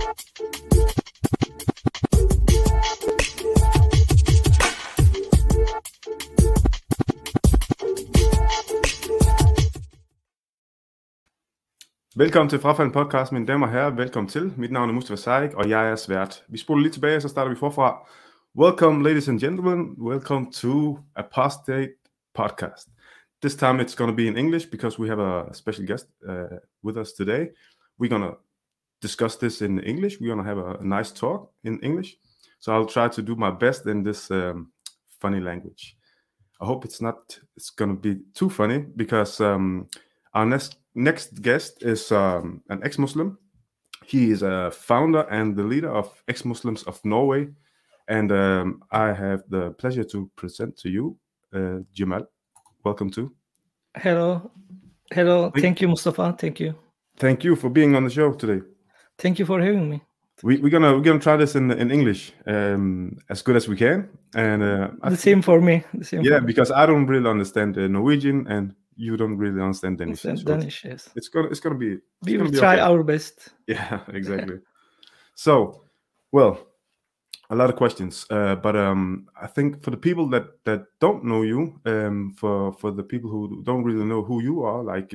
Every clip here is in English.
Velkommen til Frafald Podcast, mine damer og herrer. Velkommen til. Mit navn er Mustafa Saik, og jeg er svært. Vi spoler lige tilbage, så starter vi forfra. Welcome, ladies and gentlemen. Welcome to Apostate Podcast. This time it's going to be in English because we have a special guest with us today. We're going to discuss this in English. We're going to have a nice talk in English. So I'll try to do my best in this funny language. I hope it's going to be too funny because our next guest is an ex-Muslim. He is a founder and the leader of Ex-Muslims of Norway. And I have the pleasure to present to you Jamal. Welcome to. Hello. Thank you, Mustafa. Thank you. Thank you for being on the show today. Thank you for having me. We're gonna try this in English as good as we can. And same for me. Because I don't really understand Norwegian and you don't really understand Danish. Danish, yes. It's gonna be. We will try our best. Yeah, exactly. So, well, a lot of questions, but I think for the people that don't know you, for the people who don't really know who you are, like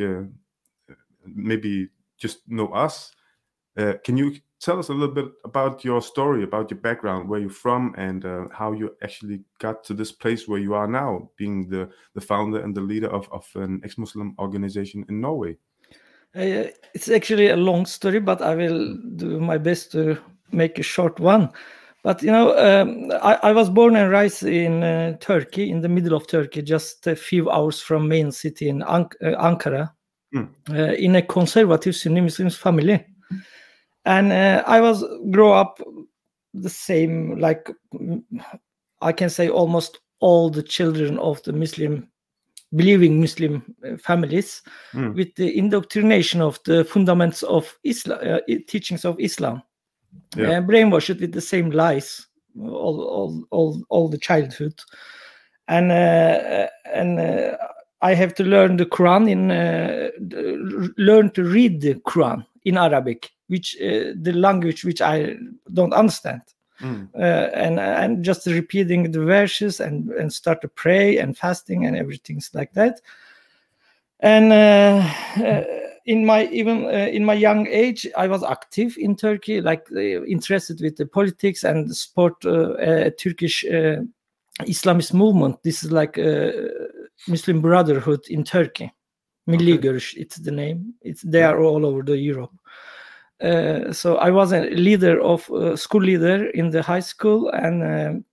maybe just know us, can you tell us a little bit about your story, about your background, where you're from, and how you actually got to this place where you are now, being the founder and the leader of an ex-Muslim organization in Norway? It's actually a long story, but I will do my best to make a short one. But, I was born and raised in Turkey, in the middle of Turkey, just a few hours from main city in Ankara, in a conservative Sunni Muslim family. And I grow up the same, like I can say almost all the children of the believing Muslim families, with the indoctrination of the fundamentals of Islam, teachings of Islam. Brainwashed with the same lies all the childhood, and I have to learn the Quran learn to read the Quran in Arabic, which the language which I don't understand, and just repeating the verses and start to pray and fasting and everything like that, and. In my young age, I was active in Turkey, like interested with the politics and the sport, Turkish Islamist movement. This is like Muslim Brotherhood in Turkey. Milli Görüş, it's the name. They are all over the Europe. So I was a school leader in the high school, and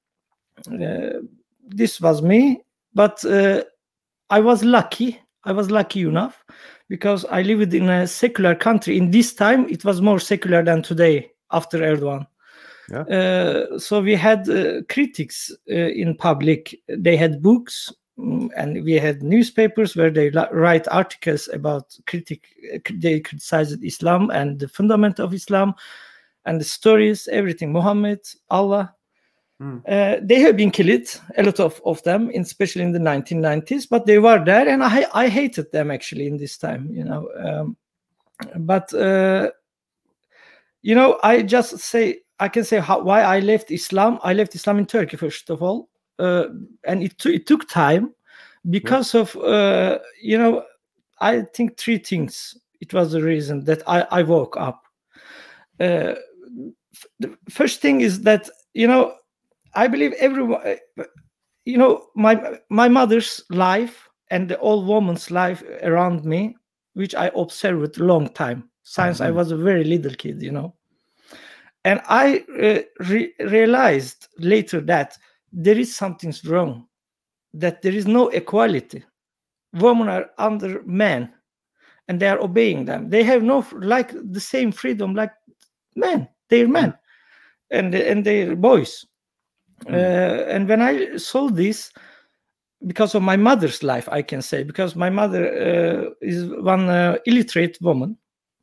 this was me. But I was lucky enough, because I lived in a secular country. In this time, it was more secular than today after Erdogan. Yeah. So we had critics in public. They had books, and we had newspapers where they write articles about they criticized Islam and the fundament of Islam and the stories, everything, Muhammad, Allah. They have been killed, a lot of them, especially in the 1990s, but they were there, and I hated them actually in this time, but I can say why I left Islam. I left Islam in Turkey, first of all, and it took time because of I think three things. It was the reason that I woke up. The first thing is that I believe everyone, my mother's life and the old woman's life around me, which I observed a long time since I was a very little kid, and I realized later that there is something wrong, that there is no equality. Women are under men, and they are obeying them. They have no the same freedom like men. They're men, and they're boys. And when I saw this, because of my mother's life, I can say, because my mother is one illiterate woman,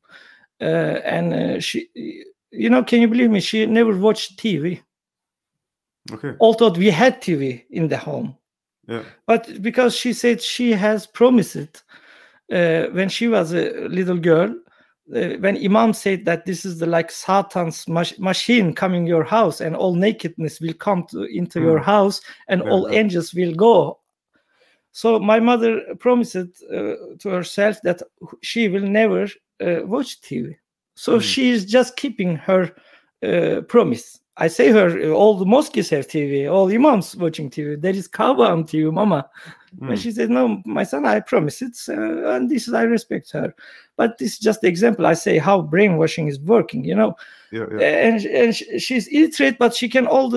and she, can you believe me? She never watched TV. Okay. Although we had TV in the home, but because she said she has promised it when she was a little girl when Imam said that this is the like Satan's machine coming your house, and all nakedness will come into your house, and all angels will go. So my mother promised to herself that she will never watch TV. So she is just keeping her promise. I say her, all the mosques have TV, all imams watching TV. There is Kaaba on TV, Mama. And she said, no, my son, I promise it. And this is, I respect her. But this is just the example. I say how brainwashing is working, you know. And she's illiterate, but she can all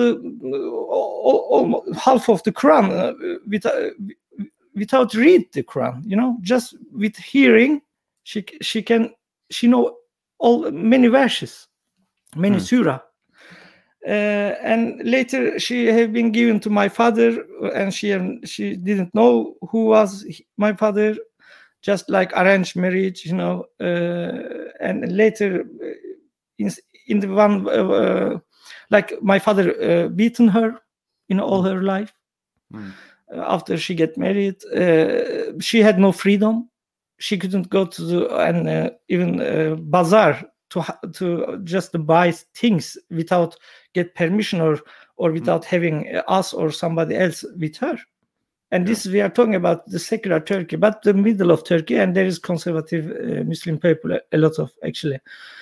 half of the Quran without read the Quran, you know. Just with hearing, she know many verses, many surah. And later she have been given to my father, and she didn't know who was my father, just like arranged marriage, you know. And later in the one like my father beaten her in all her life. After she get married, she had no freedom. She couldn't go to even bazaar to just buy things without get permission or without having us or somebody else with her. And this, we are talking about the secular Turkey, but the middle of Turkey, and there is conservative Muslim people, a lot of actually.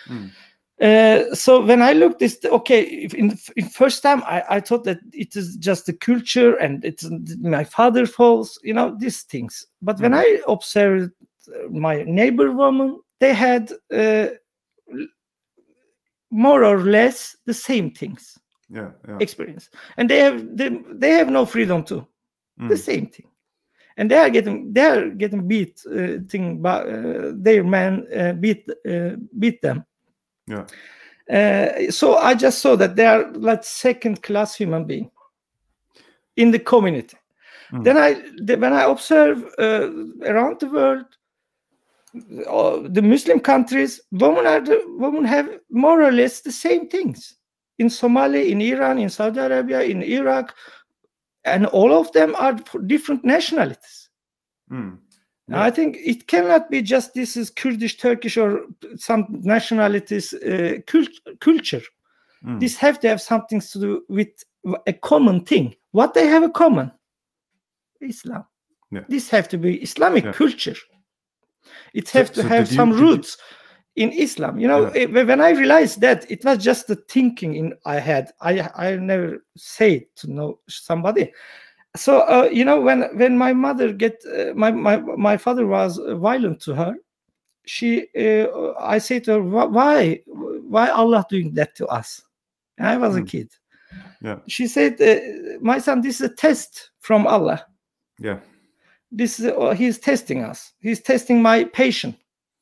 So when I looked this, in first time I thought that it is just the culture and it's my father's fault, you know, these things. But when I observed my neighbor woman, they had more or less the same things, experience, and they have no freedom too, the same thing, and they are getting beat, their man beat them. So I just saw that they are like second-class human being in the community. Then when I observe around the world, the Muslim countries, women have more or less the same things. In Somalia, in Iran, in Saudi Arabia, in Iraq, and all of them are different nationalities. I think it cannot be just this is Kurdish, Turkish, or some nationalities culture. This have to have something to do with a common thing. What they have in common? Islam. This have to be Islamic culture. It has to have some roots in Islam. You know, when I realized that, it was just the thinking I had. I never say to know somebody. So you know, when my mother my father was violent to her, I say to her, why Allah doing that to us? And I was a kid. She said, my son, this is a test from Allah. This is he's testing us. He's testing my patience,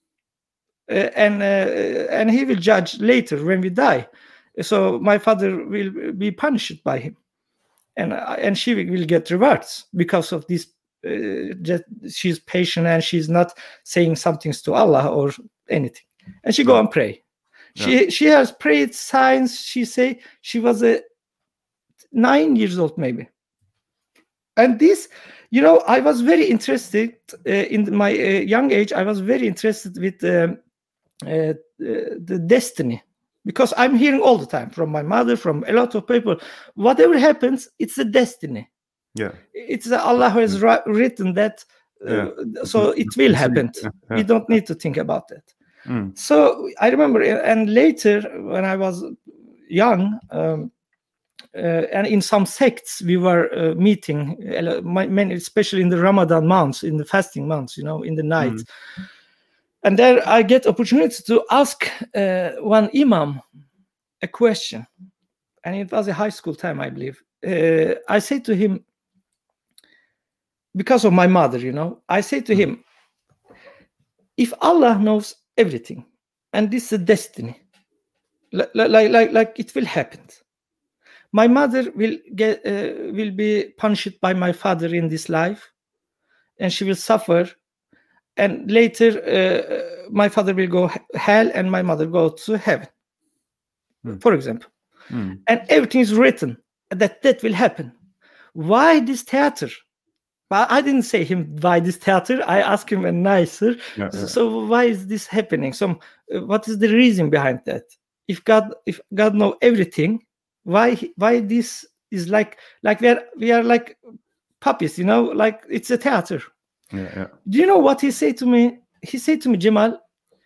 and he will judge later when we die. So my father will be punished by him, and she will get rewards because of this. She's patient and she's not saying some things to Allah or anything, and she go and pray. She has prayed signs. She say she was 9 years old maybe, and this. You know, I was very interested in my young age. I was very interested with the destiny, because I'm hearing all the time from my mother, from a lot of people, whatever happens, it's a destiny. It's Allah who has written that, so it will happen. We don't need to think about that. So I remember, and later when I was young. And in some sects we were meeting, many, especially in the Ramadan months, in the fasting months, you know, in the night. And there I get opportunity to ask one imam a question, and it was a high school time, I believe. I say to him, because of my mother, you know, I say to him, if Allah knows everything, and this is a destiny, like it will happen. My mother will be punished by my father in this life, and she will suffer. And later, my father will go hell, and my mother go to heaven, for example. And everything is written that will happen. Why this theater? But I didn't say him why this theater. I asked him a nicer. Yeah, yeah. So why is this happening? So what is the reason behind that? If God know everything, why this is like we are like puppies, like it's a theater. Yeah, yeah. Do you know what he said to me? He said to me, Jamal,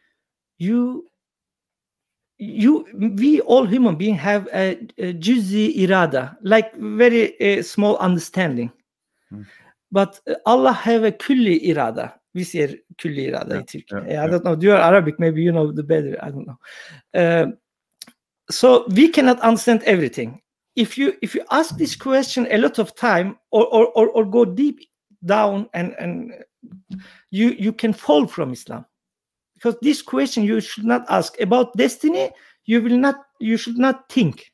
we all human beings have a juzi irada, like very small understanding. But Allah have a külli irada. We say külli irada in Turkey. I don't know. Do you are Arabic? Maybe you know the better. I don't know. So we cannot understand everything. If you ask this question a lot of time, or go deep down, and you can fall from Islam, because this question you should not ask about destiny. You should not think.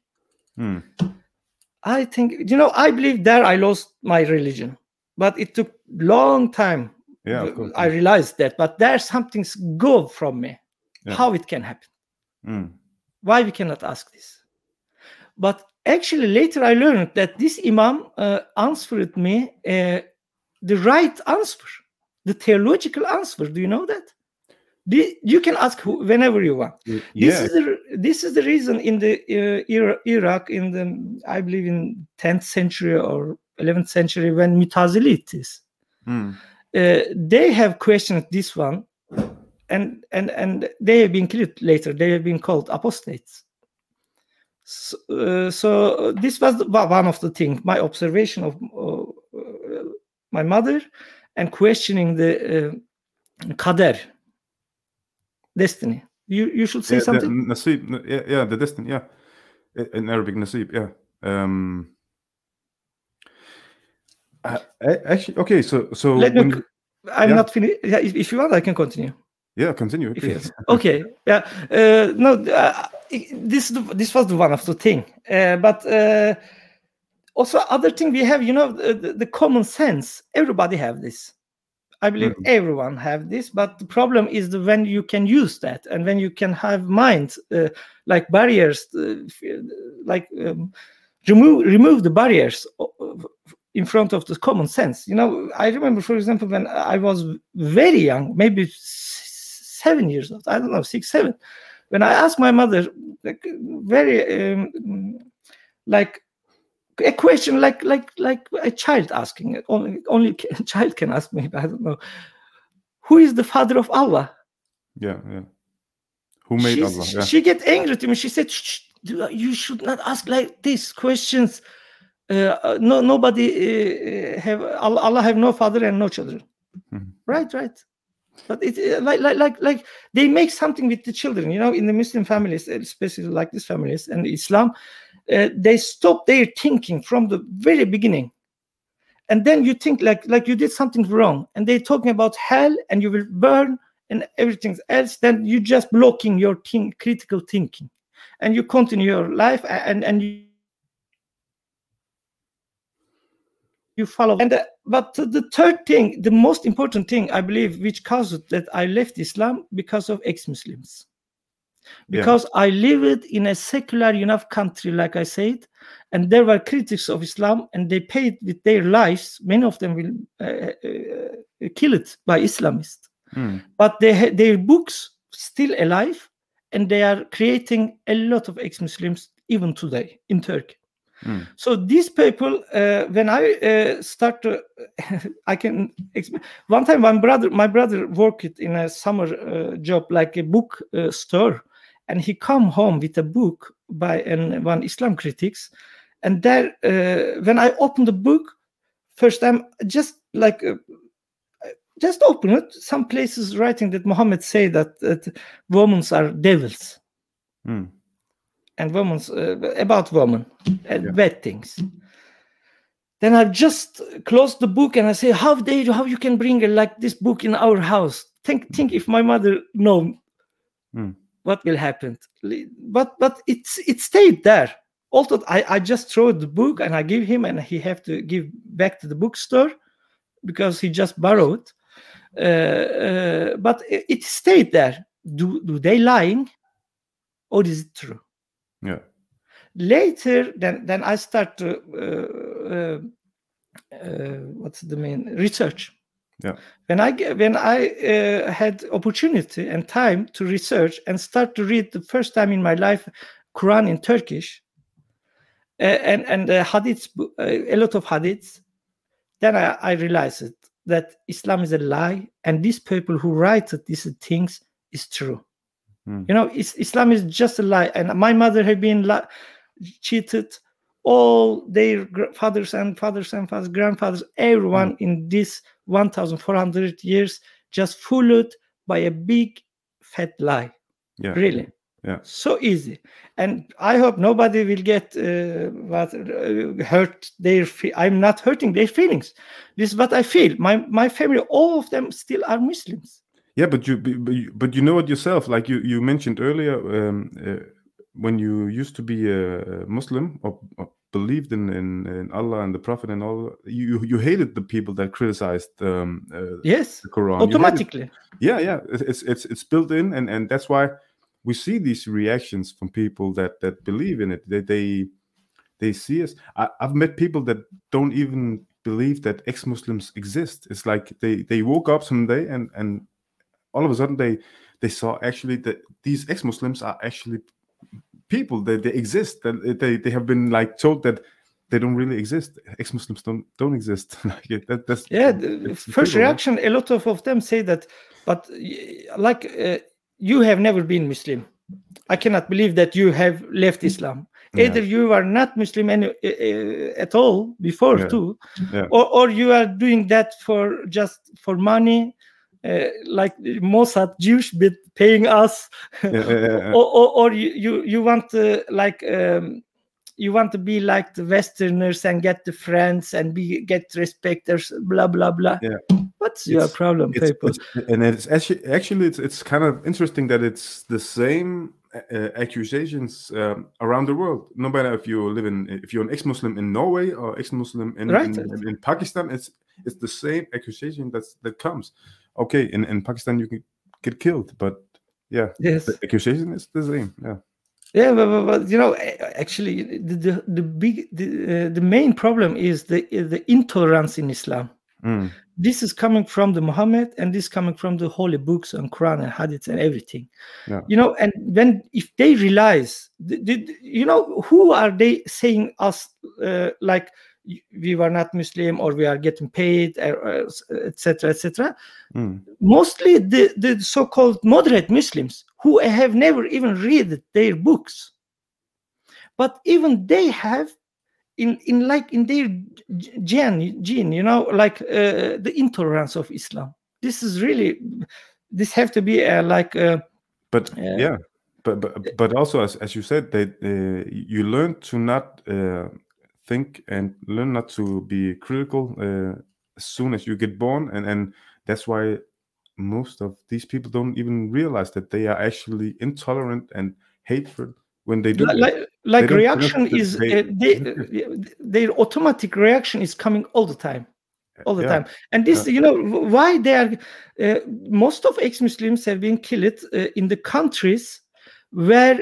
I think I believe there I lost my religion. But it took long time. Yeah, of course. I realized that. But there's something go from me. Yeah. How it can happen? Why we cannot ask this? But actually, later I learned that this Imam answered me the right answer, the theological answer. Do you know that? You can ask whenever you want. Yeah. This is the reason in the Iraq, in the I believe in 10th century or 11th century, when Mutazilites, they have questioned this one, and they have been killed later. They have been called apostates. So this was one of the things, my observation of my mother, and questioning the qadar, destiny. You should say something. The nasib, the destiny, in Arabic, nasib, actually, okay, so I'm not finished. Yeah, if you want, I can continue. Yeah, continue. Okay. Yeah. No. This was the one of the thing. But also other thing we have, the common sense. Everybody have this. I believe everyone have this. But the problem is when you can use that, and when you can have mind like barriers, remove the barriers in front of the common sense. I remember, for example, when I was very young, maybe 7 years old, I don't know, 6, 7, when I asked my mother, very like a question, like a child asking. Only a child can ask me. I don't know. Who is the father of Allah? Yeah. Who made Allah? Yeah. She get angry to me. She said, "You should not ask like these questions. Nobody have Allah have no father and no children." Right. But it like they make something with the children, in the Muslim families, especially like these families and Islam, they stop their thinking from the very beginning, and then you think like you did something wrong, and they're talking about hell and you will burn and everything else. Then you just blocking your critical thinking, and you continue your life, and you follow. And but the third thing, the most important thing, I believe, which caused that I left Islam, because of ex-Muslims. Because I lived in a secular enough country, like I said, and there were critics of Islam, and they paid with their lives. Many of them will killed by Islamists, but their books still alive, and they are creating a lot of ex-Muslims even today in Turkey. So these people, when I start to, I can explain. One time, my brother worked in a summer job, like a book store, and he come home with a book by one Islam critics, and there, when I opened the book, first time, just open it. Some places writing that Muhammad say that women are devils. And women's about women and bad things. Then I just closed the book and I say, how you can bring like this book in our house? Think if my mother know what will happen. But it stayed there. Although I just throw the book and I give him, and he have to give back to the bookstore because he just borrowed. But it stayed there. Do they lying, or is it true? Yeah. Later, then I start to what's the main research. Yeah. When I had opportunity and time to research and start to read the first time in my life Quran in Turkish and hadiths, a lot of hadiths, then I realized that Islam is a lie, and these people who write these things is true. Islam is just a lie, and my mother had been cheated. All their fathers, grandfathers, everyone in this 1,400 years just fooled by a big fat lie. Yeah. Really. Yeah. So easy. And I hope nobody will get hurt I'm not hurting their feelings. This is what I feel. My family, all of them still are Muslims. Yeah, but you know it yourself. Like you mentioned earlier, when you used to be a Muslim or believed in Allah and the Prophet and all, you hated the people that criticized yes, the Quran automatically. Yeah, it's built in, and that's why we see these reactions from people that believe in it. They see us. I've met people that don't even believe that ex-Muslims exist. It's like they woke up someday and all of a sudden they saw actually that these ex-Muslims are actually people. They exist. They have been like told that they don't really exist. Ex-Muslims don't exist. That's the first reaction. Right? A lot of them say that, but you have never been Muslim. I cannot believe that you have left Islam. Either you are not Muslim at all before too, or you are doing that for money. Like Mossad, Jewish bit paying us, or you want to you want to be like the Westerners and get the friends and get respecters, blah blah blah. Yeah. What's your problem, people? It's actually it's kind of interesting that it's the same accusations around the world. No matter if you're an ex-Muslim in Norway or ex-Muslim in Pakistan, it's the same accusation that comes. Okay, in Pakistan you can get killed, but yes, the accusation is the same. Yeah, but actually, the main problem is the intolerance in Islam. This is coming from the Muhammad, and this is coming from the holy books and Quran and Hadith and everything. Yeah. And if they realize, who are they saying us like we were not Muslim or we are getting paid, etc., etc. Mostly the so-called moderate Muslims who have never even read their books, but even they have in their gene, the intolerance of Islam. This is really, this have to be but also as you said, that you learn to not think and learn not to be critical as soon as you get born, and that's why most of these people don't even realize that they are actually intolerant and hateful when they do reaction is their automatic reaction is coming all the time. And this why they are most of ex-Muslims have been killed in the countries where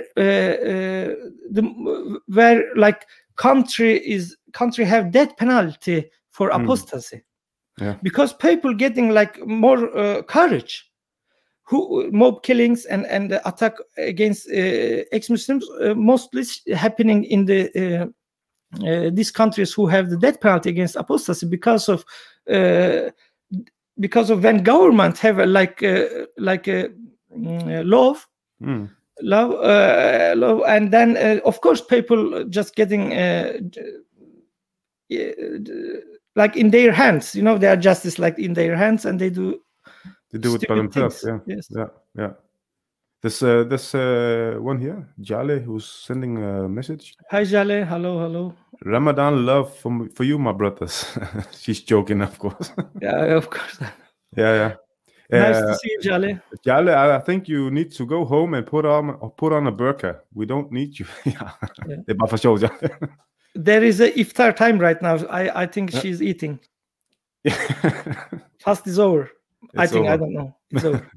country have death penalty for apostasy, because people getting more courage, who mob killings and attack against ex-Muslims mostly happening in the these countries who have the death penalty against apostasy because of when government have a law. Law, and then of course people just getting in their hands, they are justice in their hands, and they do it by themselves. Yeah. There's one here, Jale, who's sending a message. Hi Jale, hello. Ramadan love for you, my brothers. She's joking, of course. Yeah, of course. Yeah. Nice to see you, Jale. Jale, I think you need to go home and put on a burqa. We don't need you. There is a iftar time right now. I think she's eating. Fast is over. I don't know. It's over.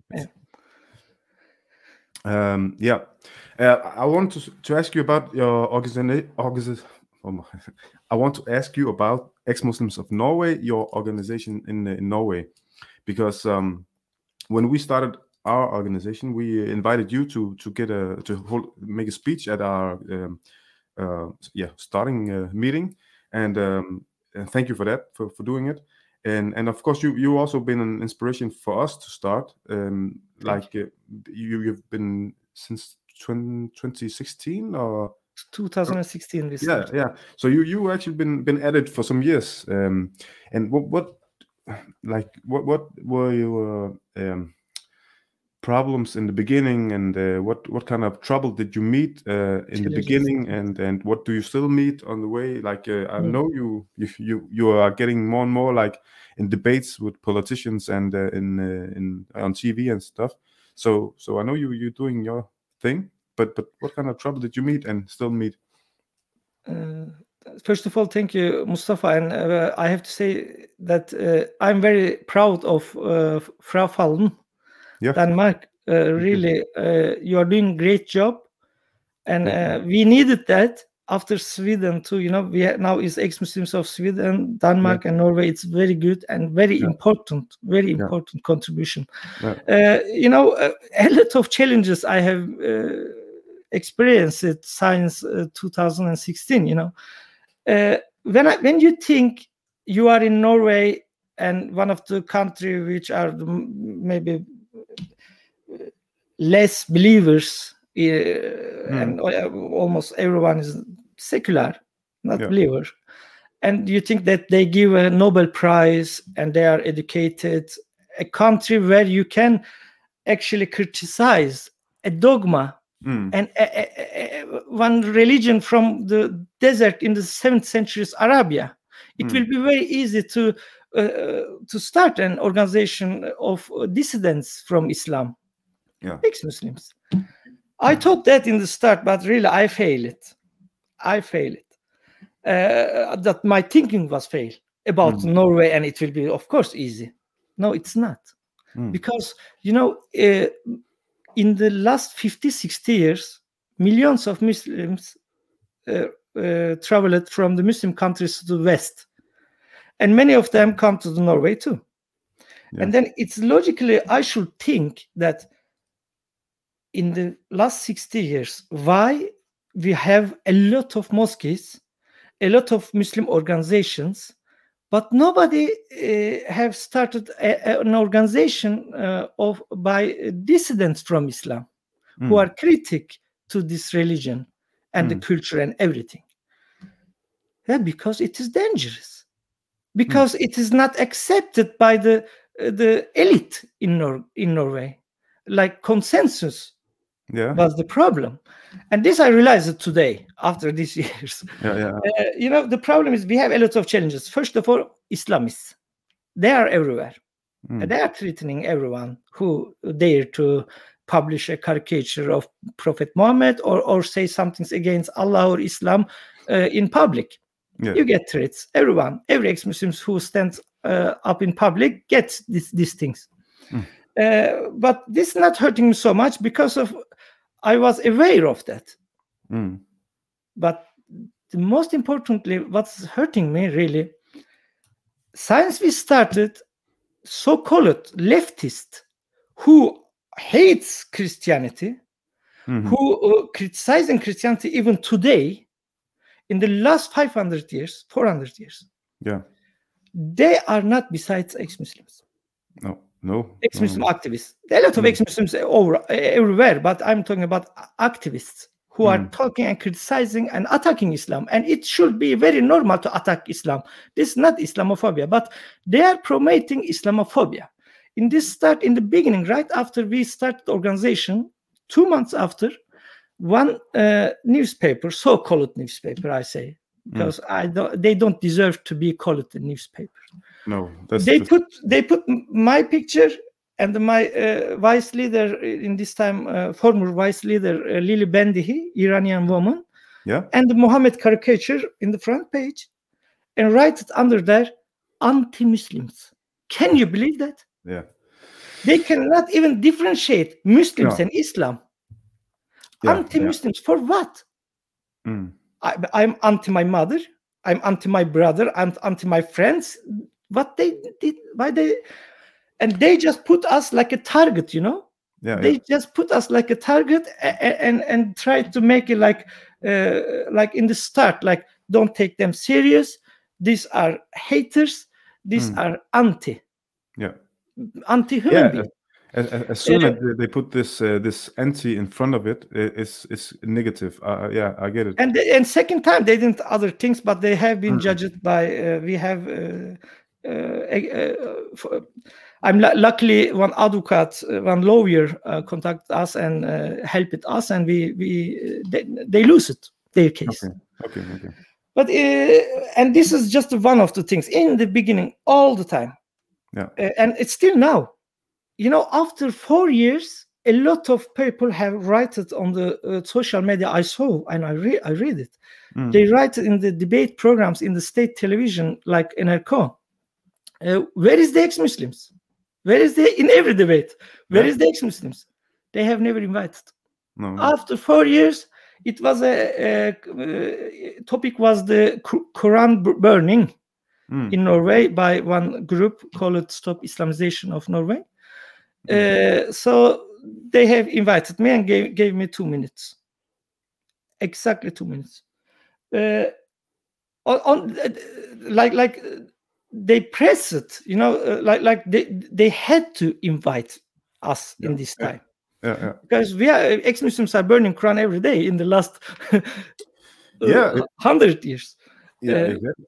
I want to ask you about your I want to ask you about Ex-Muslims of Norway, your organization in Norway, because when we started our organization, we invited you to make a speech at our starting meeting, and thank you for that, for doing it. And of course, you also been an inspiration for us to start. You've been since 2016 or 2016. Yeah. So you actually been at it for some years. And what were your problems in the beginning, and what kind of trouble did you meet in the beginning, and what do you still meet on the way? I know you are getting more and more like in debates with politicians and on TV and stuff. So I know you're doing your thing, but what kind of trouble did you meet and still meet? First of all, thank you, Mustafa, and I have to say that I'm very proud of Frafallen. Yeah. Denmark, really, you are doing a great job, and we needed that after Sweden too. We now is Ex-Muslims of Sweden, Denmark, and Norway. It's very good and very important contribution. A lot of challenges I have experienced since 2016. When you think you are in Norway and one of the countries which are maybe less believers, and almost everyone is secular, not believer, and you think that they give a Nobel Prize and they are educated, a country where you can actually criticize a dogma and one religion from the desert in the 7th century's Arabia, it will be very easy to start an organization of dissidents from Islam. Ex-Muslims. I thought that in the start, but really I failed. That my thinking was failed about Norway, and it will be, of course, easy. No, it's not. Because, in the last 50, 60 years, millions of Muslims traveled from the Muslim countries to the West. And many of them come to the Norway too. And then it's logically, I should think that in the last 60 years, why we have a lot of mosques, a lot of Muslim organizations, but nobody have started an organization by dissidents from Islam who are critic to this religion and the culture and everything. Because it is dangerous. Because it is not accepted by the elite in Norway. Like consensus was the problem. And this I realized today, after these years. The problem is we have a lot of challenges. First of all, Islamists. They are everywhere. They are threatening everyone who dare to publish a caricature of Prophet Muhammad or say something against Allah or Islam in public. You get threats. Everyone, every ex-Muslim who stands up in public gets these things. But this is not hurting me so much because I was aware of that. But the most importantly, what's hurting me really, since we started so-called leftist who hates Christianity, who criticizing Christianity even today, in the last 500 years, 400 years, they are not besides ex-Muslims. No. Ex-Muslim activists. There are a lot of ex-Muslims everywhere, but I'm talking about activists who are talking and criticizing and attacking Islam. And it should be very normal to attack Islam. This is not Islamophobia, but they are promoting Islamophobia. In the beginning, right after we started the organization, 2 months after, one newspaper, so-called newspaper, I say, because they don't deserve to be called a newspaper. No, they put my picture and my vice leader in this time, former vice leader Lili Bendihi, Iranian woman, and the Muhammad caricature in the front page, and write it under there, anti-Muslims. Can you believe that? They cannot even differentiate Muslims and Islam. Anti-Muslims for what? I'm anti my mother, I'm anti my brother, I'm anti my friends. What they did, why they, and they just put us like a target, you know. They just put us like a target and try to make it like in the start, like, don't take them serious. These are haters. These are anti-human beings. As soon as they put this anti in front of it, it's negative. I get it. And second time they didn't other things, but they have been judged by. We have. I'm luckily one advocate, one lawyer contacted us and helped us, and they lose it, their case. Okay. But and this is just one of the things in the beginning, all the time. And it's still now. You know, after 4 years, a lot of people have write it on the social media. I saw and I read it. They write it in the debate programs in the state television, like NRK. Where is the ex-Muslims? Where is in every debate? Where is the ex-Muslims? They have never invited. No. After 4 years, it was a topic was the Quran burning in Norway by one group called Stop Islamization of Norway. So they have invited me and gave me 2 minutes, exactly 2 minutes. Like they press it, you know, like they had to invite us in this time. Because we are ex-Muslims are burning Quran every day in the last 100 years. Exactly.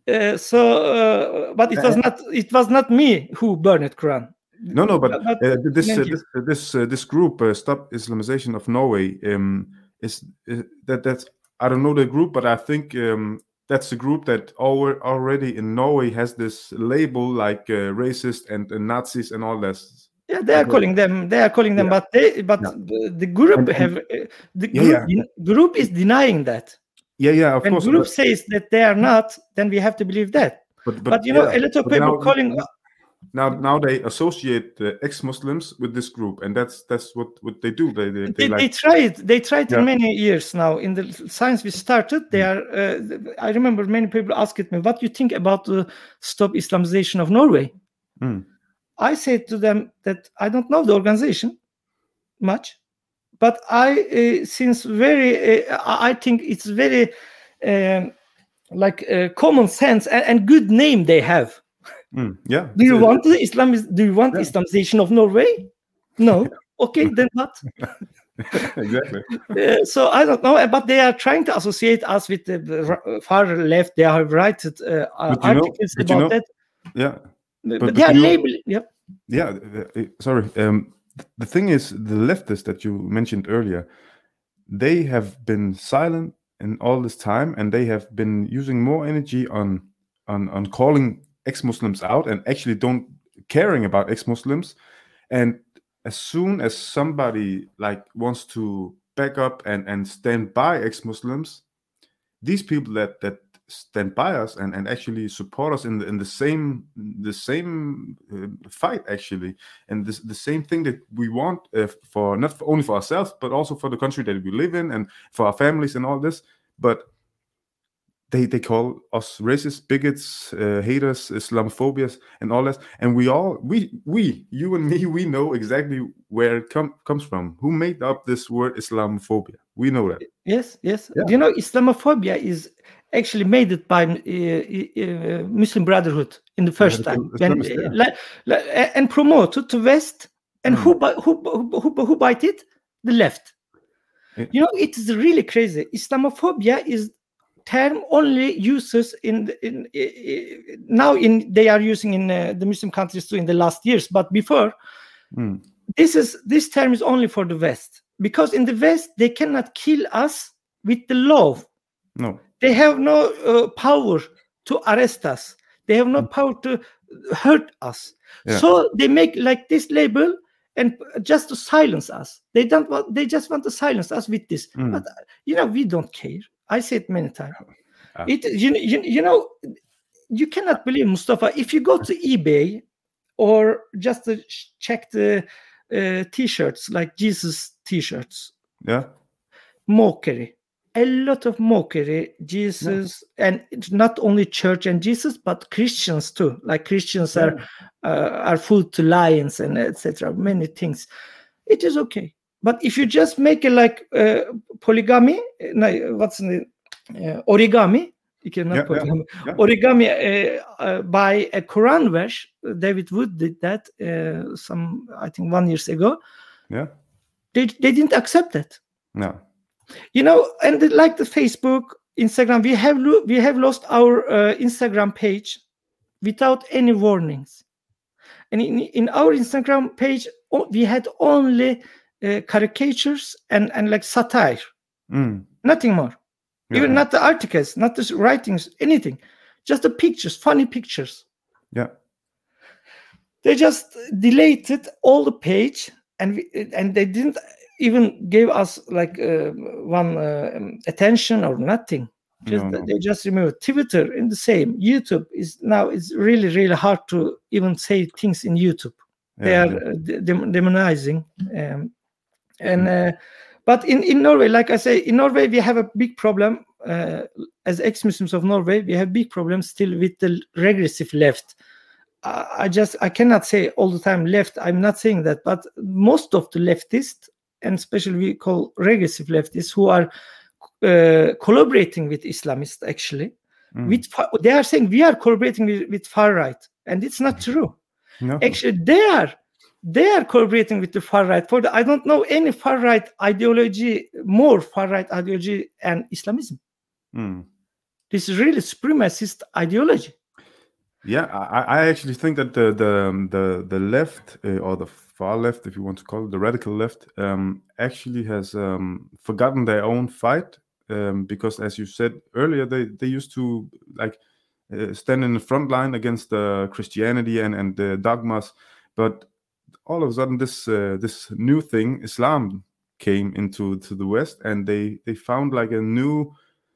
But it was not me who burned Quran. No, but this group, Stop Islamization of Norway, is that's I don't know the group, but I think that's a group that already in Norway has this label like racist and Nazis and all this. Yeah, they are calling them. But the group group is denying that. Of when course. When group says that they are not, then we have to believe that. But you know, a lot of people calling. Now they associate the ex-Muslims with this group, and that's what they do. They tried in many years now. In the science we started, they are. I remember many people asked me, "What do you think about the Stop Islamization of Norway?" I said to them that I don't know the organization much, but I think it's very common sense and good name they have. Do you want the Islamization of Norway? No. Okay, then what? Exactly. So I don't know, but they are trying to associate us with the far left. They have written articles about that. Yeah. But they are labeling. Sorry. The thing is, the leftists that you mentioned earlier, they have been silent in all this time, and they have been using more energy on calling ex-Muslims out and actually don't caring about ex-Muslims. And as soon as somebody wants to back up and stand by ex-Muslims, these people that stand by us and actually support us in the same fight, actually, and the same thing that we want for not only for ourselves but also for the country that we live in and for our families and all this, but they call us racist, bigots, haters, Islamophobias, and all that. And we you and me, we know exactly where it comes from. Who made up this word Islamophobia? We know that. Yes. Yeah. You know, Islamophobia is actually made it by Muslim Brotherhood in the first time, and promoted to West. And who bite it? The left. Yeah. You know, it is really crazy. Islamophobia is term only uses they are using in the Muslim countries too in the last years, but before this term is only for the West, because in the West they cannot kill us with the law. No, they have no power to arrest us. They have no power to hurt us. So they make like this label and just to silence us. They just want to silence us with this. But you know, we don't care. I said many times. You know, you cannot believe, Mustafa, if you go to eBay or just to check the T-shirts, like Jesus T-shirts, yeah, mockery, a lot of mockery, Jesus, and it's not only church and Jesus, but Christians too. Like Christians are food to lions and etc. Many things. It is okay, but if you just make it like polygamy, what's the origami? You cannot polygamy. Origami by a Quran verse. David Wood did that I think 1 year ago. Yeah, they didn't accept that. No. And like the Facebook, Instagram, we have lost our Instagram page without any warnings. And in our Instagram page, we had only caricatures and like satire, nothing more. Even not the articles, not the writings, anything, just the pictures, funny pictures. Yeah. They just deleted all the page, and they didn't even give us like one attention or nothing. They just removed. Twitter in the same. YouTube is really, really hard to even say things in YouTube. They are demonizing. But in Norway, like I say, in Norway we have a big problem. As ex-Muslims of Norway, we have big problems still with the regressive left. I cannot say all the time left. I'm not saying that, but most of the leftists, and especially we call regressive leftists, who are collaborating with Islamists, actually, they are saying we are collaborating with far right, and it's not true. No. Actually, they are collaborating with the far right. I don't know any far right ideology, more far right ideology and Islamism. This is really supremacist ideology. Yeah, I actually think that the left or the far left, if you want to call it, the radical left, actually has forgotten their own fight, because, as you said earlier, they used to stand in the front line against Christianity and the dogmas, but all of a sudden this new thing, Islam, came into the West, and they found like a new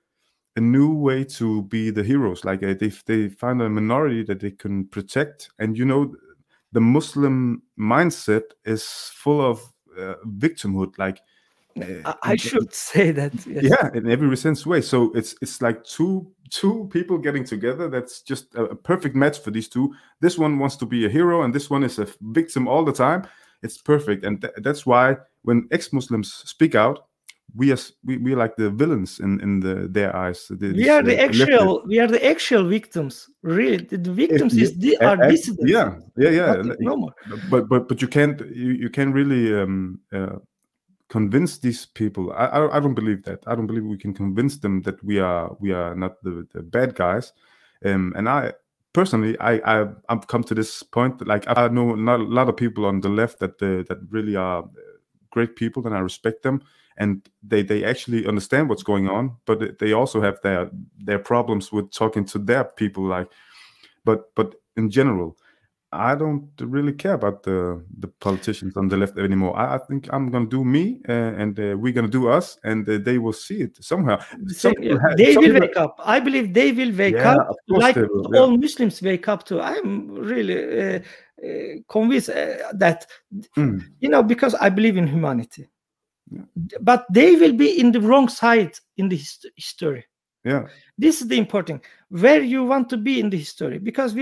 way to be the heroes. Like they found a minority that they can protect, and the Muslim mindset is full of victimhood. Like I should say that. Yes. Yeah, in every sense way. So it's like two people getting together. That's just a perfect match for these two. This one wants to be a hero, and this one is a victim all the time. It's perfect, and that's why when ex-Muslims speak out, we are like the villains in their eyes. We are the actual victims. Really, the victims are dissidents. Yeah. No more. But you can't really convince these people. I don't believe that. I don't believe we can convince them that we are not the bad guys. And I personally, I've come to this point. Like, I know not a lot of people on the left that really are great people, and I respect them. And they actually understand what's going on, but they also have their problems with talking to their people. But in general, I don't really care about the politicians on the left anymore. I think I'm gonna do me, and we're gonna do us, and they will see it somehow. They will wake up. I believe they will wake up, like all Muslims wake up too. I'm really convinced that because I believe in humanity. Yeah. But they will be in the wrong side in the history. Yeah, this is the important where you want to be in the history, because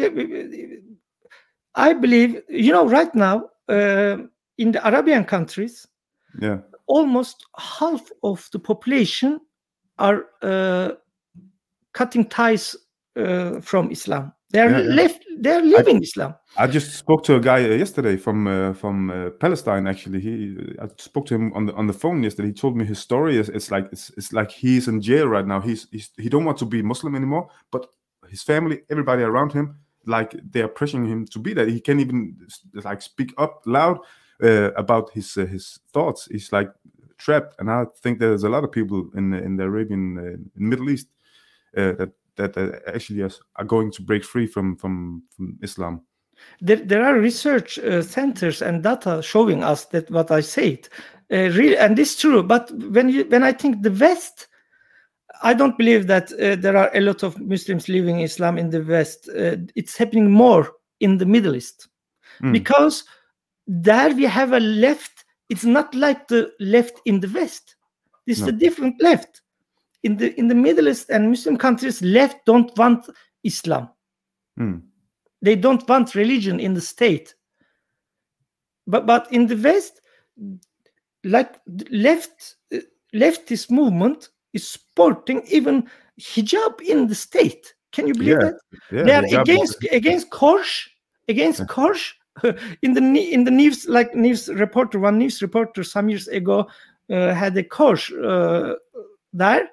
I believe right now in the Arabian countries, almost half of the population are cutting ties from Islam. They are They are leaving Islam. I just spoke to a guy yesterday from Palestine. Actually, I spoke to him on the phone yesterday. He told me his story. It's like he's in jail right now. He don't want to be Muslim anymore, but his family, everybody around him, like, they are pressuring him to be that. He can't even like speak up loud about his thoughts. He's like trapped, and I think there's a lot of people in the Arabian Middle East that actually are going to break free from Islam. There are research centers and data showing us that what I said, really, and this is true. But when I think the West, I don't believe that there are a lot of Muslims living Islam in the West. It's happening more in the Middle East, because there we have a left. It's not like the left in the West. This is a different left. in the Middle East and Muslim countries, left don't want Islam. They don't want religion in the state. But in the West, like leftist movement is supporting even hijab in the state. Can you believe that? Yeah, they are against Korsh, Korsh. in the news, like one news reporter some years ago had a Korsh there.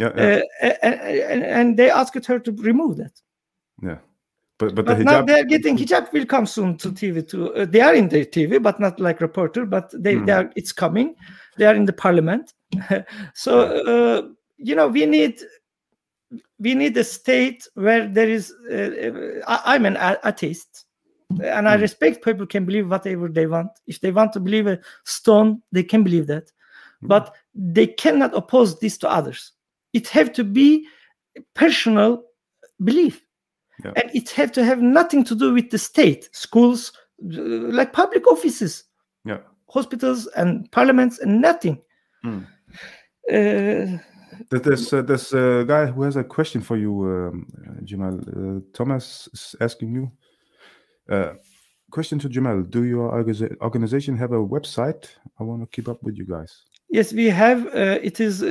And they asked her to remove that. Yeah. But the hijab, now they're getting hijab will come soon to TV too. They are in the TV, but not like reporter. But they are. It's coming. They are in the parliament. So we need a state where there is. I'm an atheist, and I respect people can believe whatever they want. If they want to believe a stone, they can believe that, but they cannot oppose this to others. It have to be personal belief. Yeah. And it have to have nothing to do with the state, schools, like public offices, hospitals and parliaments, and nothing. There's a guy who has a question for you, Jamal. Thomas is asking you. Question to Jamal: do your organization have a website? I want to keep up with you guys. Yes, we have. It is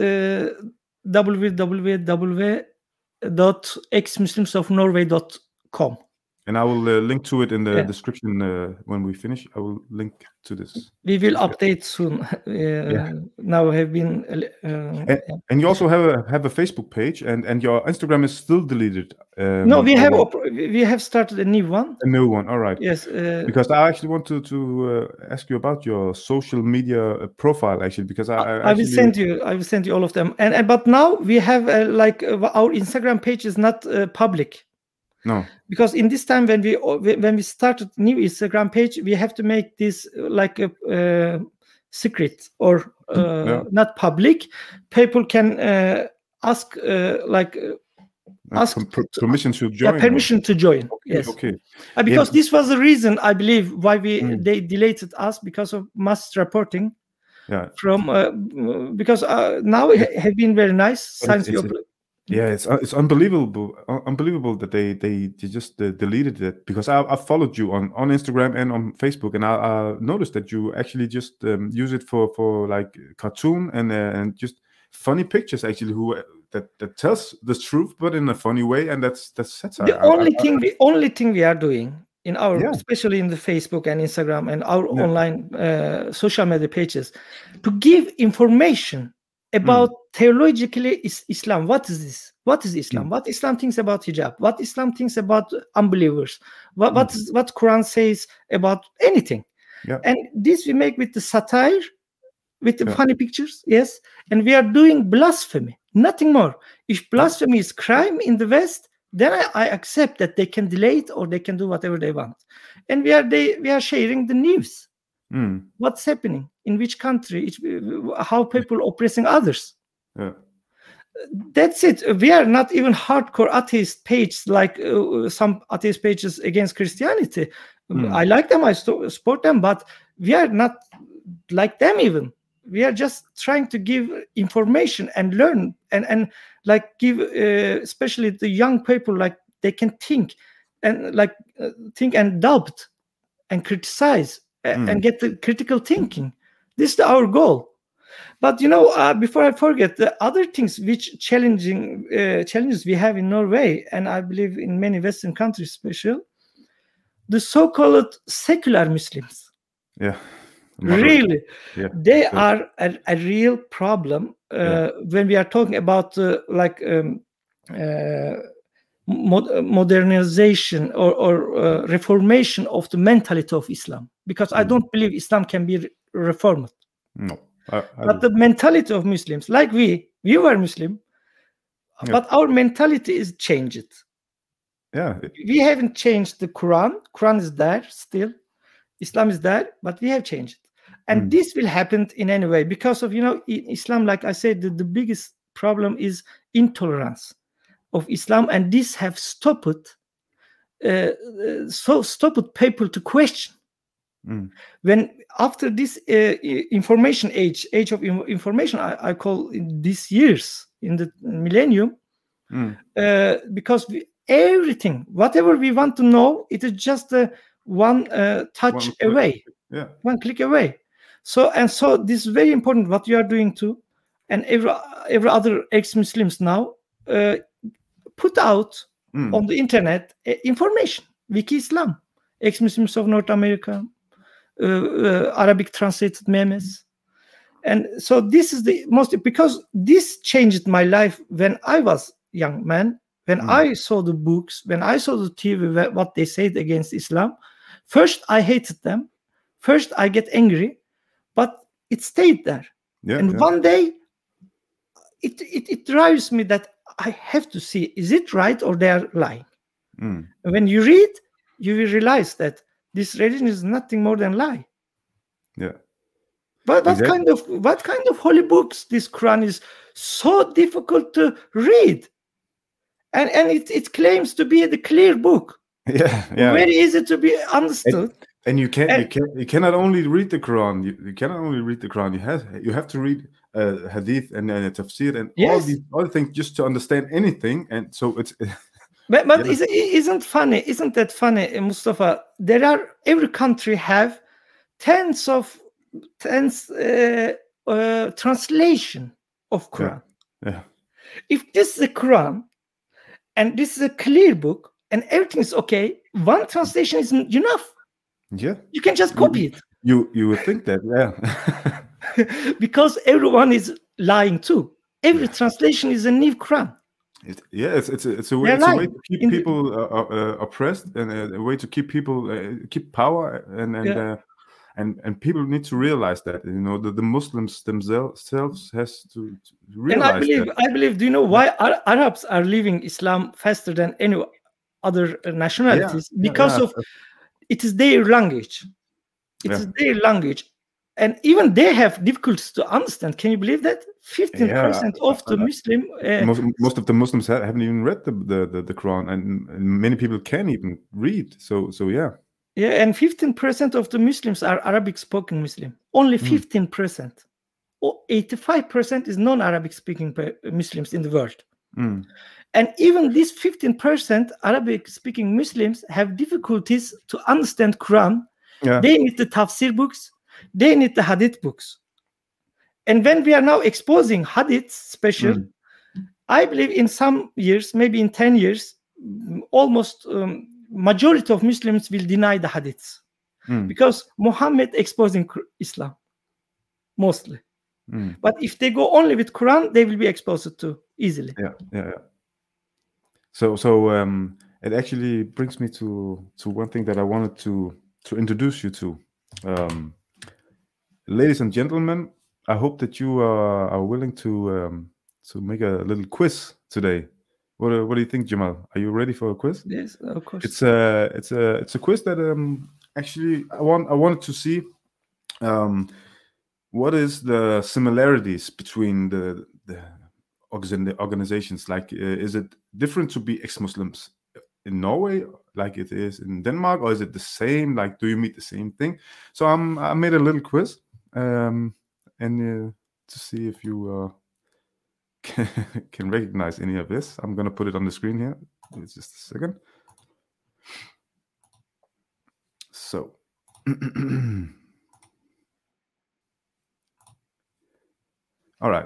www.exmuslimsofnorway.com. And I will link to it in the description when we finish. I will link to this. We will update soon. Now have been. And you also have a Facebook page, and your Instagram is still deleted. No, we have started a new one. A new one, all right. Yes. Because I actually want to ask you about your social media profile, actually, because I will send you all of them. And but now we have our Instagram page is not public. No, because in this time when we started new Instagram page, we have to make this like a secret or not public. People can ask permission to join. Permission to join. Okay, yes. Okay. Because this was the reason I believe why they deleted us, because of mass reporting. Yeah. From because now it have been very nice. It's unbelievable that they just deleted it, because I followed you on Instagram and on Facebook, and I noticed that you actually just use it for like cartoon and just funny pictures, actually, that tells the truth but in a funny way, and that's satire. The only thing we are doing in our especially in the Facebook and Instagram and our online social media pages, to give information about theologically Islam. What is this? What is Islam? What Islam thinks about hijab? What Islam thinks about unbelievers? What Quran says about anything? Yeah. And this we make with the satire, with the funny pictures, yes. And we are doing blasphemy, nothing more. If blasphemy is crime in the West, then I accept that they can delay it or they can do whatever they want. And we are sharing the news. What's happening in which country, how people oppressing others. That's it. We are not even hardcore atheist page like some atheist pages against Christianity. I like them, I support them, but we are not like them even. We are just trying to give information and learn and like give especially the young people, like they can think and think and doubt and criticize and get the critical thinking. This is our goal. But before I forget, the other things which challenges we have in Norway, and I believe in many Western countries, especially the so-called secular Muslims. Yeah. Really, they are a real problem when we are talking about modernization or reformation of the mentality of Islam. Because I don't believe Islam can be reformed. No. But the mentality of Muslims, like we were Muslim, but our mentality is changed. Yeah. We haven't changed the Quran. Quran is there still. Islam is there, but we have changed. And this will happen in any way because of, in Islam, like I said, the biggest problem is intolerance of Islam. And this have stopped people to question. When after this information age of information, I call in these years, in the millennium, because everything, whatever we want to know, it is just one touch away, one click away. So this is very important what you are doing too, and every other ex-Muslims now put out on the internet information. Wiki Islam, ex-Muslims of North America, Arabic translated memes. And so this is the most, because this changed my life when I was young man, when I saw the books, when I saw the TV, what they said against Islam. First, I hated them. First, I get angry, but it stayed there. One day, it drives me that I have to see, is it right or they are lying? When you read, you will realize that this religion is nothing more than lie. Yeah. But what kind of holy books? This Quran is so difficult to read, and it claims to be the clear book. Yeah. Very easy to be understood. And you cannot only read the Quran. You cannot only read the Quran. You have to read hadith and tafsir and all these other things just to understand anything. And so it's. But isn't that funny, Mustafa? Every country have tens translation of Quran. Yeah. If this is a Quran and this is a clear book and everything is okay, one translation isn't enough. Yeah. You can just copy it. You would think that, yeah. Because everyone is lying too. Every translation is a new Quran. It's a way to keep people oppressed, and a way to keep people keep power, and people need to realize that, the Muslims themselves has to realize. And I believe. Do you know why Arabs are leaving Islam faster than any other nationalities? Because of it is their language. It is their language. And even they have difficulties to understand. Can you believe that? 15% of the Muslim... most of the Muslims haven't even read the Quran, and many people can't even read. So yeah. Yeah, and 15% of the Muslims are Arabic-spoken Muslim. Only 15%. Or 85% is non-Arabic speaking Muslims in the world. And even these 15% Arabic-speaking Muslims have difficulties to understand Quran. They need the tafsir books. They need the hadith books. And when we are now exposing hadith special, I believe in some years, maybe in 10 years, almost majority of Muslims will deny the hadiths. Because Muhammad exposing Islam, mostly. But if they go only with Quran, they will be exposed to easily. Yeah. So it actually brings me to one thing that I wanted to introduce you to. Ladies and gentlemen, I hope that you are willing to make a little quiz today. What do you think, Jamal? Are you ready for a quiz? Yes, of course. It's a quiz that actually I wanted to see what is the similarities between the organizations. Like, is it different to be ex-Muslims in Norway like it is in Denmark, or is it the same? Like, do you meet the same thing? So I made a little quiz, and to see if you can recognize any of this. I'm gonna put it on the screen here. It's just a second. So all right.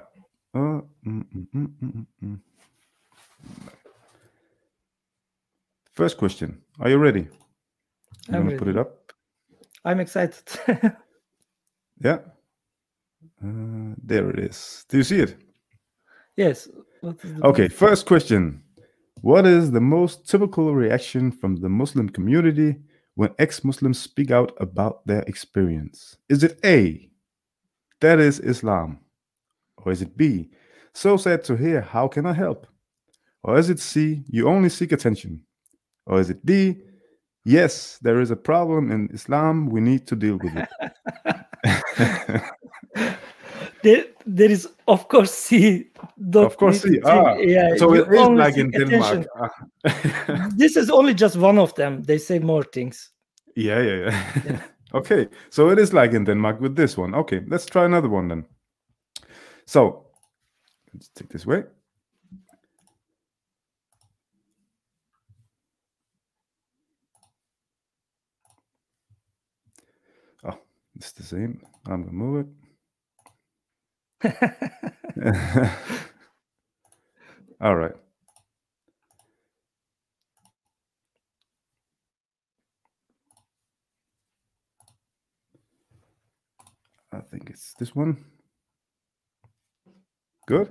First question. Are you ready? I'm gonna put it up. I'm excited. Yeah. There it is. Do you see it? Yes. Okay, first question. What is the most typical reaction from the Muslim community when ex-Muslims speak out about their experience? Is it A, that is Islam? Or is it B, so sad to hear, how can I help? Or is it C, you only seek attention? Or is it D, yes, there is a problem in Islam, we need to deal with it? There is, of course, C. Of course, C. Yeah, so it is like in Denmark. This is only just one of them. They say more things. Yeah. Okay, so it is like in Denmark with this one. Okay, let's try another one then. So let's take this way. It's the same. I'm gonna move it. All right. I think it's this one. Good.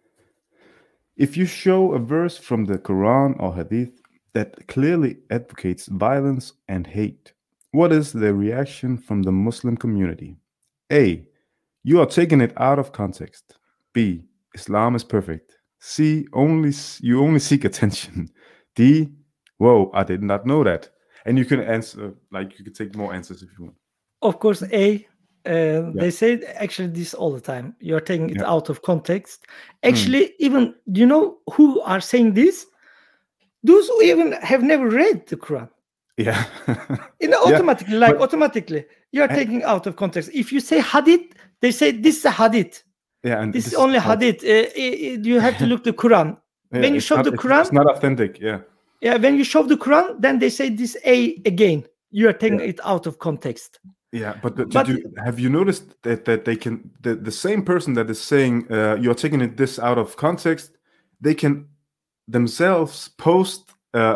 If you show a verse from the Quran or Hadith that clearly advocates violence and hate, what is the reaction from the Muslim community? A. You are taking it out of context. B. Islam is perfect. C. You only seek attention. D. Whoa, I did not know that. And you can answer, like, you can take more answers if you want. Of course, A. They say actually this all the time. You're taking it out of context. Actually, even, do you know who are saying this? Those who even have never read the Quran. Yeah. Automatically, automatically, you're taking out of context. If you say hadith, they say this is a hadith. Yeah, and this is only hadith. You have to look the Quran. When you show the Quran, it's not authentic. Yeah. Yeah, when you show the Quran, then they say this A again. You are taking it out of context. Yeah, but have you noticed that they can the same person that is saying you're taking this out of context, they can themselves post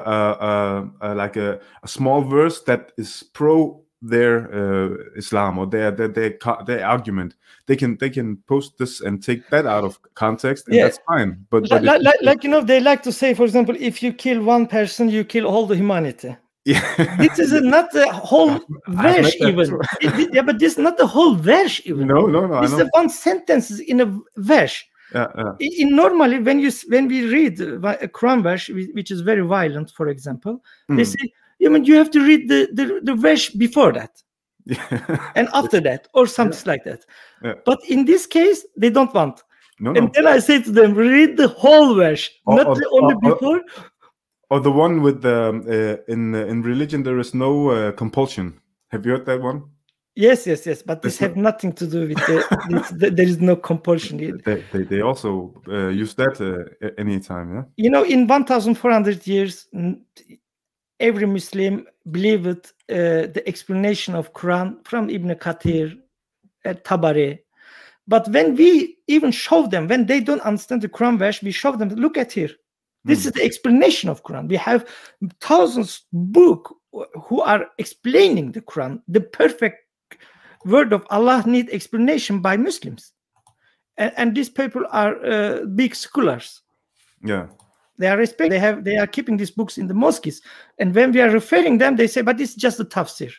like a small verse that is pro their Islam or their argument. They can post this and take that out of context, and that's fine. But they like to say, for example, if you kill one person, you kill all the humanity. Yeah. This is not the whole verse even. But this is not the whole verse even. No. This is one sentence in a verse. Normally, when we read a Quran verse, which is very violent, for example, they say, you have to read the verse before that, and after that, or something like that. But in this case, they don't want. And then I say to them, read the whole verse, not only before. Or the one with the in religion there is no compulsion. Have you heard that one? Yes. But this have nothing to do with there is no compulsion. They also use that anytime. Yeah. In 1,400 years, every Muslim believed the explanation of Quran from Ibn Kathir, Tabari. But when we even show them, when they don't understand the Quran verse, we show them, look at here. This is the explanation of Quran. We have thousands books who are explaining the Quran. The perfect word of Allah need explanation by Muslims. And these people are big scholars. Yeah. They are respected. They are keeping these books in the mosques. And when we are referring them, they say, but it's just a tafsir.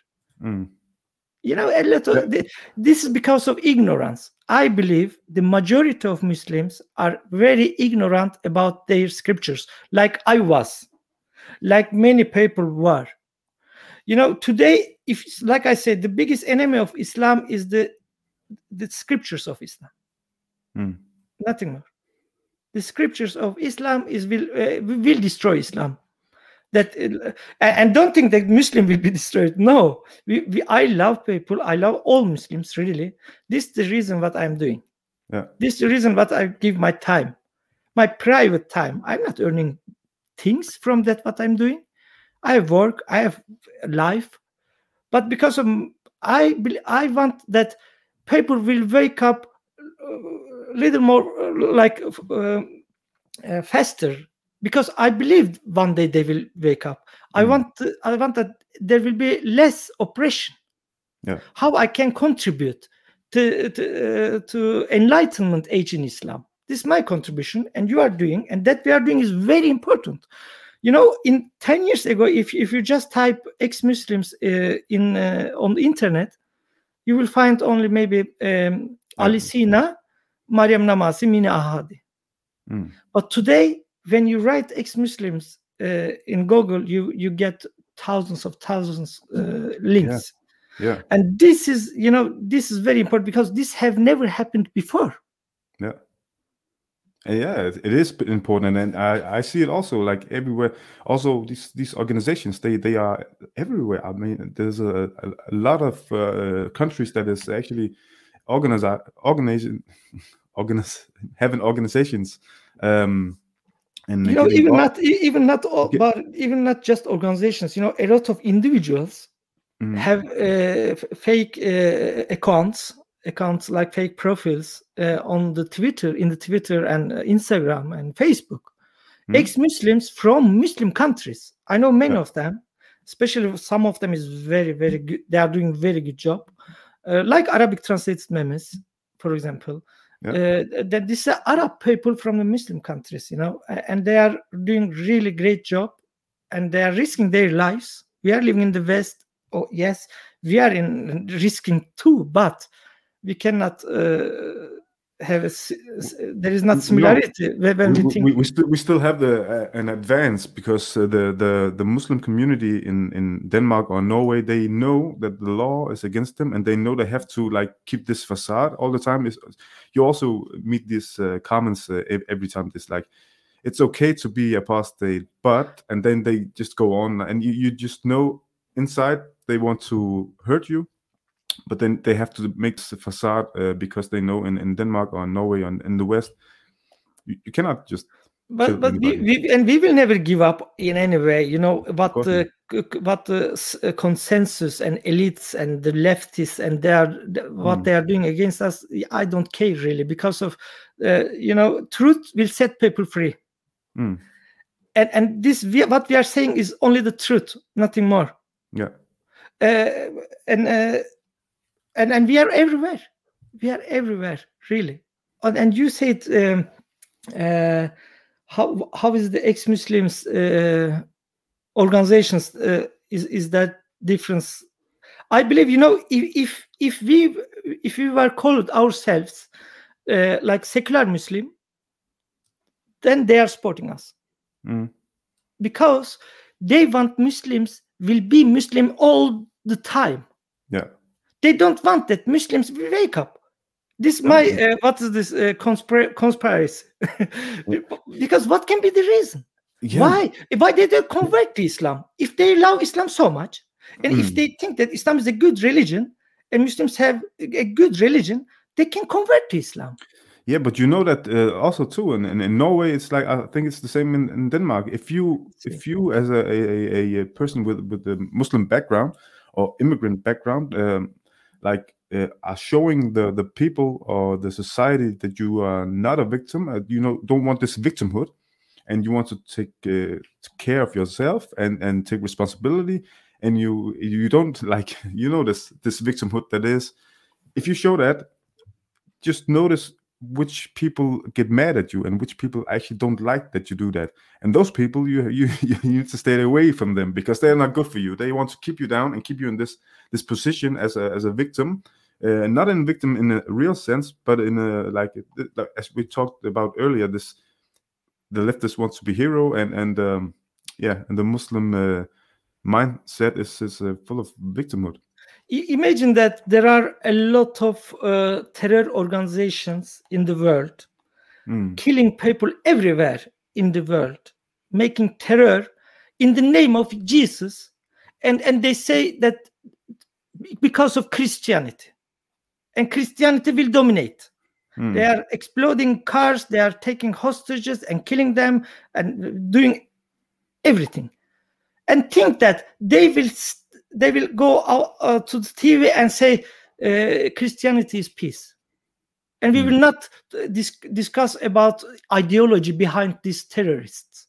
This is because of ignorance. I believe the majority of Muslims are very ignorant about their scriptures, like I was, like many people were. Today, like I said, the biggest enemy of Islam is the scriptures of Islam. Nothing more. The scriptures of Islam will destroy Islam. And don't think that Muslim will be destroyed. No, I love people. I love all Muslims, really. This is the reason what I'm doing. Yeah. This is the reason what I give my time, my private time. I'm not earning things from that what I'm doing. I have work, I have life, but because of I want that people will wake up a little more faster. Because I believe one day they will wake up. I want that there will be less oppression. Yeah. How I can contribute to enlightenment age in Islam. This is my contribution, and you are doing, and that we are doing is very important. In 10 years ago, if you just type ex-Muslims on the internet, you will find only maybe Ali Sina, Maryam Namasi, Mini Ahadi. But today, when you write ex-Muslims in Google, you get thousands links. Yeah. And this is very important because this have never happened before. Yeah. Yeah, it is important, and I see it also like everywhere. Also, these organizations they are everywhere. I mean, there's a lot of countries that is actually having organizations. And even not just organizations. A lot of individuals have fake accounts like fake profiles on the Twitter and Instagram and Facebook. Ex-Muslims from Muslim countries. I know many of them, especially some of them is very, very good. They are doing very good job. Like Arabic translated memes, for example. That these are Arab people from the Muslim countries, and they are doing really great job, and they are risking their lives. We are living in the West. Oh yes, we are in risking too, but we cannot have there is not similarity when we think we still have an advance, because the Muslim community in Denmark or Norway, they know that the law is against them, and they know they have to like keep this facade all the time. You also meet these comments every time. It's like, it's okay to be apostate, but, and then they just go on, and you just know inside they want to hurt you. But then they have to make the facade because they know in Denmark or Norway or in the West, you cannot just. But we will never give up in any way. What the consensus and elites and the leftists and what they are doing against us. I don't care really, because of truth will set people free. And this what we are saying is only the truth, nothing more. Yeah. And we are everywhere. We are everywhere, really. And you said, how is the ex-Muslims organizations? Is that difference? I believe, if we were called ourselves like secular Muslim, then they are supporting us, because they want Muslims will be Muslim all the time. Yeah. They don't want that Muslims will wake up. This my what is this conspiracy? Because what can be the reason? Yeah. Why did they convert to Islam? If they love Islam so much, and if they think that Islam is a good religion and Muslims have a good religion, they can convert to Islam. Yeah, but you know that also too, in Norway, it's like, I think it's the same in Denmark. If you as a person with a Muslim background or immigrant background, are showing the people or the society that you are not a victim, don't want this victimhood, and you want to take care of yourself and take responsibility, and you don't this victimhood that is. If you show that, just notice which people get mad at you and which people actually don't like that you do that, and those people you need to stay away from them, because they're not good for you. They want to keep you down and keep you in this position as a victim, not in victim in a real sense, but in as we talked about earlier, the leftist wants to be hero, and the Muslim mindset is full of victimhood. Imagine that there are a lot of terror organizations in the world, killing people everywhere in the world, making terror in the name of Jesus, and they say that because of Christianity, and Christianity will dominate. They are exploding cars, they are taking hostages and killing them and doing everything, and think that they will go out to the TV and say Christianity is peace, and we will not discuss about ideology behind these terrorists.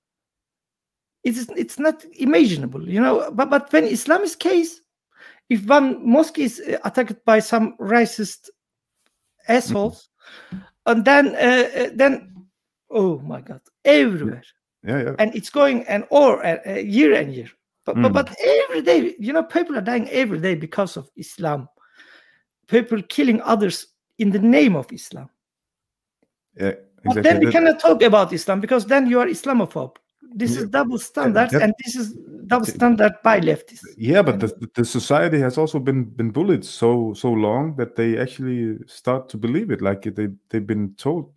It's not imaginable, But when Islam is case, if one mosque is attacked by some racist assholes, and then oh my God, everywhere, and it's going year and year. But every day, people are dying every day because of Islam. People killing others in the name of Islam. Yeah, exactly. But then we cannot talk about Islam, because then you are Islamophobe. This is double standards, and this is double standard by leftists. Yeah, but the society has also been bullied so long that they actually start to believe it. Like they've been told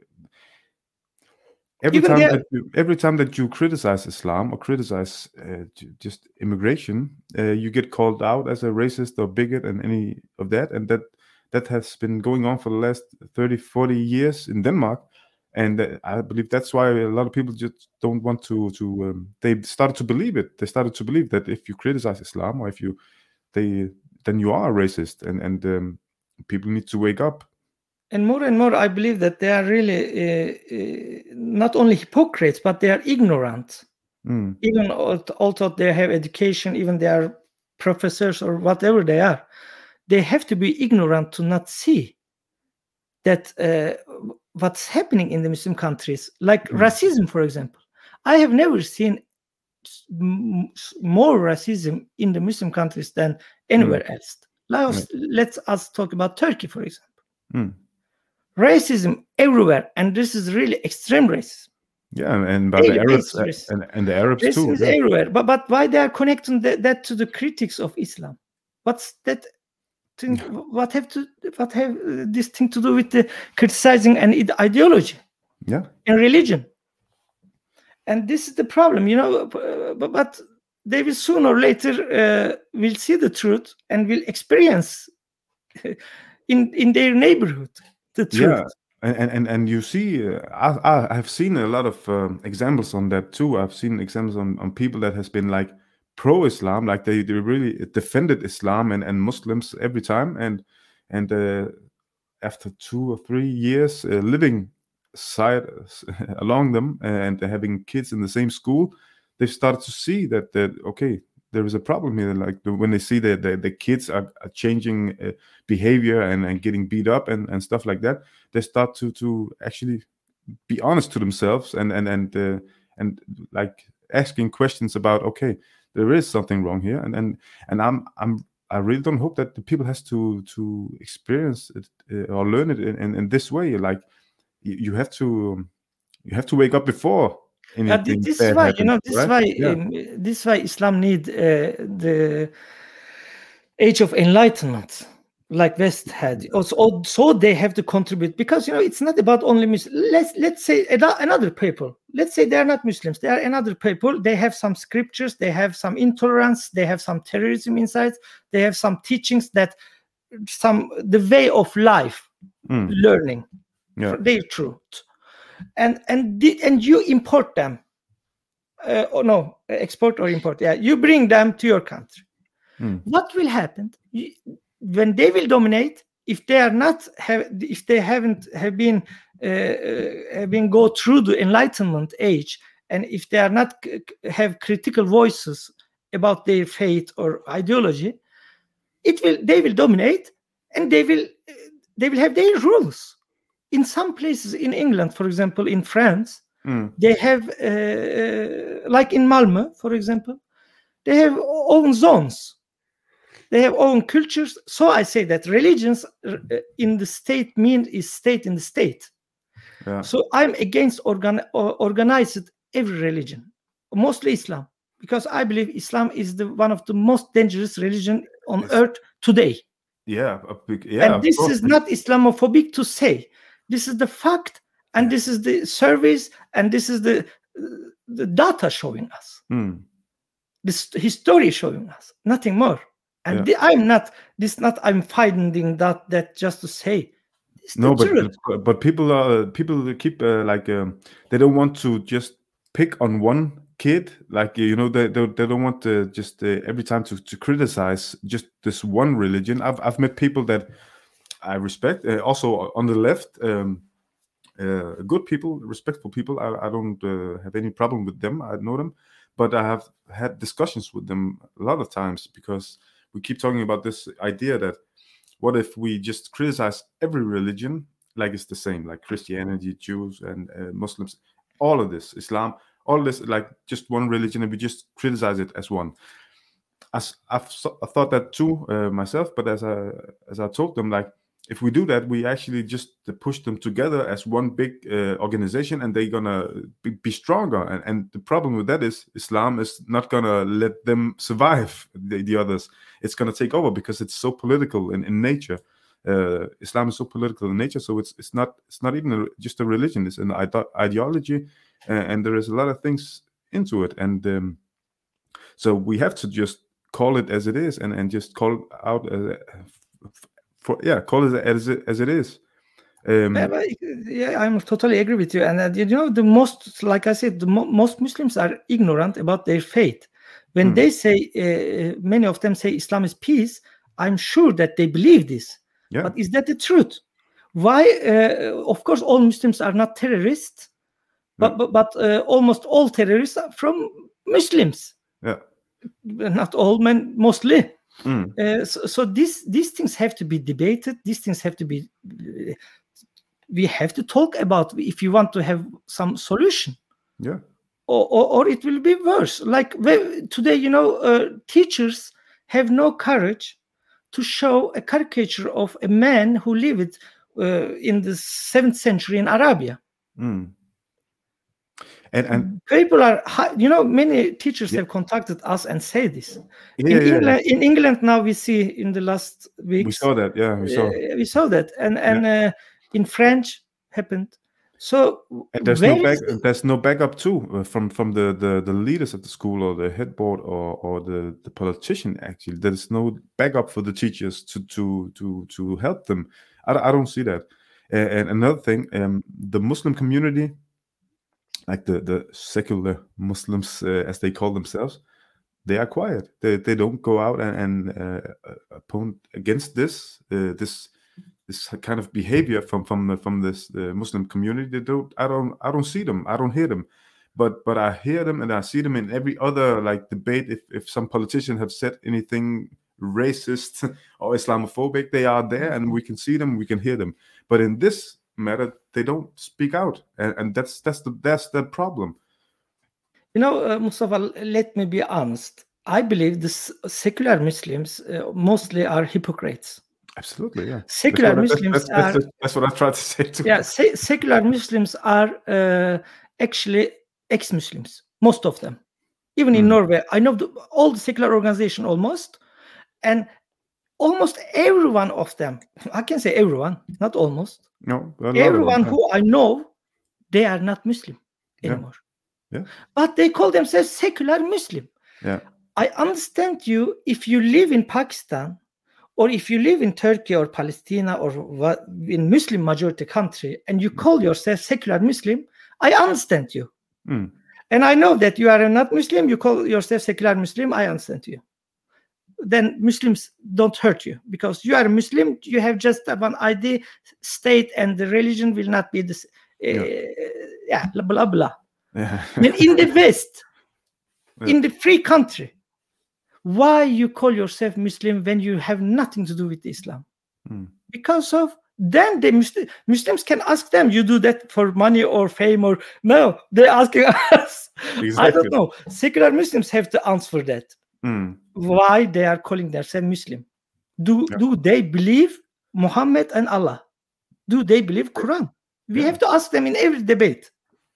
every time that you criticize Islam or criticize just immigration, you get called out as a racist or bigot and any of that, and that has been going on for the last 30-40 years in Denmark. And I believe that's why a lot of people just don't want to they started to believe it. They started to believe that if you criticize Islam or if you then you are racist, and people need to wake up. And more, I believe that they are really not only hypocrites, but they are ignorant. Even although they have education, even they are professors or whatever they are, they have to be ignorant to not see that what's happening in the Muslim countries, like racism, for example. I have never seen more racism in the Muslim countries than anywhere else. Let's us talk about Turkey, for example. Racism everywhere, and this is really extreme racism. Yeah, and by the Arabs and the Arabs too. Racism is everywhere, but why they are connecting that to the critics of Islam? What's that thing? What have this thing to do with the criticizing and ideology? Yeah, and religion. And this is the problem, but they will sooner or later will see the truth and will experience in their neighborhood the truth. Yeah, and you see, I have seen a lot of examples on that too. I've seen examples on people that has been like pro-Islam, like they really defended Islam and Muslims every time, and after 2 or 3 years living side along them and having kids in the same school, they've started to see that okay, there is a problem here. Like when they see that the kids are changing behavior and getting beat up and stuff like that, they start to actually be honest to themselves and like asking questions about, okay, there is something wrong here, and I really don't hope that the people has to experience it or learn it in this way. Like you have to wake up before. This is why, this is why Islam need the age of enlightenment, like West had. Also, they have to contribute, because it's not about only Muslims. Let's say another people. Let's say they are not Muslims. They are another people. They have some scriptures. They have some intolerance. They have some terrorism inside. They have some teachings that the way of life, learning, their truth. And you import them, export or import. Yeah, you bring them to your country. What will happen when they will dominate? If they are not if they haven't been go through the Enlightenment age, and if they are not have critical voices about their faith or ideology, they will dominate, and they will have their rules. In some places in England, for example, in France, they have, like in Malmö, for example, they have own zones. They have own cultures. So I say that religions in the state is state in the state. Yeah. So I'm against organized every religion, mostly Islam, because I believe Islam is one of the most dangerous religion on earth today. Yeah, and this is not Islamophobic to say. This is the fact, and this is the surveys, and this is the data showing us. This history showing us, nothing more. And I'm finding that just to say. No, but people keep they don't want to just pick on one kid, like they don't want to just every time to criticize just this one religion. I've met people that I respect, also on the left, good people, respectful people. I don't have any problem with them. I know them, but I have had discussions with them a lot of times, because we keep talking about this idea that what if we just criticize every religion like it's the same, like Christianity, Jews, and Muslims, all of this, Islam, all this, like just one religion, and we just criticize it as one. I've thought that too myself, but as I told them, like, if we do that, we actually just push them together as one big organization, and they're gonna be stronger. And the problem with that is Islam is not gonna let them survive the others. It's gonna take over, because it's so political in nature. Islam is so political in nature, so it's not even just a religion. It's an ideology, and there is a lot of things into it. And so we have to just call it as it is, and just call it out. Call it as it is. I'm totally agree with you. And the most, like I said, most Muslims are ignorant about their faith. When they say, many of them say Islam is peace, I'm sure that they believe this. Yeah. But is that the truth? Why? Of course, all Muslims are not terrorists, but almost all terrorists are from Muslims. Yeah. Not all, men, mostly. So these things have to be debated. These things have to be. We have to talk about if you want to have some solution. Yeah. Or it will be worse. Like today, teachers have no courage to show a caricature of a man who lived in the 7th century in Arabia. And people are, many teachers have contacted us and say this. In England now, we see in the last weeks. We saw that, we saw that, and in French happened. So and there's no backup too from the leaders of the school or the head board or the politician. Actually, there is no backup for the teachers to help them. I don't see that. And another thing, the Muslim community, like the secular Muslims as they call themselves, they are quiet. They don't go out and oppose against this kind of behavior from this Muslim community. I don't see them. I don't hear them, but I hear them and I see them in every other like debate. If some politician have said anything racist or Islamophobic, they are there and we can see them, we can hear them. But in this matter, they don't speak out, and that's the problem. Mustafa, let me be honest. I believe the secular Muslims mostly are hypocrites. Absolutely, yeah. Secular Muslims are. That's what I tried to say too. Yeah, secular Muslims are actually ex-Muslims. Most of them, even in Norway, I know all the secular organizations almost, and almost every one of them. I can say everyone, not almost. No, everyone who I know, they are not Muslim anymore. Yeah. But they call themselves secular Muslim. Yeah. I understand you if you live in Pakistan. Or if you live in Turkey or Palestine or in Muslim majority country and you call yourself secular Muslim, I understand you. And I know that you are not Muslim, you call yourself secular Muslim, I understand you. Then Muslims don't hurt you because you are a Muslim, you have just one ID, state and the religion will not be this, blah, blah. Yeah. And in the West, in the free country, why you call yourself Muslim when you have nothing to do with Islam? Because of then the Muslims can ask them, you do that for money or fame or no, they're asking us. Exactly. I don't know. Secular Muslims have to answer that. Why they are calling themselves Muslim? Do they believe Muhammad and Allah? Do they believe Quran? We have to ask them in every debate.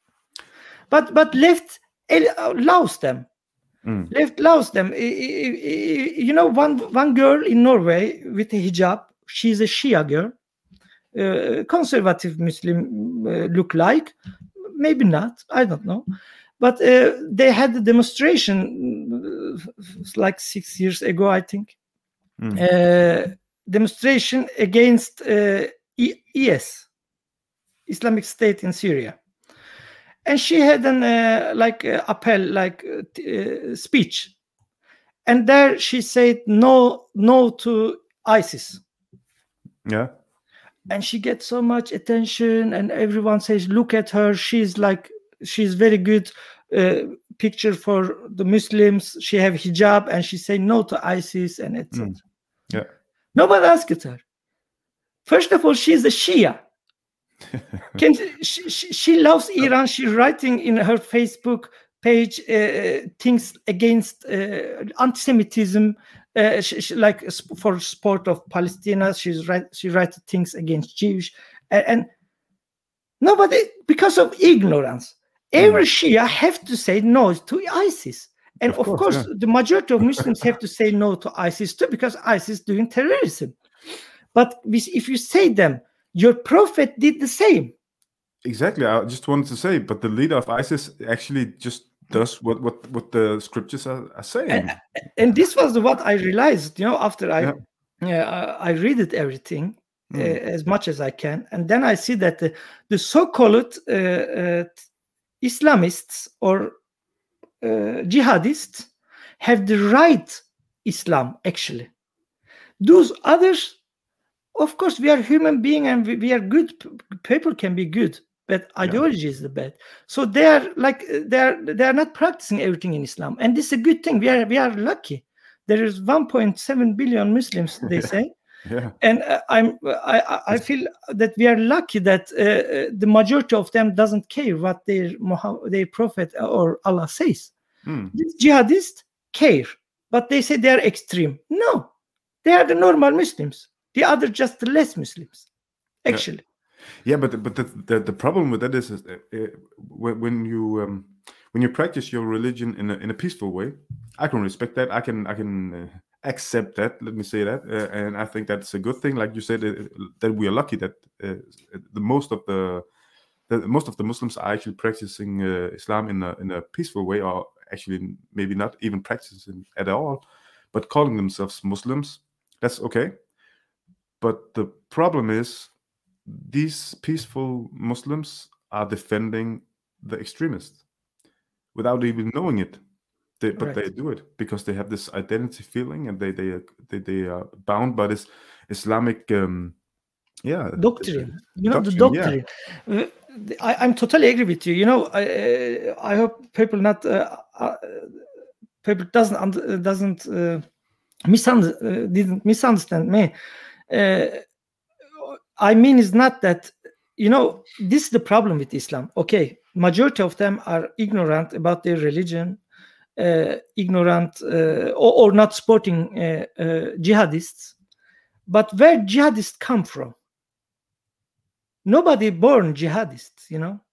But left allows them. Left allows them. One girl in Norway with a hijab, she's a Shia girl, conservative Muslim look like, maybe not, I don't know. But they had a demonstration like 6 years ago, I think. Demonstration against IS, Islamic State in Syria. And she had an speech, and there she said no to ISIS. Yeah, and she gets so much attention, and everyone says, "Look at her! She's very good picture for the Muslims. She have hijab, and she say no to ISIS and etc." Yeah, nobody asked her. First of all, she's a Shia. She loves Iran. She's writing in her Facebook page things against anti-Semitism, like for support of Palestine. She writes things against Jewish, and nobody, because of ignorance, every Shia have to say no to ISIS. And of course the majority of Muslims have to say no to ISIS too, because ISIS doing terrorism. But if you say them, your prophet did the same. Exactly. I just wanted to say, but the leader of ISIS actually just does what the scriptures are saying. And this was what I realized, after I read it everything as much as I can, and then I see that the so-called Islamists or jihadists have the right Islam, actually. Those others, of course, we are human beings and we are good. People can be good, but ideology is the bad. So they are not practicing everything in Islam, and this is a good thing. We are lucky. There is 1.7 billion Muslims, they say. Yeah. And I feel that we are lucky that the majority of them doesn't care what their prophet or Allah says. These jihadists care, but they say they are extreme. No, they are the normal Muslims. The other just the less Muslims, actually. Yeah, but the problem with that is when you practice your religion in a peaceful way, I can respect that. I can accept that. Let me say that, and I think that's a good thing. Like you said, that we are lucky that the most of the Muslims are actually practicing Islam in a peaceful way, or actually maybe not even practicing at all, but calling themselves Muslims. That's okay. But the problem is, these peaceful Muslims are defending the extremists without even knowing it. But they do it because they have this identity feeling, and they are bound by this Islamic doctrine. The doctrine. Yeah. I'm totally agree with you. I hope people doesn't didn't misunderstand me. I mean, it's not that, this is the problem with Islam. Okay, majority of them are ignorant about their religion, ignorant or not supporting jihadists. But where jihadists come from? Nobody born jihadists,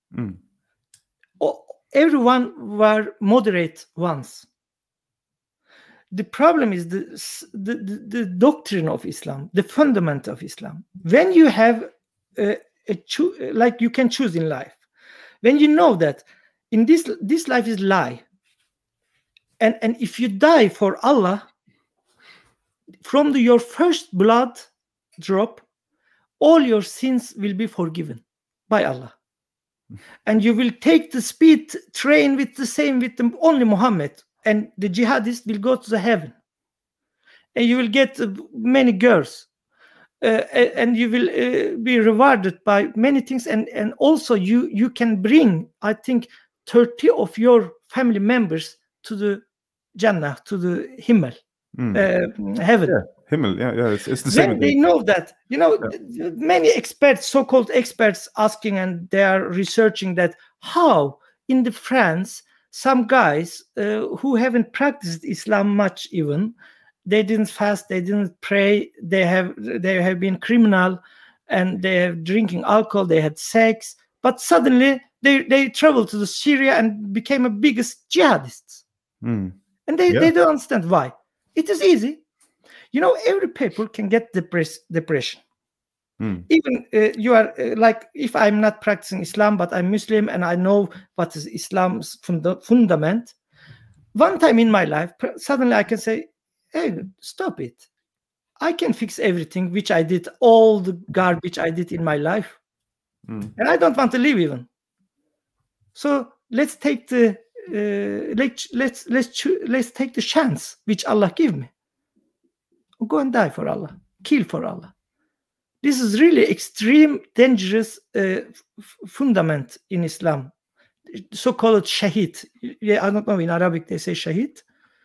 Everyone were moderate ones. The problem is the doctrine of Islam, the fundament of Islam. When you have like you can choose in life, when you know that in this life is lie, and if you die for Allah, from your first blood drop, all your sins will be forgiven by Allah, and you will take the speed train with only Muhammad. And the jihadist will go to the heaven, and you will get many girls, and you will be rewarded by many things, and also you can bring, I think, 30 of your family members to the Jannah, to the Himmel, heaven. Yeah, Himmel, yeah, it's the same. When they know that, many experts, so-called experts, asking, and they are researching that how in the France. Some guys who haven't practiced Islam much, even they didn't fast, they didn't pray, they have been criminal, and they have drinking alcohol, they had sex, but suddenly they traveled to the Syria and became the biggest jihadists. And they don't understand why. It is easy. Every people can get depression. Even you are like, if I'm not practicing Islam, but I'm Muslim and I know what is Islam's fundament. One time in my life, suddenly I can say, hey, stop it. I can fix everything which I did, all the garbage I did in my life. And I don't want to live even. So let's take the let's take the chance which Allah give me. Go and die for Allah. Kill for Allah. This is really extreme, dangerous fundament in Islam, so-called shahid. I don't know, in Arabic they say shahid.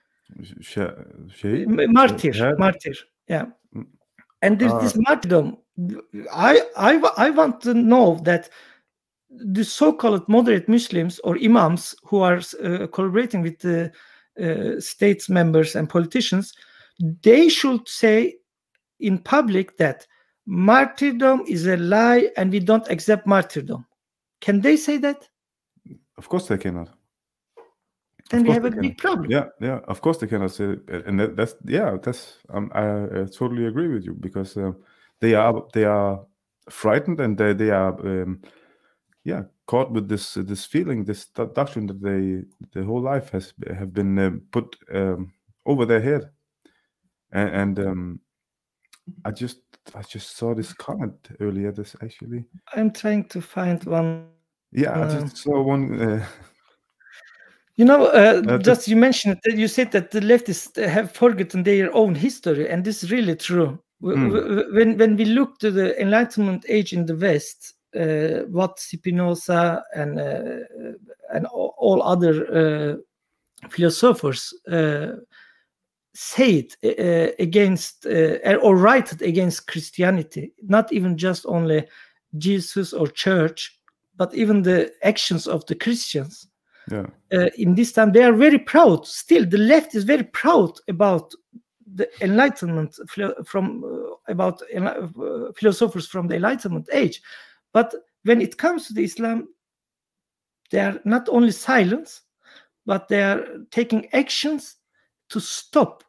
Martyr. Yeah. And this martyrdom, I want to know that the so-called moderate Muslims or imams who are collaborating with the states members and politicians, they should say in public that martyrdom is a lie and we don't accept martyrdom. Can they say that? Of course they cannot. Then we have a big problem. Yeah. Of course they cannot say it. And that's I totally agree with you, because they are frightened, and they are caught with this feeling, this doctrine that their whole life have been put over their head, and I just saw this comment earlier. This actually, I'm trying to find one. Yeah, I just saw one. Just you mentioned that you said that the leftists have forgotten their own history, and this is really true. When we look to the Enlightenment age in the West, what Spinoza and all other philosophers said against or write against Christianity, not even just only Jesus or church, but even the actions of the Christians. In this time, they are very proud. Still, the left is very proud about the Enlightenment about philosophers from the Enlightenment age. But when it comes to the Islam, they are not only silent, but they are taking actions to stop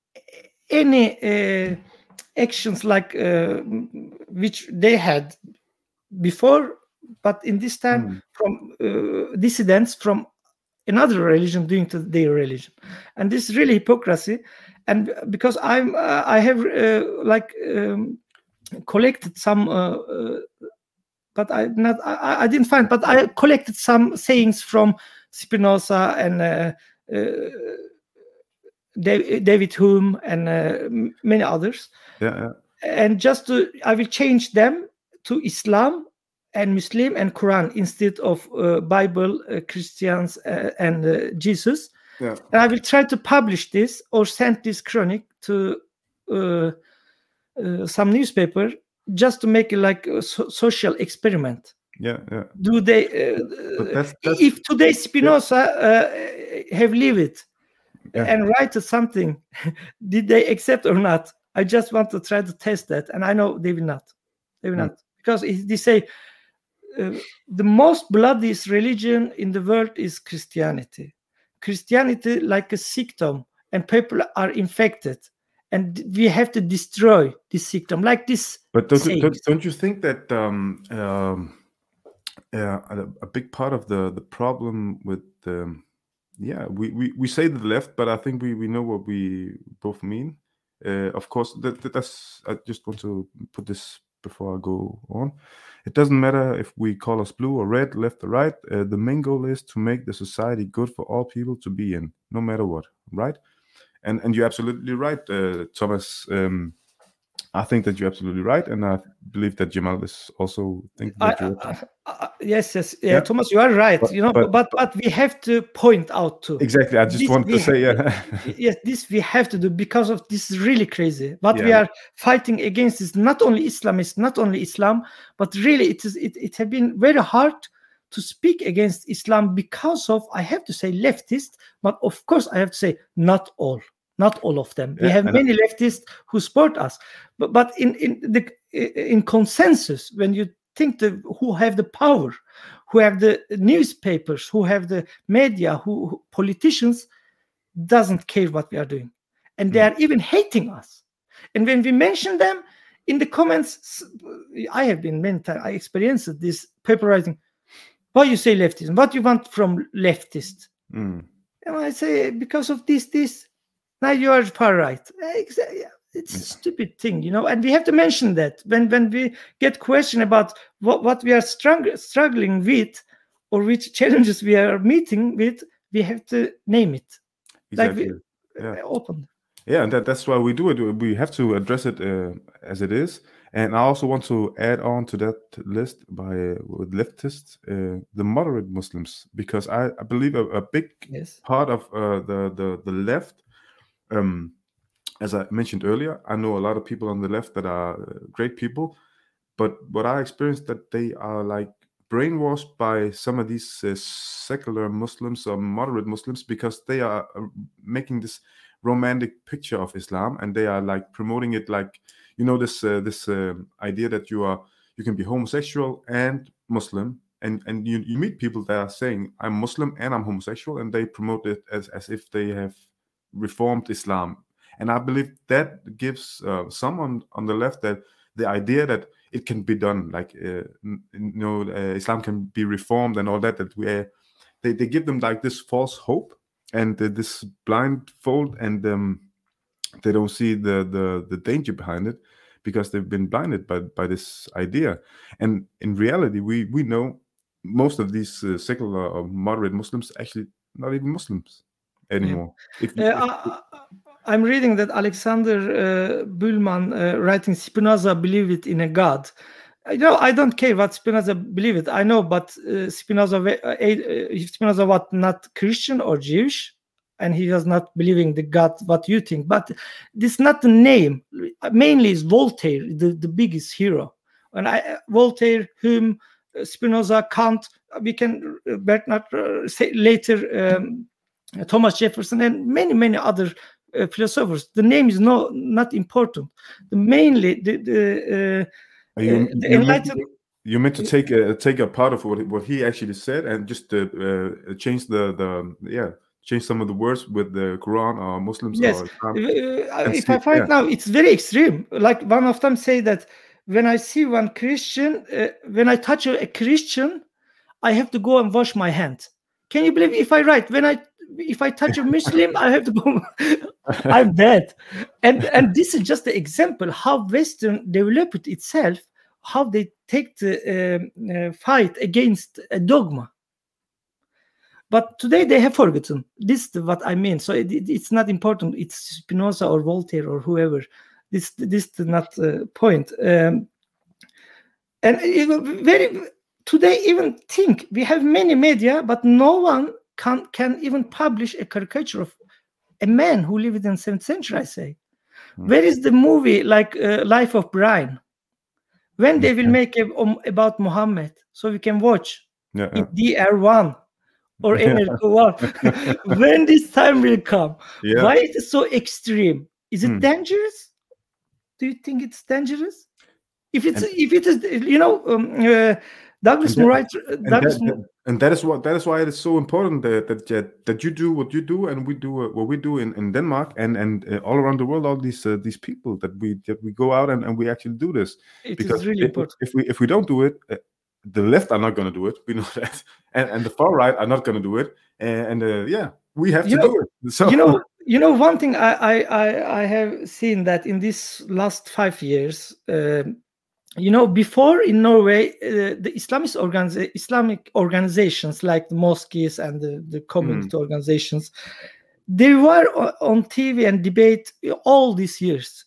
any actions like which they had before, but in this time from dissidents from another religion doing to their religion. And this is really hypocrisy. And because I have collected some but I didn't find, but I collected some sayings from Spinoza and David Hume and many others. And I will change them to Islam and Muslim and Quran instead of Bible, Christians and Jesus. And I will try to publish this or send this chronic to some newspaper just to make it like a social experiment. Do they if today Spinoza have lived and write something, did they accept or not? I just want to try to test that, and I know they will not. They will not, because they say the most bloodiest religion in the world is Christianity. Christianity like a symptom, and people are infected, and we have to destroy this symptom like this. But don't you think that a big part of the problem with we say the left, but I think we know what we both mean. Of course, that's. I just want to put this before I go on. It doesn't matter if we call us blue or red, left or right. The main goal is to make the society good for all people to be in, no matter what, right? And you're absolutely right, Thomas. I think that you're absolutely right, and I believe that Jamal is also thinking that yes. Yeah, Thomas, you are right. But we have to point out too. Exactly. I just wanted to say, yes, this we have to do because of this is really crazy. What we are fighting against is not only Islamists, not only Islam, but really it has been very hard to speak against Islam because of, I have to say, leftists, but of course I have to say not all of them. We have many leftists who support us, but in consensus, when you think who have the power, who have the newspapers, who have the media, who politicians, doesn't care what we are doing, and they are even hating us. And when we mention them in the comments, I have been many times, I experienced this paper writing, why you say leftism, what you want from leftists? And I say, because of this. Now you are far right. It's a stupid thing, and we have to mention that when we get question about what we are struggling with or which challenges we are meeting with, we have to name it. Exactly. Open. Yeah, and that's why we do it. We have to address it as it is. And I also want to add on to that list with leftists, the moderate Muslims, because I believe a big part of the left. As I mentioned earlier, I know a lot of people on the left that are great people, but what I experienced that they are like brainwashed by some of these secular Muslims or moderate Muslims, because they are making this romantic picture of Islam, and they are like promoting it like, this idea that you can be homosexual and Muslim, and you meet people that are saying I'm Muslim and I'm homosexual, and they promote it as if they have reformed Islam. And I believe that gives some on the left that the idea that it can be done, like Islam can be reformed and all that they give them like this false hope and this blindfold, and they don't see the danger behind it because they've been blinded by this idea. And in reality, we know most of these secular or moderate Muslims actually not even Muslims anymore. I'm reading that Alexander Bühlmann writing Spinoza believed in a God. I don't care what Spinoza believed. I know, but Spinoza was not Christian or Jewish, and he was not believing the God what you think. But this is not the name. Mainly is Voltaire, the biggest hero. And Voltaire, Hume, Spinoza, Kant, we can Bernard say later, Thomas Jefferson, and many other philosophers. The name is not important. Mainly the enlightened. You meant to take a part of what he actually said and just change change some of the words with the Quran or Muslims. Yes, if I find now, it's very extreme. Like one of them say that when I see one Christian, when I touch a Christian, I have to go and wash my hands. Can you believe if I write if I touch a Muslim, I have to go. I'm dead. And this is just the example how Western developed itself, how they take the fight against a dogma. But today they have forgotten. This is what I mean. So it's not important. It's Spinoza or Voltaire or whoever. This is not the point. And today even think we have many media, but no one can even publish a caricature of a man who lived in the 7th century, I say. Where is the movie like Life of Brian? When they will make about Muhammad, so we can watch in DR1 or NRK1. When this time will come? Why is it so extreme? Is it dangerous? Do you think it's dangerous? If it is, Douglas Murray. And that is why it is so important that you do what you do and we do what we do in Denmark and all around the world. All these people that we go out and we actually do this. It is really important. If we don't do it, the left are not going to do it. We know that, and the far right are not going to do it. We have to do it. So one thing I have seen that in this last 5 years. Before in Norway, the Islamic organizations like the mosques and the community organizations, they were on TV and debate all these years.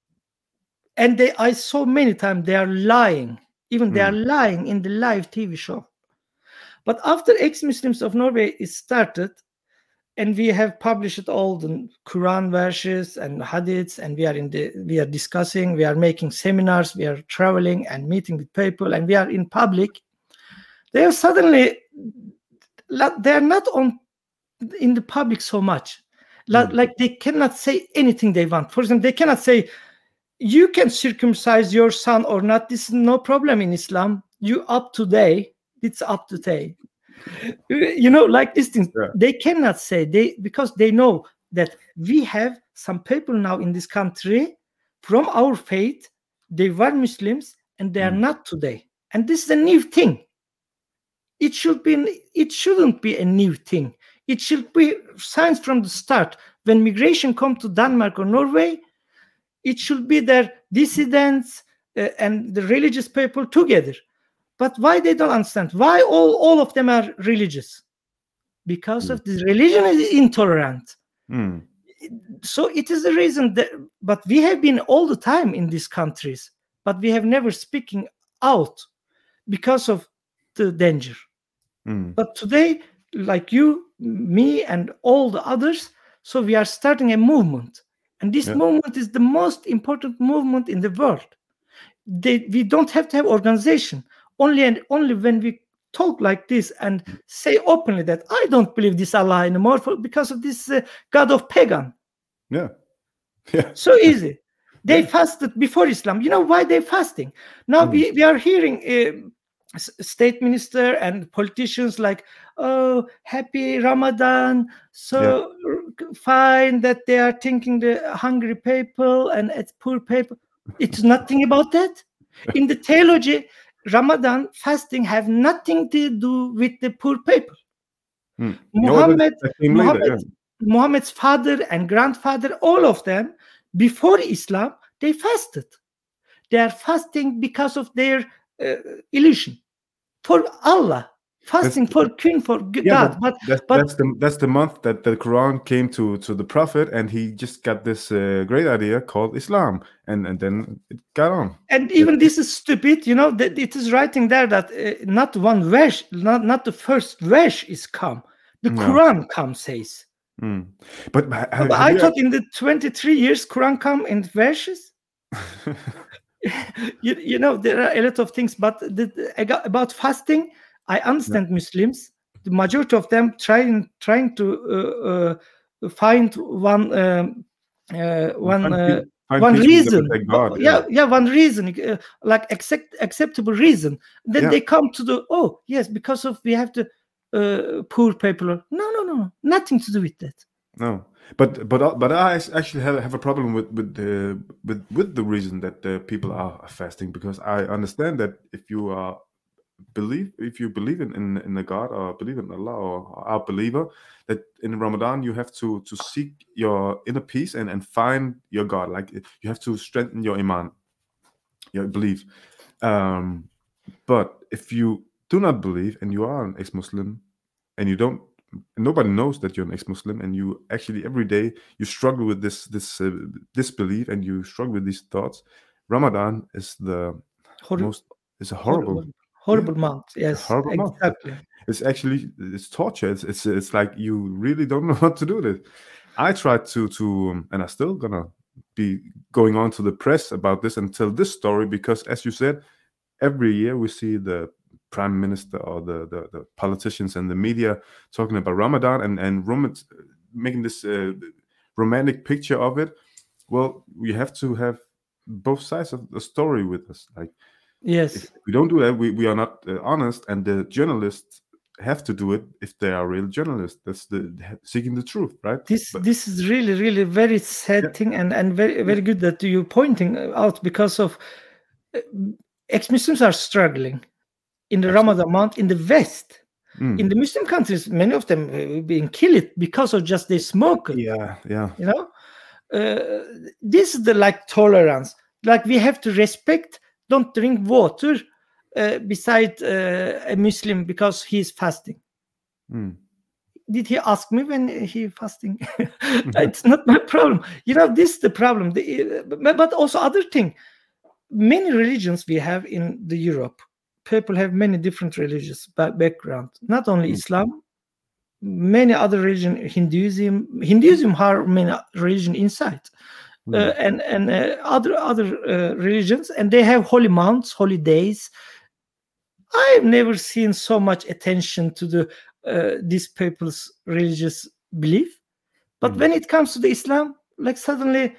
And I saw many times they are lying. Even they are lying in the live TV show. But after ex-Muslims of Norway is started, and we have published all the Quran verses and hadiths, and we are discussing, we are making seminars, we are traveling and meeting with people, and we are in public. They are suddenly, they are not in the public so much. Like they cannot say anything they want. For example, they cannot say, you can circumcise your son or not. This is no problem in Islam. You up to date. It's up to date. Like these things, they cannot say because they know that we have some people now in this country from our faith. They were Muslims and they are not today. And this is a new thing. It shouldn't be a new thing. It should be science from the start. When migration come to Denmark or Norway, it should be their dissidents and the religious people together. But why they don't understand? Why all of them are religious? Because of this religion is intolerant. So it is the reason that. But we have been all the time in these countries, but we have never speaking out because of the danger. But today, like you, me, and all the others, so we are starting a movement, and this movement is the most important movement in the world. We don't have to have organization. Only when we talk like this and say openly that I don't believe this Allah anymore because of this God of pagan. So easy. They fasted before Islam. You know why they're fasting? Now we are hearing state minister and politicians like, oh, happy Ramadan. So fine that they are thinking the hungry people and poor people. It's nothing about that. In the theology, Ramadan fasting have nothing to do with the poor people. Muhammad's father and grandfather, all of them, before Islam, they fasted. They are fasting because of their illusion for Allah. fasting for God. But that's the month that the Quran came to the Prophet, and he just got this great idea called Islam, and then it got on. And even this is stupid, that it is writing there that not one verse, not the first verse is come. The Quran says. But I thought in the 23 years Quran come in verses. There are a lot of things, but about fasting, I understand Muslims. The majority of them trying to find one reason. One reason, like acceptable reason. Then they come to because of we have to poor people. No, nothing to do with that. No, but I actually have a problem with the reason that people are fasting, because I understand that if you believe in a God, or believe in Allah, or are a believer, that in Ramadan you have to seek your inner peace and find your God. Like, you have to strengthen your iman, your belief. But if you do not believe and you are an ex-Muslim, and nobody knows that you're an ex-Muslim, and you actually every day you struggle with this belief, and you struggle with these thoughts, Ramadan is a horrible month. Yes, exactly. It's torture. It's like you really don't know what to do with it. I tried to and I'm still gonna be going on to the press about this and tell this story, because, as you said, every year we see the prime minister or the politicians and the media talking about Ramadan and making this romantic picture of it. Well, we have to have both sides of the story with us. Like, yes, if we don't do that, we are not honest, and the journalists have to do it if they are real journalists. That's seeking the truth, right? This is really, really very sad thing, and very, very good that you're pointing out, because of ex-Muslims are struggling in the Ramadan month in the West. In the Muslim countries, many of them being killed because of just they smoke. Yeah. This is the tolerance. Like, we have to respect. Don't drink water beside a Muslim because he's fasting. Did he ask me when he fasting? It's not my problem. This is the problem. But also other thing. Many religions we have in the Europe. People have many different religious background. Not only Islam, many other religion. Hinduism have many religion inside. And other religions, and they have holy months, holy days. I've never seen so much attention to these people's religious belief, but when it comes to the Islam, like suddenly,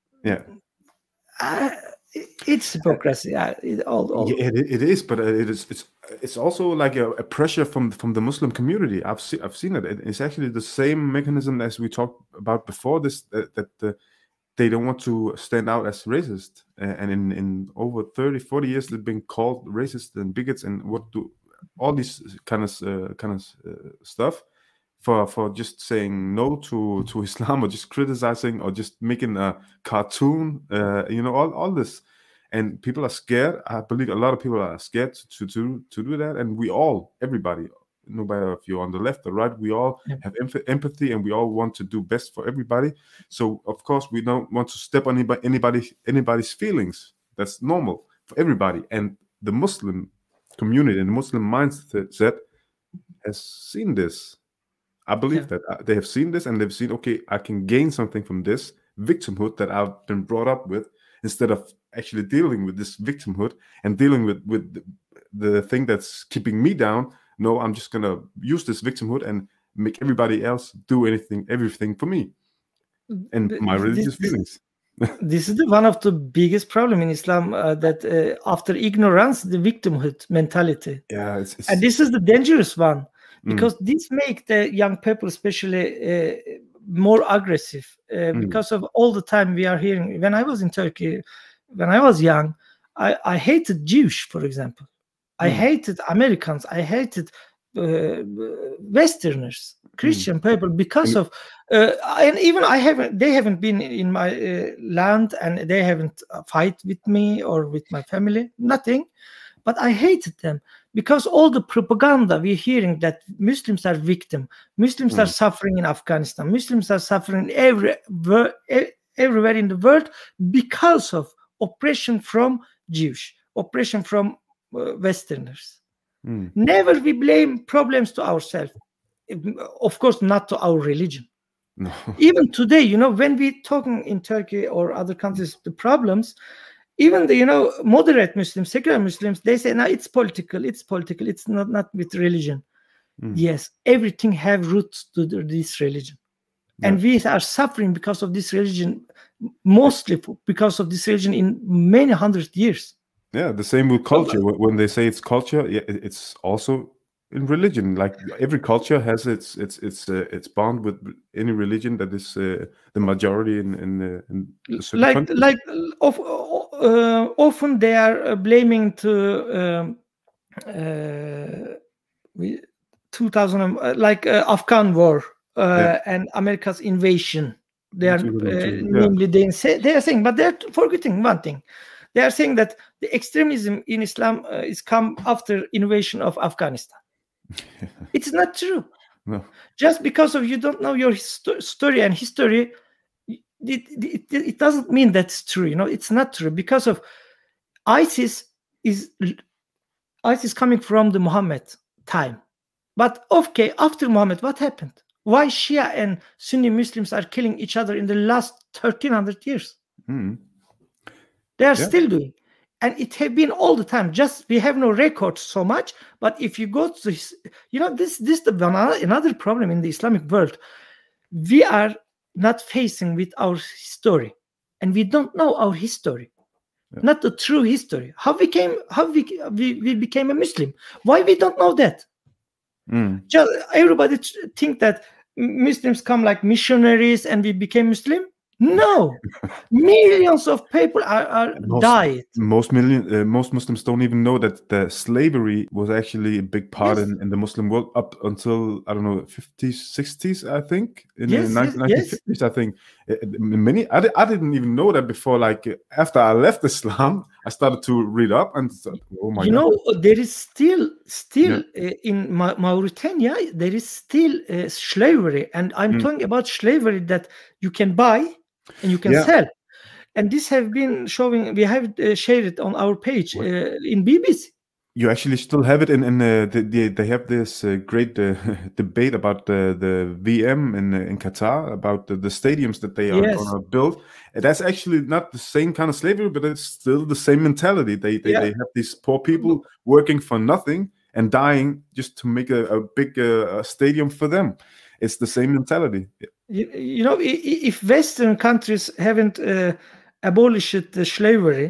it's hypocrisy. It is, but it's also like a pressure from the Muslim community. I've seen it. It's actually the same mechanism as we talked about before this. They don't want to stand out as racist, and in over 30-40 years they've been called racist and bigots and all these kind of stuff for just saying no to Islam, or just criticizing, or just making a cartoon, all this. And people are scared. I believe a lot of people are scared to do that, and everybody, no matter if you're on the left or right, we all have empathy, and we all want to do best for everybody. So of course we don't want to step on anybody's feelings. That's normal for everybody. And the Muslim community and the Muslim mindset has seen this. I believe that they have seen this, and they've seen, okay, I can gain something from this victimhood that I've been brought up with, instead of actually dealing with this victimhood and dealing with the thing that's keeping me down. No, I'm just gonna use this victimhood and make everybody else do everything for me and my religious feelings. This is one of the biggest problem in Islam, that after ignorance, the victimhood mentality. Yeah, and this is the dangerous one, because this make the young people especially more aggressive, because of all the time we are hearing. When I was in Turkey, when I was young, I hated Jewish, for example. I hated Americans. I hated Westerners, Christian people, because of and even they haven't been in my land, and they haven't fight with me or with my family, nothing. But I hated them because all the propaganda we're hearing that Muslims are victim, Muslims are suffering in Afghanistan, Muslims are suffering everywhere in the world because of oppression from Jewish, oppression from Westerners. Never we blame problems to ourselves. Of course, not to our religion. No. Even today, when we talking in Turkey or other countries, the problems, even the moderate Muslims, secular Muslims, they say, no, it's political, it's not with religion. Yes, everything have roots to this religion. And we are suffering because of this religion, mostly because of this religion in many hundred years. Yeah, the same with culture. When they say it's culture, it's also in religion. Like every culture has its bond with any religion that is the majority in a certain country. Often they are blaming to 2000 Afghan war and America's invasion. They are namely they are saying, but they're forgetting one thing. They are saying that the extremism in Islam is come after invasion of Afghanistan. It's not true. No. Just because of you don't know your story and history, it doesn't mean that's true. It's not true, because of ISIS coming from the Muhammad time. But okay, after Muhammad, what happened? Why Shia and Sunni Muslims are killing each other in the last 1300 years? They are still doing. And it have been all the time. Just we have no records so much. But if you go to this, another problem in the Islamic world. We are not facing with our history, and we don't know our history, not the true history. How we became a Muslim? Why we don't know that? Just everybody think that Muslims come like missionaries and we became Muslim. No, millions of people are died. Most Muslims don't even know that the slavery was actually a big part in the Muslim world up until, I don't know, 50s, 60s, I think. In the 1950s, I think. I didn't even know that before. Like after I left Islam, I started to read up and thought, oh my God. There is still in Mauritania, there is still slavery, and I'm talking about slavery that you can buy and you can sell. And this have been showing, we have shared it on our page in BBC. You actually still have it they have this great debate about the VM in Qatar, about the stadiums that they are going to build. And that's actually not the same kind of slavery, but it's still the same mentality. They have these poor people working for nothing and dying just to make a big stadium for them. It's the same mentality. If Western countries haven't abolished the slavery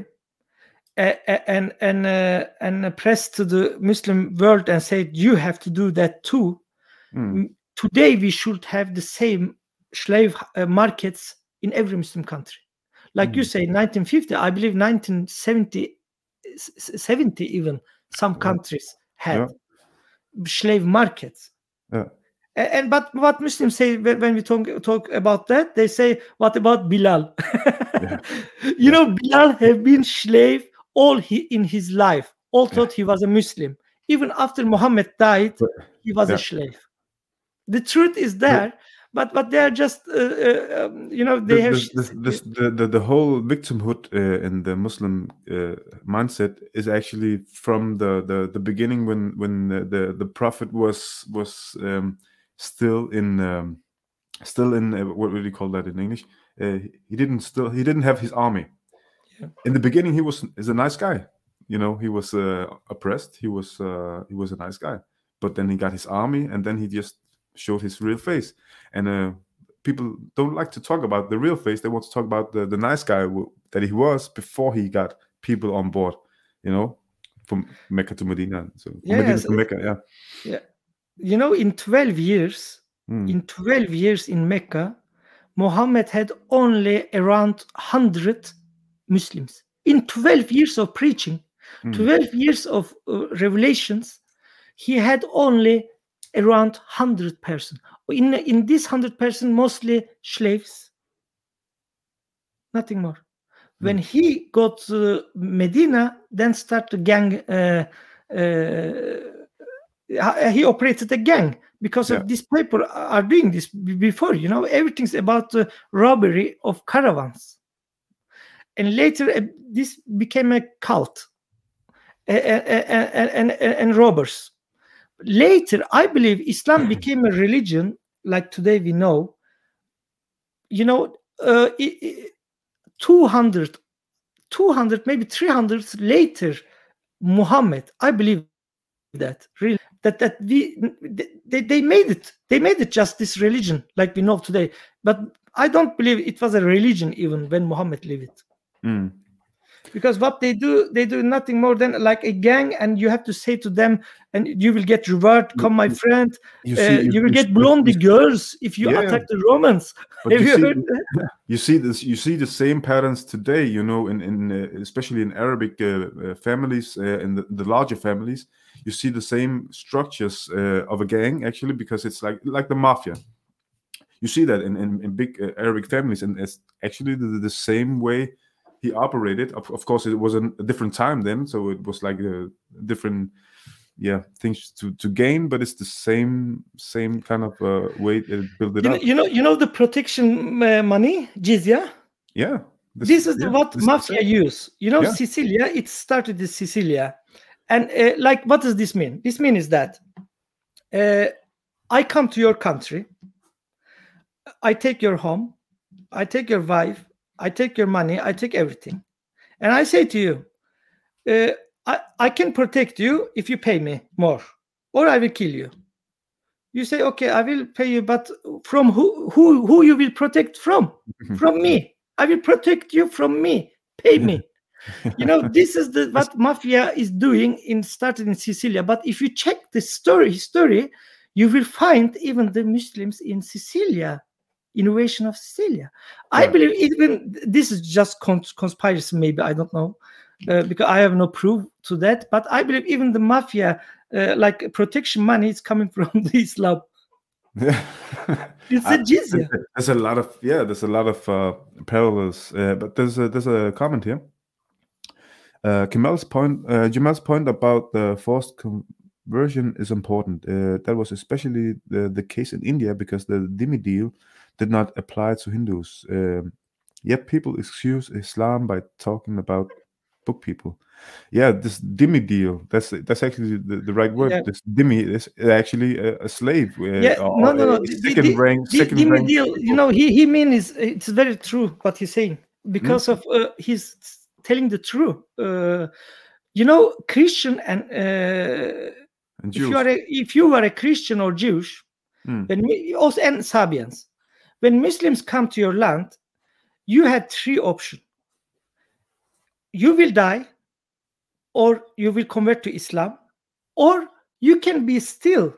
and pressed to the Muslim world and said you have to do that too, today we should have the same slave markets in every Muslim country. Like you say, 1950, I believe 1970 even, some countries had slave markets. But what Muslims say when we talk about that, they say, what about Bilal? Bilal have been slave all in his life. All thought he was a Muslim. Even after Muhammad died, he was a slave. The truth is there, but they are just they have the whole victimhood in the Muslim mindset is actually from the beginning when the Prophet was still in what would you call that in English? He didn't have his army. In the beginning, he was a nice guy. He was oppressed. He was a nice guy. But then he got his army, and then he just showed his real face. And people don't like to talk about the real face. They want to talk about the nice guy that he was before he got people on board. From Mecca to Medina. So Medina to Mecca, in 12 years, in Mecca, Muhammad had only around 100 Muslims. In 12 years of preaching, 12 years of revelations, he had only around 100 persons. In this 100 persons, mostly slaves, nothing more. When he got to Medina, then start the gang he operated a gang because of these people are doing this before. Everything's about the robbery of caravans, and later this became a cult and robbers. Later, I believe Islam became a religion like today we know. 200, maybe 300 later, Muhammad, I believe that really that they made it just this religion like we know today. But I don't believe it was a religion even when Muhammad lived it. Because what they do nothing more than like a gang, and you have to say to them, and you will get reward. Come, my friend. You will get blonde girls if you attack the Romans. But you see the same patterns today. In especially in Arabic families, in the larger families, you see the same structures of a gang actually, because it's like the mafia. You see that in big Arabic families, and it's actually the same way he operated. Of course, it was a different time then, so it was like a different, things to gain. But it's the same kind of way to build it up. The protection money, jizya. Yeah, this is what mafia use. Sicilia. It started in Sicilia, and what does this mean? This means that I come to your country, I take your home, I take your wife, I take your money, I take everything. And I say to you, I can protect you if you pay me more, or I will kill you. You say, okay, I will pay you, but from who you will protect from? From me. I will protect you from me. Pay me. This is what mafia is doing started in Sicilia. But if you check the history, you will find even the Muslims in Sicilia. Innovation of Sicilia. I believe even this is just conspiracy, maybe, I don't know, because I have no proof to that. But I believe even the mafia, like protection money, is coming from the Islam. It's a jizya. There's a lot of parallels. But there's a comment here. Jamal's point about the forced conversion is important. That was especially the case in India because the Dhimmi deal did not apply to Hindus. Yet people excuse Islam by talking about book people. Yeah, this Dhimmi deal, that's actually the right word. Yeah. This Dhimmi is actually a slave. No. Second rank deal, he means it's very true what he's saying, because of he's telling the truth. Christian and Jews. If you are a Christian or Jewish, and Sabians, when Muslims come to your land, you had three options. You will die, or you will convert to Islam, or you can be still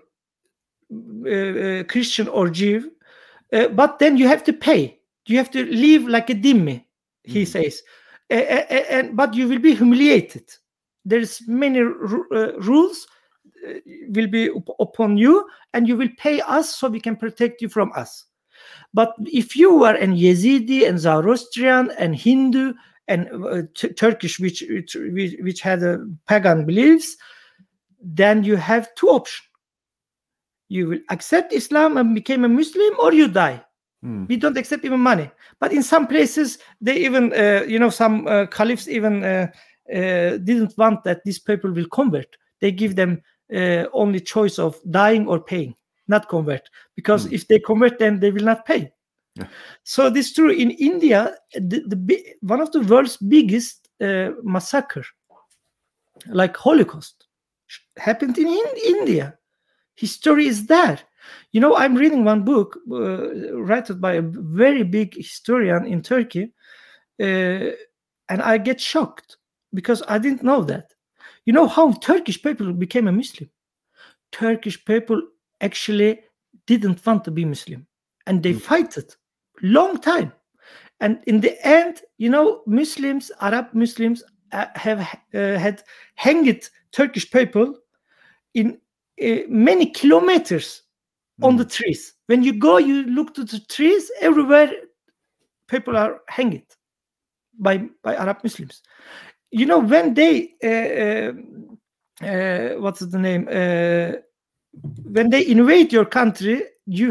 Christian or Jew, but then you have to pay. You have to live like a dhimmi, he says, but you will be humiliated. There's many rules will be upon you, and you will pay us so we can protect you from us. But if you are an Yazidi and Zoroastrian and Hindu and Turkish, which had pagan beliefs, then you have two options. You will accept Islam and become a Muslim, or you die. We don't accept even money. But in some places, they even, some caliphs even didn't want that these people will convert. They give them only choice of dying or paying, not convert. Because if they convert, then they will not pay. Yeah. So this is true. In India, one of the world's biggest massacre, like Holocaust, happened in India. History is there. I'm reading one book written by a very big historian in Turkey, and I get shocked because I didn't know that. You know how Turkish people became a Muslim? Turkish people actually didn't want to be Muslim, and they fight it long time. And in the end, Muslims, Arab Muslims, have had hanged Turkish people in many kilometers on the trees. When you go, you look to the trees, everywhere people are hanged by Arab Muslims. When they what's the name? When they invade your country,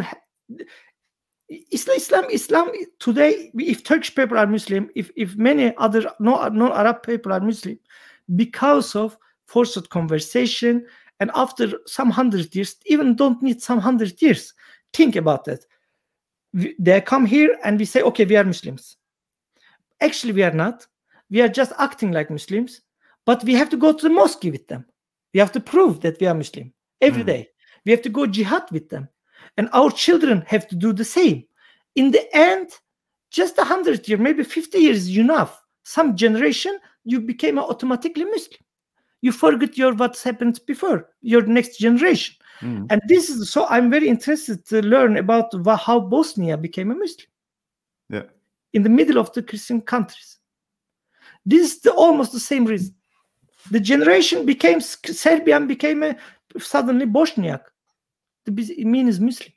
Islam today, if Turkish people are Muslim, if many other non-Arab people are Muslim, because of forced conversation, and after some 100 years, even don't need some 100 years. Think about that. They come here and we say, okay, we are Muslims. Actually, we are not. We are just acting like Muslims, but we have to go to the mosque with them. We have to prove that we are Muslim every day. We have to go jihad with them. And our children have to do the same. In the end, just 100 years, maybe 50 years is enough. Some generation, you became automatically Muslim. You forget what's happened before, your next generation. And this is, so I'm very interested to learn about how Bosnia became a Muslim. Yeah. In the middle of the Christian countries. This is almost the same reason. The generation became, Serbian became suddenly Bosniak. It means Muslim.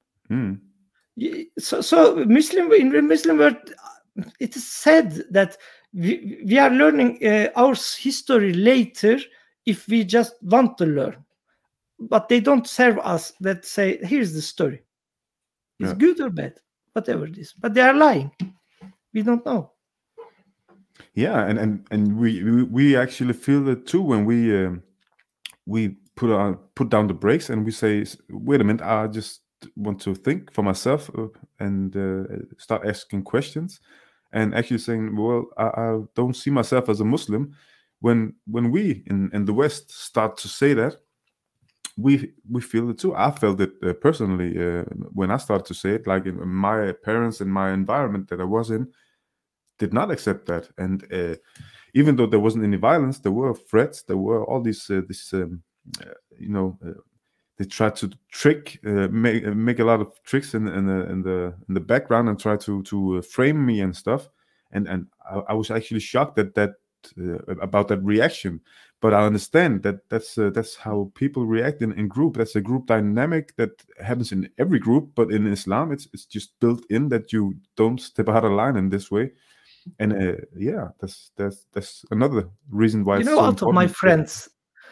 So Muslim, in the Muslim world, it is said that we are learning our history later if we just want to learn. But they don't serve us that say, here's the story. It's good or bad, whatever it is. But they are lying. We don't know. Yeah, and we actually feel it too when we put down the brakes and we say, wait a minute, I just want to think for myself and start asking questions and actually saying, well, I don't see myself as a Muslim. When we in the West start to say that, we feel it too. I felt it personally when I started to say it. Like my parents and my environment that I was in did not accept that, and even though there wasn't any violence, there were threats. There were all these they tried to trick, make a lot of tricks in the background and try to frame me and stuff. And I was actually shocked that about that reaction. But I understand that that's how people react in group. That's a group dynamic that happens in every group. But in Islam, it's just built in that you don't step out of line in this way. And that's another reason why. You know, out of my friends.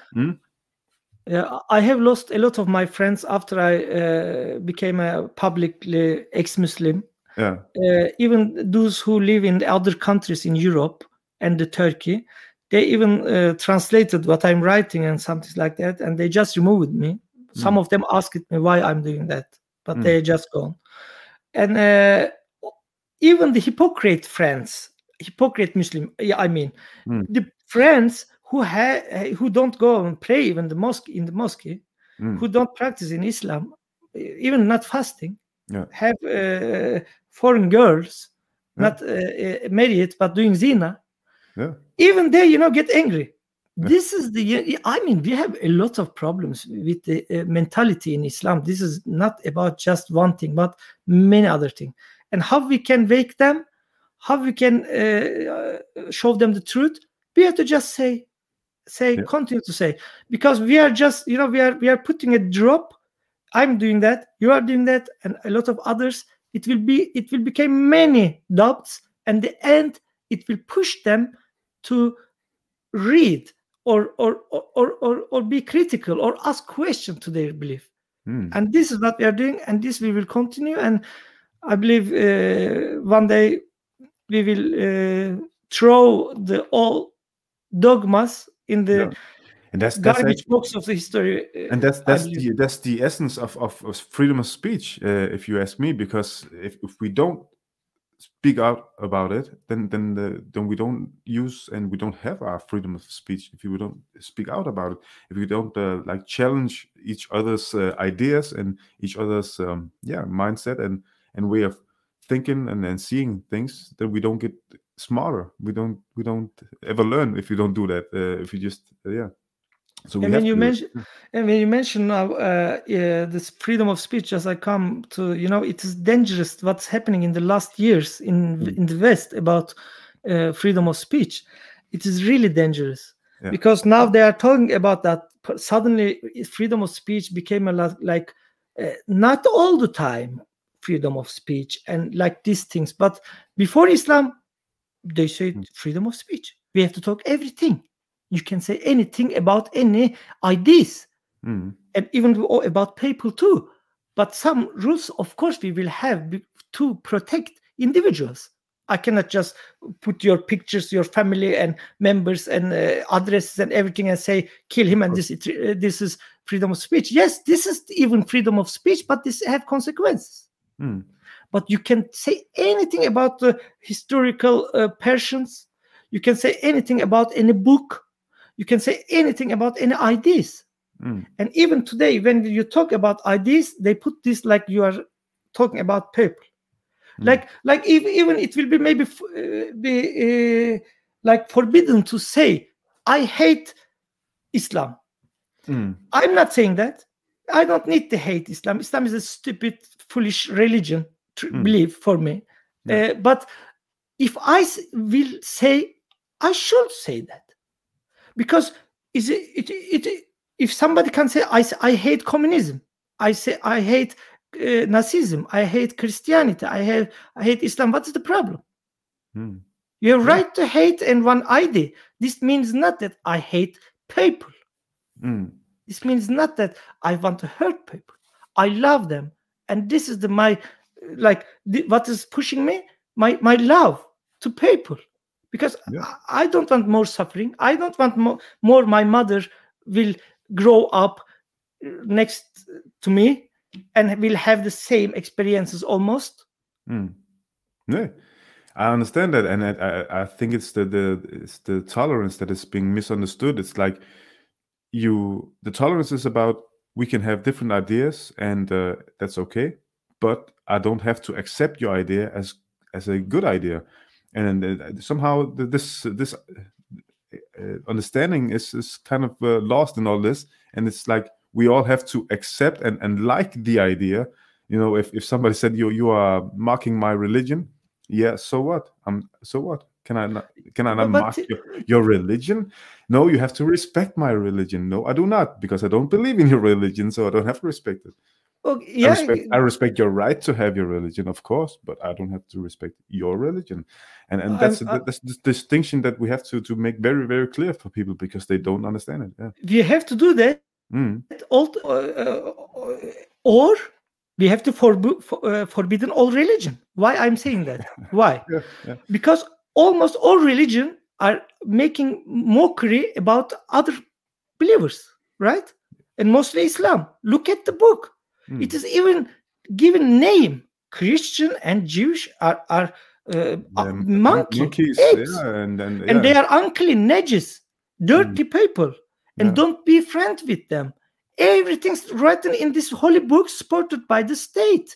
Yeah, I have lost a lot of my friends after I became a publicly ex-Muslim. Yeah. Even those who live in other countries in Europe and Turkey, they even translated what I'm writing and something like that, and they just removed me. Some of them asked me why I'm doing that, but they're just gone. And even the hypocrite Muslim, the friends who don't go and pray even in the mosque, who don't practice in Islam, even not fasting, have foreign girls, not married but doing zina. Even they, get angry. This is we have a lot of problems with the mentality in Islam. This is not about just one thing, but many other things. And how we can wake them, how we can show them the truth. We have to just say, continue to say, because we are just, we are putting a drop. I'm doing that, you are doing that, and a lot of others. It will become many doubts, and the end, it will push them to read or be critical or ask questions to their belief. And this is what we are doing, and this we will continue. And I believe one day we will throw all dogmas in the and that's garbage box of the history. And that's the essence of freedom of speech, if you ask me. Because if we don't speak out about it, then we don't use and we don't have our freedom of speech. If we don't speak out about it, if we don't challenge each other's ideas and each other's mindset and way of thinking and seeing things, then we don't get smarter. We don't ever learn if you don't do that. If you just So when you mention now this freedom of speech, as I come to, it is dangerous what's happening in the last years in the West about freedom of speech. It is really dangerous because now they are talking about that. Suddenly, freedom of speech became a lot like not all the time freedom of speech and like these things. But before Islam, they said freedom of speech. We have to talk everything. You can say anything about any ideas, and even about people too. But some rules, of course, we will have to protect individuals. I cannot just put your pictures, your family and members and addresses and everything and say, kill him, and this is freedom of speech. Yes, this is even freedom of speech, but this have consequences. But you can say anything about the historical persons. You can say anything about any book. You can say anything about any ideas. And even today, when you talk about ideas, they put this like you are talking about people. Like even it will be maybe like forbidden to say, I hate Islam. I'm not saying that. I don't need to hate Islam. Islam is a stupid, foolish religion belief for me. But if I will say, I should say that, because if somebody can say, I hate communism, I say I hate Nazism, I hate Christianity, I hate Islam, what is the problem? You have right to hate and one idea. This means not that I hate people. This means not that I want to hurt people. I love them, and this is what is pushing me, my love to people, because I don't want more suffering. I don't want more my mother will grow up next to me and will have the same experiences almost. Yeah, I understand that, and I think it's the tolerance that is being misunderstood. It's like the tolerance is about, we can have different ideas, and that's okay, but I don't have to accept your idea as a good idea, and somehow this understanding is kind of lost in all this, and it's like we all have to accept and like the idea. If somebody said you are mocking my religion, so what? So what? Can I not mock your religion? No, you have to respect my religion. No, I do not, because I don't believe in your religion, so I don't have to respect it. I respect your right to have your religion, of course, but I don't have to respect your religion, and that's the distinction that we have to make very, very clear for people, because they don't understand it. Yeah. We have to do that, or we have to forbidden all religion. Why I'm saying that? Why? Because almost all religion are making mockery about other believers, right? And mostly Islam. Look at the book. It is even given name. Christian and Jewish are monkeys, and they are unclean, najis, dirty people, and don't be friends with them. Everything's written in this holy book, supported by the state.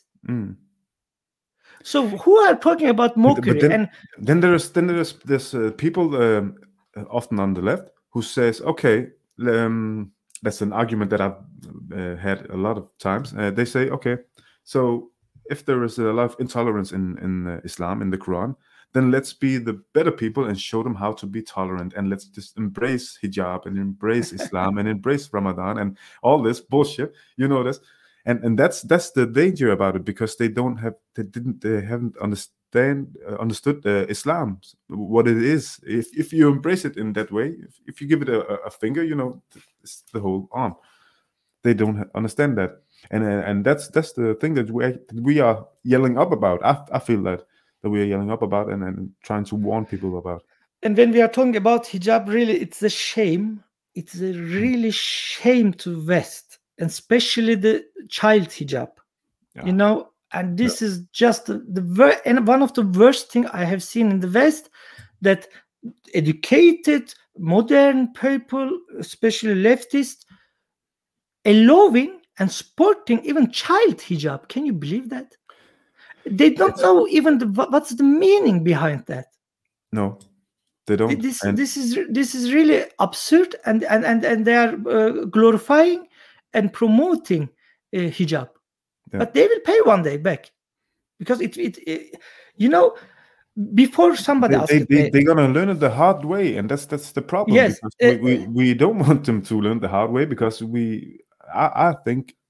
So who are talking about mockery? But then there's this people often on the left who says, okay, that's an argument that I've had a lot of times. They say, okay, so if there is a lot of intolerance in Islam, in the Quran, then let's be the better people and show them how to be tolerant, and let's just embrace hijab and embrace Islam and embrace Ramadan and all this bullshit. You know this, and that's the danger about it, because they haven't understood Islam, what it is. If you embrace it in that way, if you give it a finger, it's the whole arm. They don't understand that, and that's the thing that we are yelling up about. I feel that we are yelling up about and trying to warn people about. And when we are talking about hijab, really, it's a shame. It's a really shame to West, and especially the child hijab. And this is just and one of the worst thing I have seen in the West, that educated, modern people, especially leftists, allowing and supporting even child hijab. Can you believe that? They don't know even what's the meaning behind that. No, they don't. This is really absurd, and they are glorifying and promoting hijab. But they will pay one day back, because it before somebody else. They're gonna learn it the hard way, and that's the problem. Yes, we don't want them to learn the hard way, because I think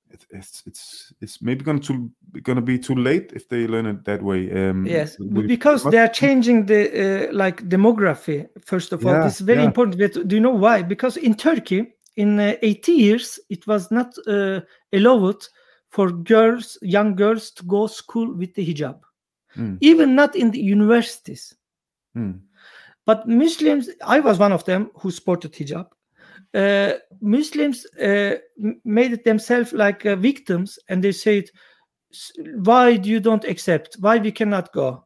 it's maybe gonna be too late if they learn it that way. Yes, because they are changing the demography. First of all, this is very important. But do you know why? Because in Turkey, in 80 years, it was not allowed for young girls, to go school with the hijab, even not in the universities. But Muslims, I was one of them who sported hijab. Muslims made it themselves like victims, and they said, why do you don't accept? Why we cannot go?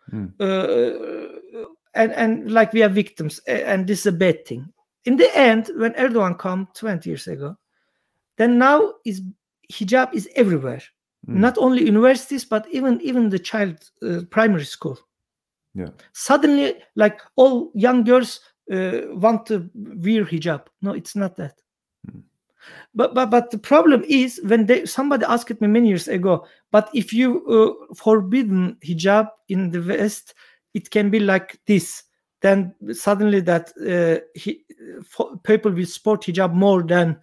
And like we are victims, and this is a bad thing. In the end, when Erdogan came 20 years ago, then now hijab is everywhere. Not only universities, but even the child primary school. Yeah. Suddenly, like all young girls want to wear hijab. No, it's not that. But the problem is when somebody asked me many years ago, but if you forbidden hijab in the West, it can be like this. Then suddenly that people will support hijab more than.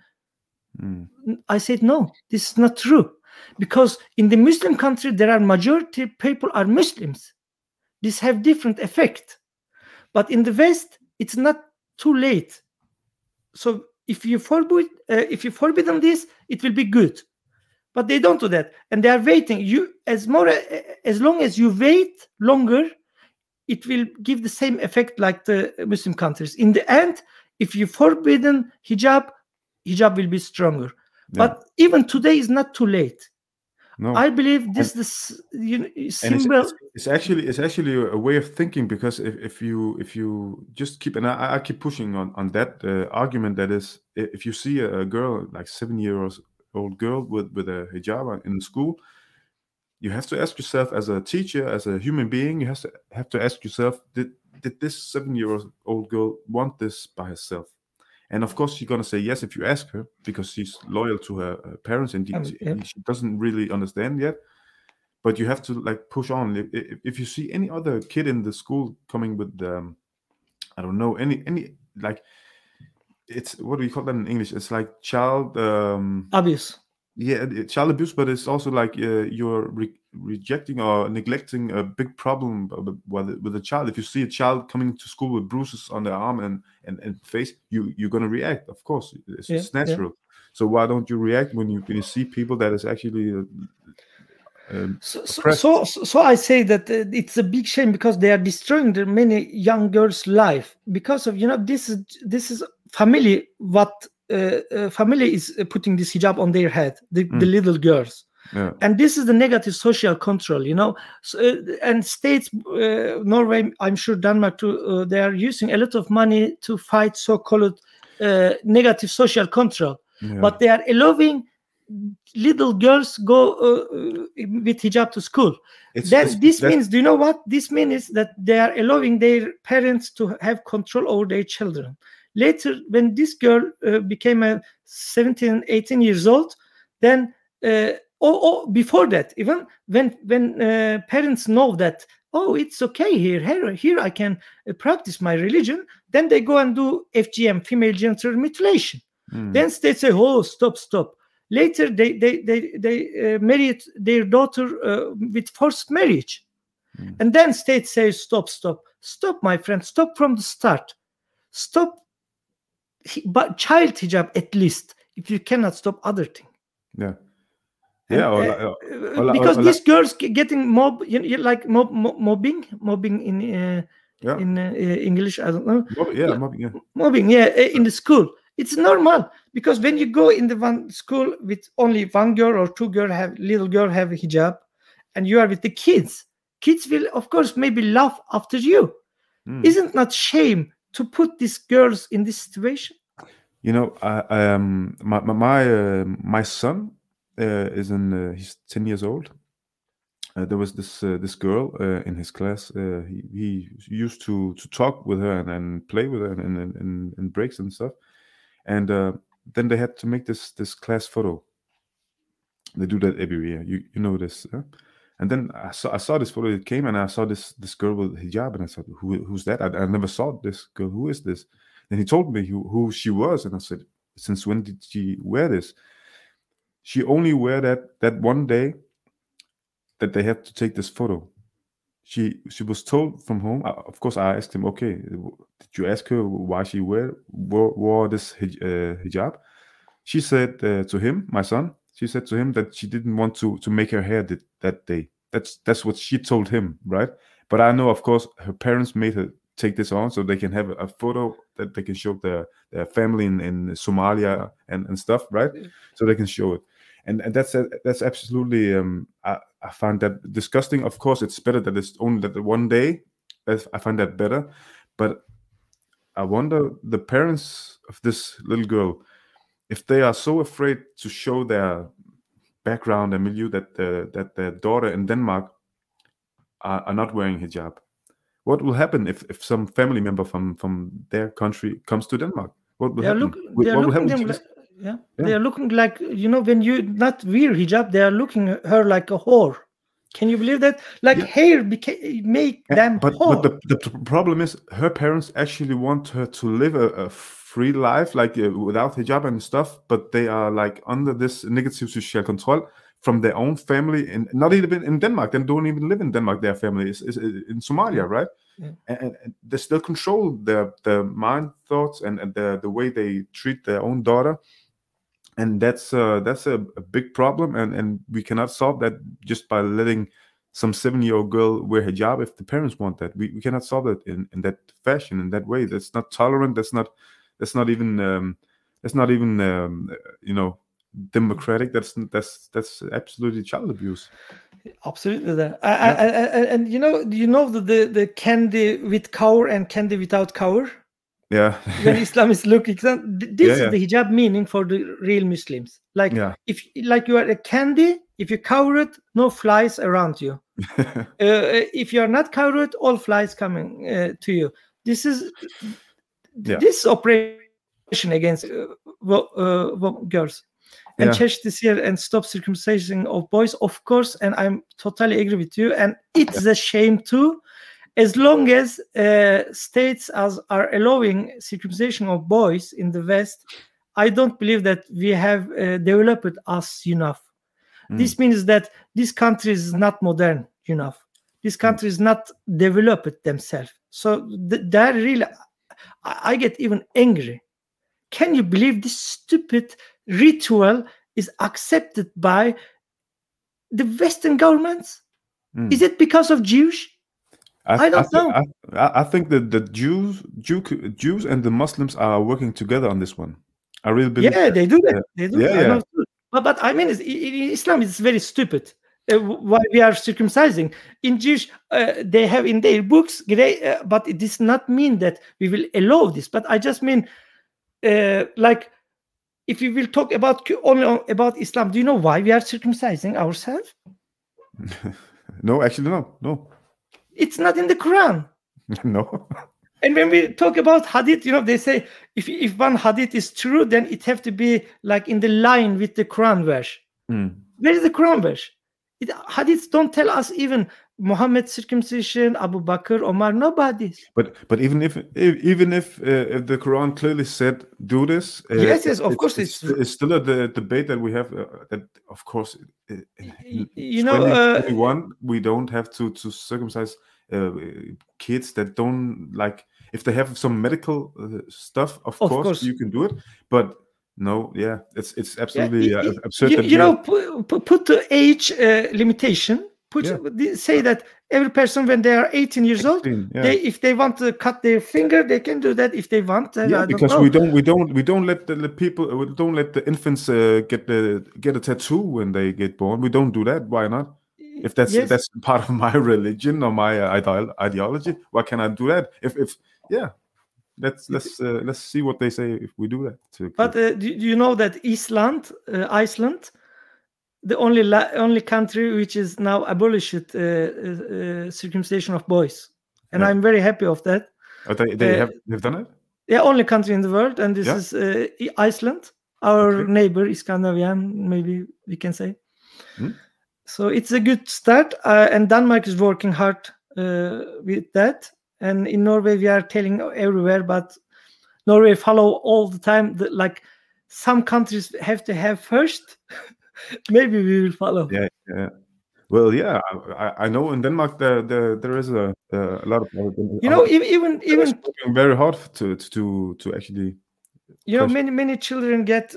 I said no, this is not true, because in the Muslim country there are majority people are Muslims. This have different effect, but in the West it's not too late. So if you forbid them this, it will be good, but they don't do that, and they are waiting. As long as you wait longer, it will give the same effect like the Muslim countries. In the end, if you forbidden hijab will be stronger. Yeah. But even today is not too late. No. I believe this symbol. It's actually a way of thinking, because if you just keep, and I keep pushing on that argument, that is, if you see a girl, like 7-year-old girl with a hijab in school, you have to ask yourself, as a teacher, as a human being, you have to ask yourself, did this 7-year-old girl want this by herself? And of course, she's going to say yes if you ask her, because she's loyal to her parents, and she doesn't really understand yet. But you have to like push on. If you see any other kid in the school coming with, I don't know, any like, it's, what do you call that in English? It's like child abuse. Yeah, child abuse, but it's also like you're rejecting or neglecting a big problem with a child. If you see a child coming to school with bruises on their arm and face, you're gonna react. Of course, it's natural. Yeah. So why don't you react when you see people that is actually so I say that it's a big shame, because they are destroying many young girls' life because of this is family. What family is putting this hijab on their head, the little girls. Yeah. And this is the negative social control, and states, Norway, I'm sure Denmark too, they are using a lot of money to fight so-called negative social control. Yeah. But they are allowing little girls go with hijab to school. This means, do you know what this means? Is that they are allowing their parents to have control over their children. Later, when this girl became 17, 18 years old, then before that, even when parents know that, oh, it's okay here I can practice my religion, then they go and do FGM, female genital mutilation. Then states say, oh, stop. Later, they married their daughter with forced marriage. And then states say, stop, my friend, stop from the start. Stop. But child hijab, at least, if you cannot stop other thing. Yeah. Because these girls getting mobbing in English, I don't know. Mobbing, in the school. It's normal, because when you go in the one school with only one girl or two little girl have a hijab, and you are with the kids will, of course, maybe laugh after you. Isn't that shame to put these girls in this situation? My son is he's 10 years old. There was this girl in his class. He used to talk with her and play with her in breaks and stuff. And then they had to make this class photo. They do that every year. You know this. And then I saw this photo. It came, and I saw this girl with hijab, and I said, "Who's that? I never saw this girl. Who is this?" And he told me who she was, and I said, "Since when did she wear this?" she only wear that one day that they have to take this photo. She was told from home. Of course, I asked him, okay, did you ask her why she wore this hijab? She said to him, my son, she said to him that she didn't want to make her hair that day. That's what she told him, right? But I know, of course, her parents made her take this on so they can have a photo that they can show their family in Somalia and stuff, right? So they can show it. And that's absolutely I find that disgusting. Of course, it's better that it's only that one day. I find that better, but I wonder the parents of this little girl, if they are so afraid to show their background and milieu that their daughter in Denmark are not wearing hijab. What will happen if some family member from their country comes to Denmark? What will happen? They are looking like, when you not wear hijab, they are looking at her like a whore. Can you believe that? Like hair make them whore. But the problem is her parents actually want her to live a free life, like without hijab and stuff, but they are like under this negative social control from their own family, and not even in Denmark. They don't even live in Denmark. Their family is in Somalia, right? Yeah. And they still control their mind, thoughts, and the way they treat their own daughter. And that's a big problem, and we cannot solve that just by letting some 7-year-old girl wear hijab if the parents want that. We cannot solve it in that fashion, in that way. That's not tolerant. That's not even democratic. That's absolutely child abuse. Absolutely. And the candy with cover and candy without cover. Yeah. When Islam is looking, this is the hijab meaning for the real Muslims. Like if you are a candy, if you cover it, no flies around you. If you are not covered, all flies coming to you. This is this operation against girls. And change this year and stop circumcision of boys, of course. And I'm totally agree with you. And it's a shame too. As long as states are allowing circumcision of boys in the West, I don't believe that we have developed us enough. This means that this country is not modern enough. This country is not developed themselves. So that really, I get even angry. Can you believe this stupid ritual is accepted by the Western governments? Is it because of Jews? I don't know. I think that the Jews and the Muslims are working together on this one. I really believe. Yeah, they do that. They do. Yeah. But I mean, in Islam, it's very stupid. Why we are circumcising in Jewish? They have in their books, but it does not mean that we will allow this. But I just mean, like, if we will talk only about Islam, do you know why we are circumcising ourselves? No, actually, no. It's not in the Quran. No. And when we talk about hadith, they say if one hadith is true, then it have to be like in the line with the Quran verse. Where is the Quran verse? Hadiths don't tell us even Muhammad circumcision, Abu Bakr, Omar, nobody. But even if the Quran clearly said do this, yes, of course it's still a debate that we have. That of course, in 2021 we don't have to circumcise kids that don't like. If they have some medical stuff, of course you can do it. But no, it's absolutely absurd. Put the age limitation. Say that every person when they are 18 years old, if they want to cut their finger, they can do that if they want. Because we don't let the people, we don't let the infants get a tattoo when they get born. We don't do that. Why not? If that's part of my religion or my ideology, why can I do that? Let's see what they say if we do that. But do you know that Iceland, the only country which is now abolished circumcision of boys, and I'm very happy of that. They've done it. Yeah, only country in the world, and this is Iceland, our neighbor, Scandinavian, maybe we can say. So it's a good start, and Denmark is working hard with that. And in Norway, we are telling everywhere, but Norway follow all the time. Like some countries have to have first, Maybe we will follow. Yeah, yeah. Well, yeah, I know in Denmark there is a lot of Even working very hard to actually. Many children get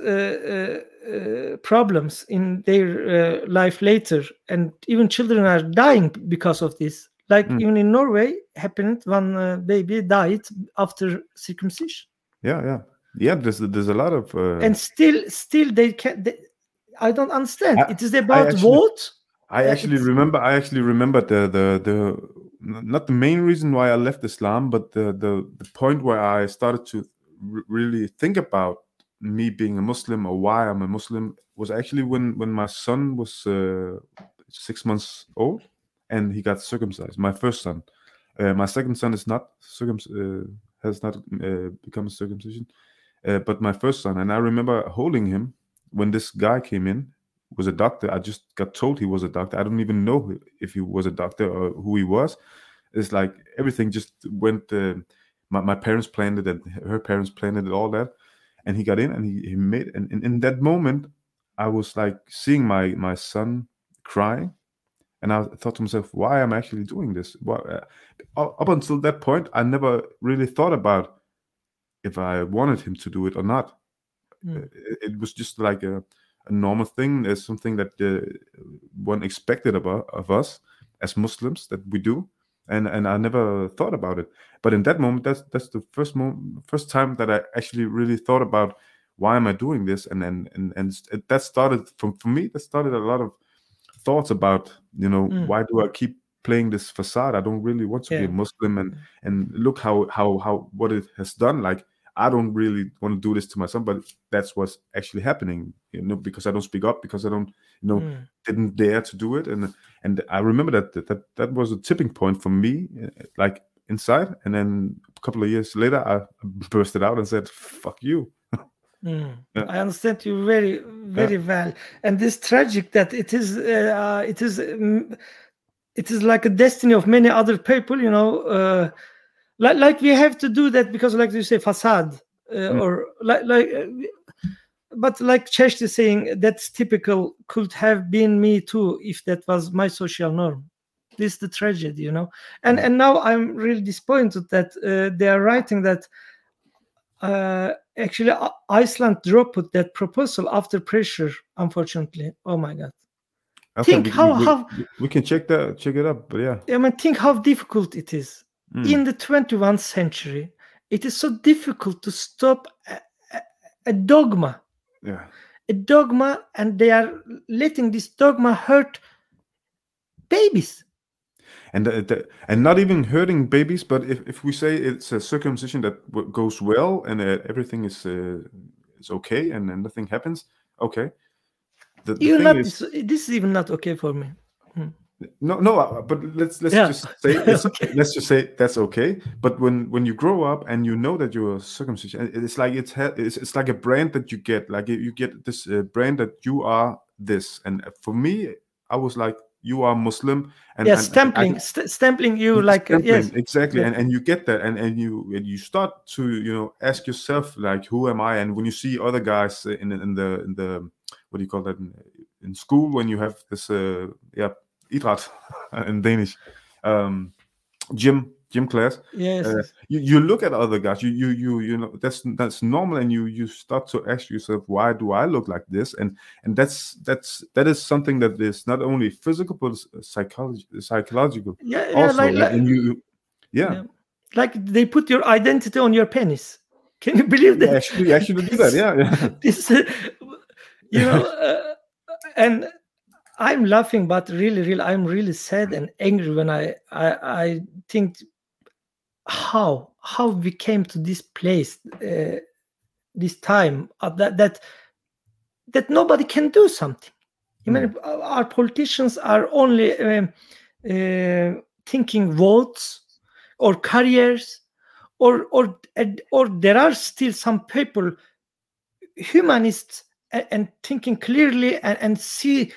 problems in their life later, and even children are dying because of this. Like even in Norway, happened one baby died after circumcision. Yeah. There's a lot of and still they can. I don't understand. It is about vote. I actually remember the not the main reason why I left Islam, but the point where I started to really think about me being a Muslim or why I'm a Muslim was actually when my son was 6 months old and he got circumcised. My first son. My second son is not has not become a circumcision, but my first son. And I remember holding him when this guy came in. Was a doctor. I just got told he was a doctor. I don't even know if he was a doctor or who he was. It's like everything just went. My parents planned it, and her parents planned it, all that. And he got in, and he made. And in that moment, I was like seeing my son crying, and I thought to myself, "Why am I actually doing this?" Up until that point, I never really thought about if I wanted him to do it or not. It was just like a normal thing. There's something that one expected of us as Muslims that we do, and I never thought about it. But in that moment, that's the first time that I actually really thought about why am I doing this, and that started for me. That started a lot of thoughts about why do I keep playing this facade? I don't really want to be a Muslim, and look how what it has done. Like, I don't really want to do this to my son, but that's what's actually happening, because I don't speak up, because I don't, didn't dare to do it. And I remember that was a tipping point for me, like inside. And then a couple of years later, I bursted out and said, "Fuck you." I understand you very, very well. And this tragic that it is like a destiny of many other people, like we have to do that because, like you say, facade, or but like Chesh is saying, that's typical. Could have been me too if that was my social norm. This is the tragedy, And now I'm really disappointed that they are writing that actually Iceland dropped that proposal after pressure. Unfortunately, oh my God. Okay, we can check it up, but yeah. I mean, think how difficult it is. In the 21st century, it is so difficult to stop a dogma. Yeah. A dogma, and they are letting this dogma hurt babies. And not even hurting babies, but if we say it's a circumcision that goes well and everything is okay and nothing happens, okay. This is even not okay for me. No, but let's just say okay. Let's just say that's okay. But when you grow up and you know that you're circumcision, it's like it's like a brand that you get. Like you get this brand that you are this. And for me, I was like, you are Muslim, and stempling you like yes, exactly. And you get that, and you start to ask yourself, like, who am I? And when you see other guys in the what do you call that in school, when you have this idræt in Danish, gym class. Yes. You look at other guys. You know that's normal, and you start to ask yourself, why do I look like this? And that is something that is not only physical but psychological. Yeah, also. Yeah. Like they put your identity on your penis. Can you believe that? Yeah, actually do that. Yeah. This, and I'm laughing, but really, I'm really sad and angry when I think how we came to this place, this time, that nobody can do something. I mean, our politicians are only thinking votes or careers, or there are still some people, humanists, and thinking clearly and see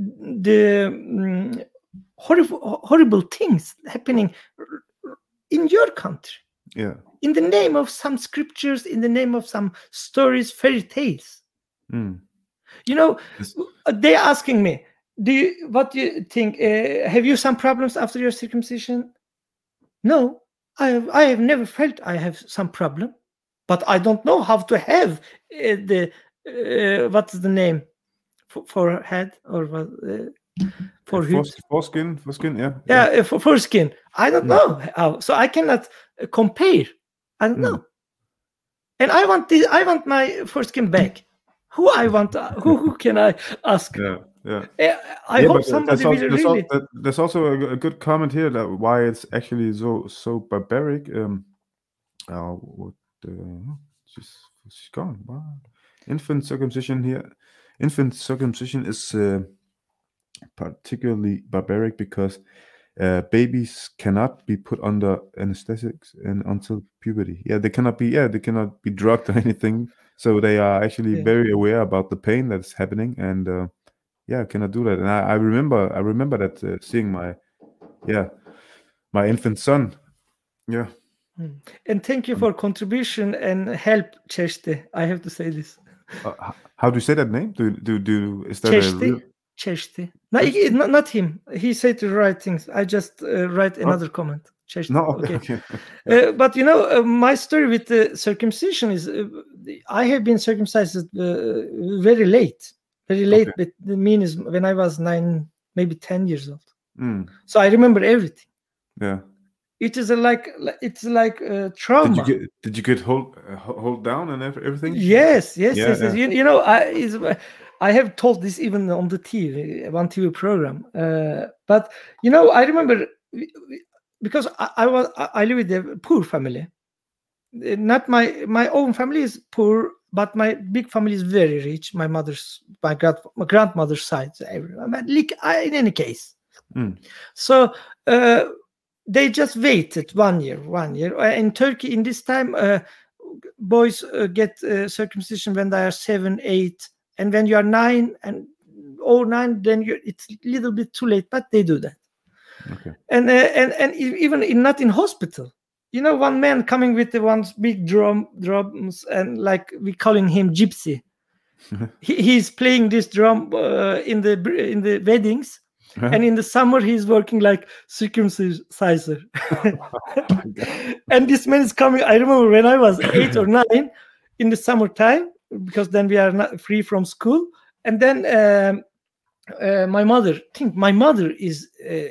the horrible things happening in your country. Yeah. In the name of some scriptures, in the name of some stories, fairy tales. They're asking me, what do you think? Have you some problems after your circumcision? No, I have never felt I have some problem, but I don't know how to have what's the name for head or foreskin, foreskin. I don't know how, so I cannot compare. I don't know, and I want my foreskin back. Who can I ask? I hope somebody will really. There's also a good comment here that why it's actually so barbaric. She's gone. Wow. Infant circumcision here. Infant circumcision is particularly barbaric because babies cannot be put under anesthetics until puberty. They cannot be drugged or anything. So they are actually very aware about the pain that's happening, and cannot do that. And I remember that seeing my infant son. Yeah. And thank you for contribution and help, Cheshte. I have to say this. How do you say that name? Is that Cheshte? Cheshte. No, not him. He said the right things. I just write another comment. Cheshte. No, okay. But my story with the circumcision is I have been circumcised very late. Very late, but the mean is when I was 9, maybe 10 years old. So I remember everything. Yeah. It is like trauma. Did you get hold down and everything? Yes. I have told this even on the one TV program. But I remember because I live with a poor family. Not my own family is poor, but my big family is very rich. My grandmother's side, everyone. In any case, so. They just waited 1 year. In Turkey, in this time, boys get circumcision when they are 7, 8, and when you are 9 or 9, then it's a little bit too late. But they do that. Okay. And even not in hospital. One man coming with the one big drums, and like we calling him gypsy. He's playing this drum in the weddings. And in the summer, he's working like circumciser. And this man is coming. I remember when I was 8 or 9 in the summertime, because then we are not free from school. And then my mother is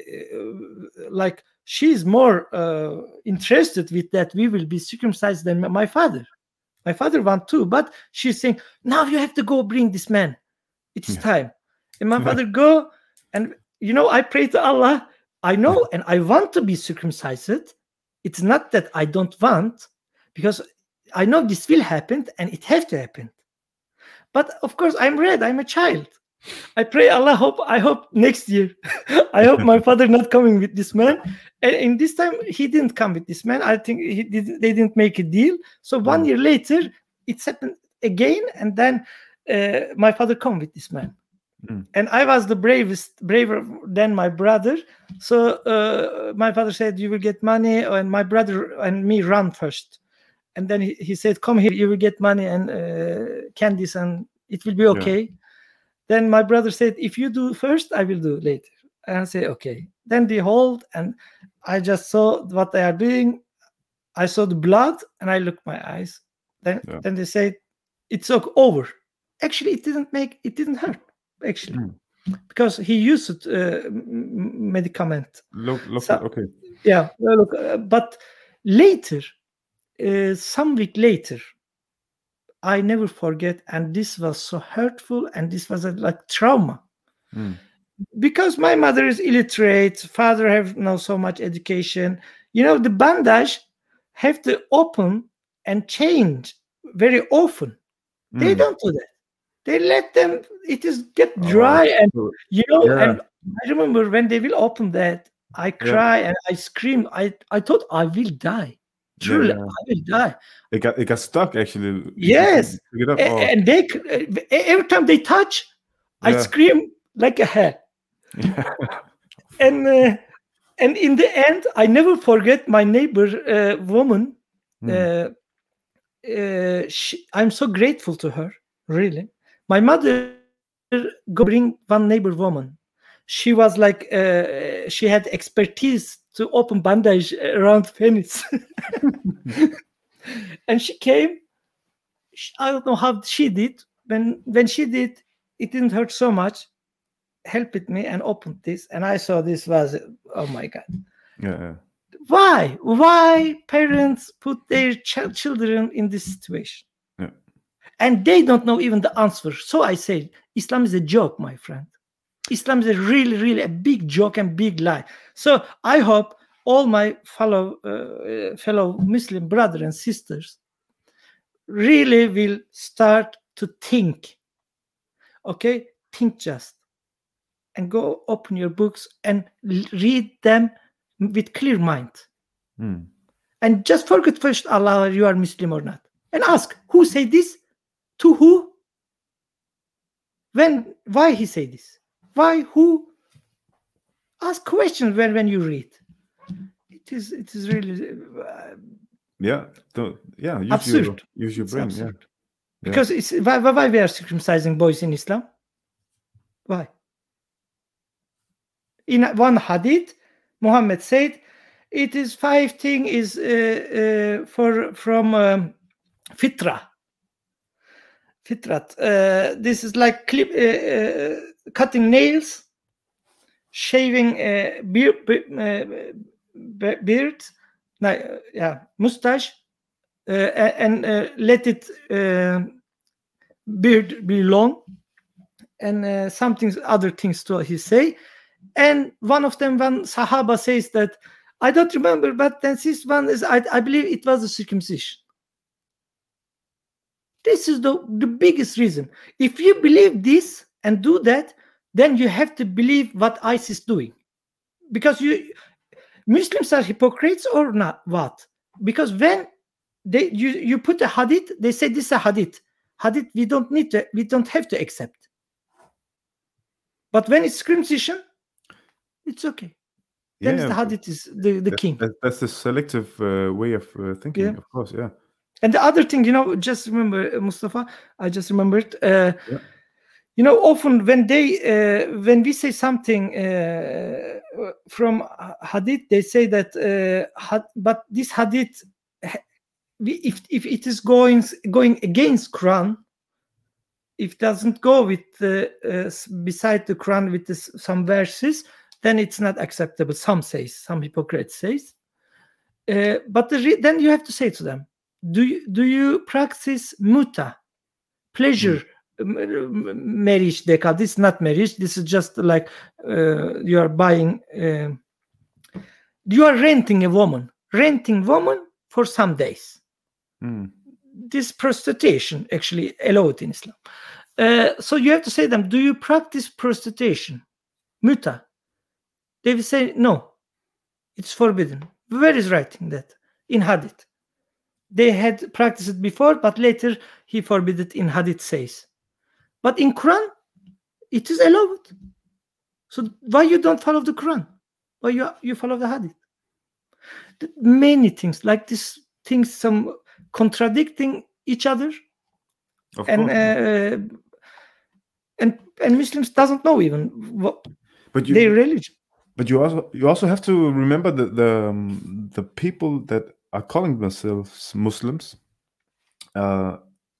like, she's more interested with that we will be circumcised than my father. My father want to, but she's saying, now you have to go bring this man. It is time. And my father go, and I pray to Allah. I know and I want to be circumcised. It's not that I don't want, because I know this will happen and it has to happen. But of course, I'm red. I'm a child. I pray Allah. I hope next year. I hope my father not coming with this man. And in this time, he didn't come with this man. I think they didn't make a deal. So 1 year later, it's happened again, and then my father come with this man. And I was the braver than my brother. So my father said, you will get money, and my brother and me run first. And then he said, come here, you will get money and candies, and it will be okay. Yeah. Then my brother said, if you do first, I will do later. And I said, okay. Then they hold, and I just saw what they are doing. I saw the blood, and I looked my eyes. Then they said, it's over. Actually, it didn't hurt. Actually, because he used medicament. Okay. Yeah, but later, some week later, I never forget, and this was so hurtful, and this was like trauma. Because my mother is illiterate, father have not so much education. The bandage have to open and change very often. They don't do that. They let them, get dry, and and I remember when they will open that, I cry and I scream. I thought I will die. Truly, I will die. It got stuck actually. Yes, and they every time they touch, I scream like a hell. And in the end, I never forget my neighbor woman. I'm so grateful to her, really. My mother go bring one neighbor woman. She was like, she had expertise to open bandage around penis. And she came. I don't know how she did. When she did, it didn't hurt so much. Helped me and opened this, and I saw this was, oh my God. Yeah. Why parents put their children in this situation? Yeah. And they don't know even the answer. So I say, Islam is a joke, my friend. Islam is a really, really a big joke and big lie. So I hope all my fellow Muslim brothers and sisters really will start to think. Okay, think just, and go open your books and read them with clear mind. And just forget first Allah, you are Muslim or not, and ask who say this, to who, when, why he say this, why, who. Ask questions when you read. It is really absurd. Use your brain. Absurd. Because it's why we are circumcising boys in Islam. Why? In one hadith, Muhammad said, it is 5 things is from fitra. Fitrat. This is like cutting nails, shaving beard, mustache, and let it beard be long, and other things too, he say. And one Sahaba says that, I don't remember, but then this one is, I believe it was the circumcision. This is the biggest reason. If you believe this and do that, then you have to believe what ISIS is doing. Because Muslims are hypocrites or not? What? Because when you put a hadith, they say this is a hadith. Hadith we don't have to accept. But when it's circumcision, it's okay. Then the hadith is the king. That's the selective way of thinking, of course, yeah. And the other thing, just remember, Mustafa, I just remembered, often when we say something from hadith, they say that, but this hadith, if it is going against Quran, if it doesn't go with beside the Quran with some verses, then it's not acceptable. Some hypocrites says. But then you have to say to them, do you practice muta, pleasure marriage? They call this not marriage. This is just like you are buying. You are renting woman for some days. This prostitution actually allowed in Islam. So you have to say to them, do you practice prostitution, muta? They will say no, it's forbidden. Where is writing that? In hadith. They had practiced it before, but later he forbid it in hadith says. But in Quran, it is allowed. So why you don't follow the Quran? Why you follow the hadith? Many things like this, things some contradicting each other, and Muslims doesn't know even what their religion. But you also have to remember that the people that are calling themselves Muslims, I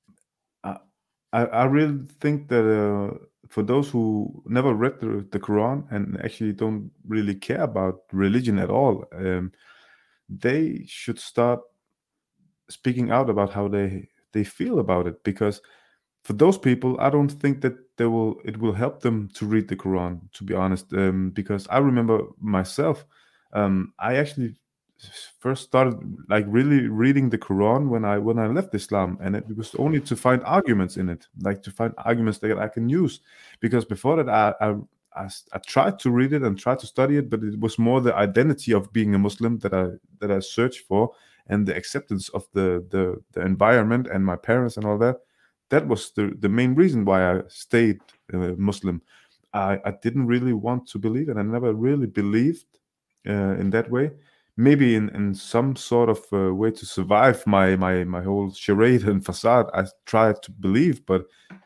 really think that for those who never read the Quran and actually don't really care about religion at all, they should start speaking out about how they feel about it. Because for those people, I don't think that it will help them to read the Quran, to be honest. Because I remember myself, I actually first started like really reading the Quran when I left Islam, and it was only to find arguments in it, like to find arguments that I can use. Because before that, I tried to read it and tried to study it, but it was more the identity of being a Muslim that I searched for, and the acceptance of the environment and my parents and all that. That was the main reason why I stayed Muslim. I didn't really want to believe, and I never really believed in that way. Maybe in some sort of way to survive my whole charade and facade, I tried to believe, but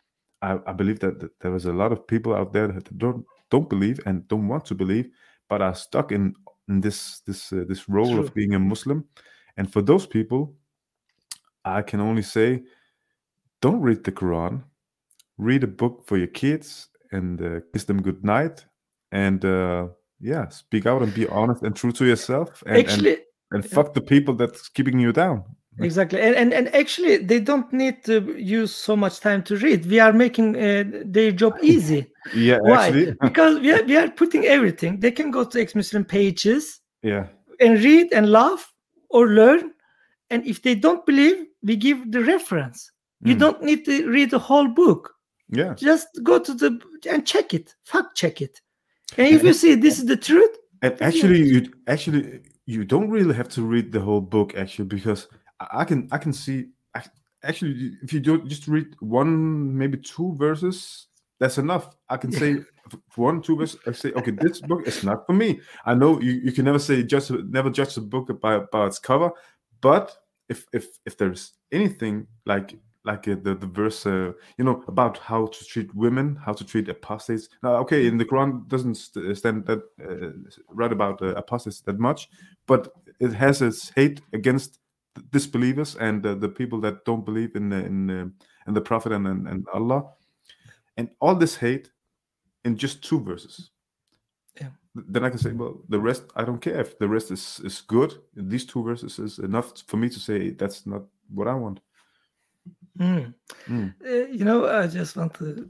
I believe that there is a lot of people out there that don't believe and don't want to believe, but are stuck in this role True. of being a Muslim. And for those people, I can only say, don't read the Quran. Read a book for your kids and kiss them good night. And speak out and be honest and true to yourself. And fuck the people that's keeping you down. Exactly. And actually, they don't need to use so much time to read. We are making their job easy. Yeah, why? Actually. Because we are putting everything. They can go to ex-Muslim pages. Yeah. And read and laugh or learn. And if they don't believe, we give the reference. You don't need to read the whole book. Yeah. Just go to and check it. Fact check it. And if you see this is the truth. And you don't really have to read the whole book, actually, because I can see, actually, if you do just read one, maybe two verses, that's enough. I can say 1-2 verses. I say, okay, this book is not for me. I know you can never say never judge a book by its cover, but if there's anything like the verse, about how to treat women, how to treat apostates. Now, okay, in the Quran doesn't stand that right about apostates that much, but it has its hate against disbelievers and the people that don't believe in the Prophet and Allah, and all this hate in just 2 verses. Yeah. Then I can say, well, the rest, I don't care if the rest is good. These 2 verses is enough for me to say that's not what I want. I just want to.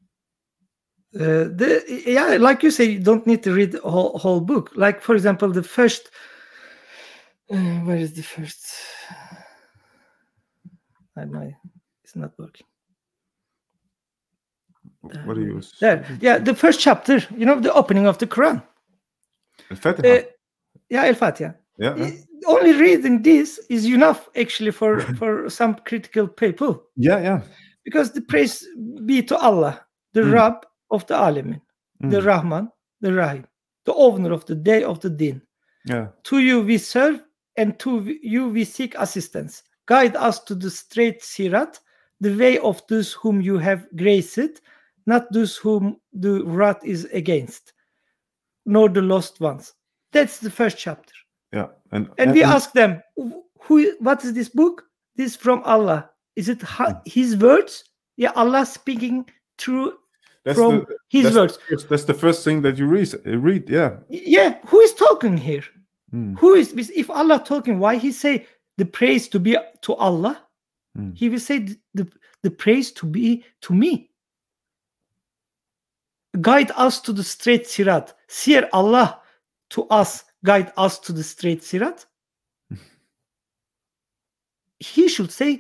Like you say, you don't need to read the whole book. Like, for example, the first. Where is the first? It's not working. What are you? There. Yeah, the first chapter. The opening of the Quran. Al-Fatiha. Al-Fatiha. Yeah. Only reading this is enough, actually, for some critical people. Yeah. Because the praise be to Allah, the Rabb of the Alamin, the Rahman, the Rahim, the owner of the day of the Deen. Yeah. To you we serve, and to you we seek assistance. Guide us to the straight sirat, the way of those whom you have graced, not those whom the wrath is against, nor the lost ones. That's the first chapter. Yeah. And we ask them, what is this book? This is from Allah. Is it his words? Yeah, Allah speaking through from his words. That's the first thing that you read. Yeah. Yeah. Who is talking here? Who is, if Allah talking, why he say the praise to be to Allah? He will say the praise to be to me. Guide us to the straight sirat. Seer Allah to us, guide us to the straight sirat. He should say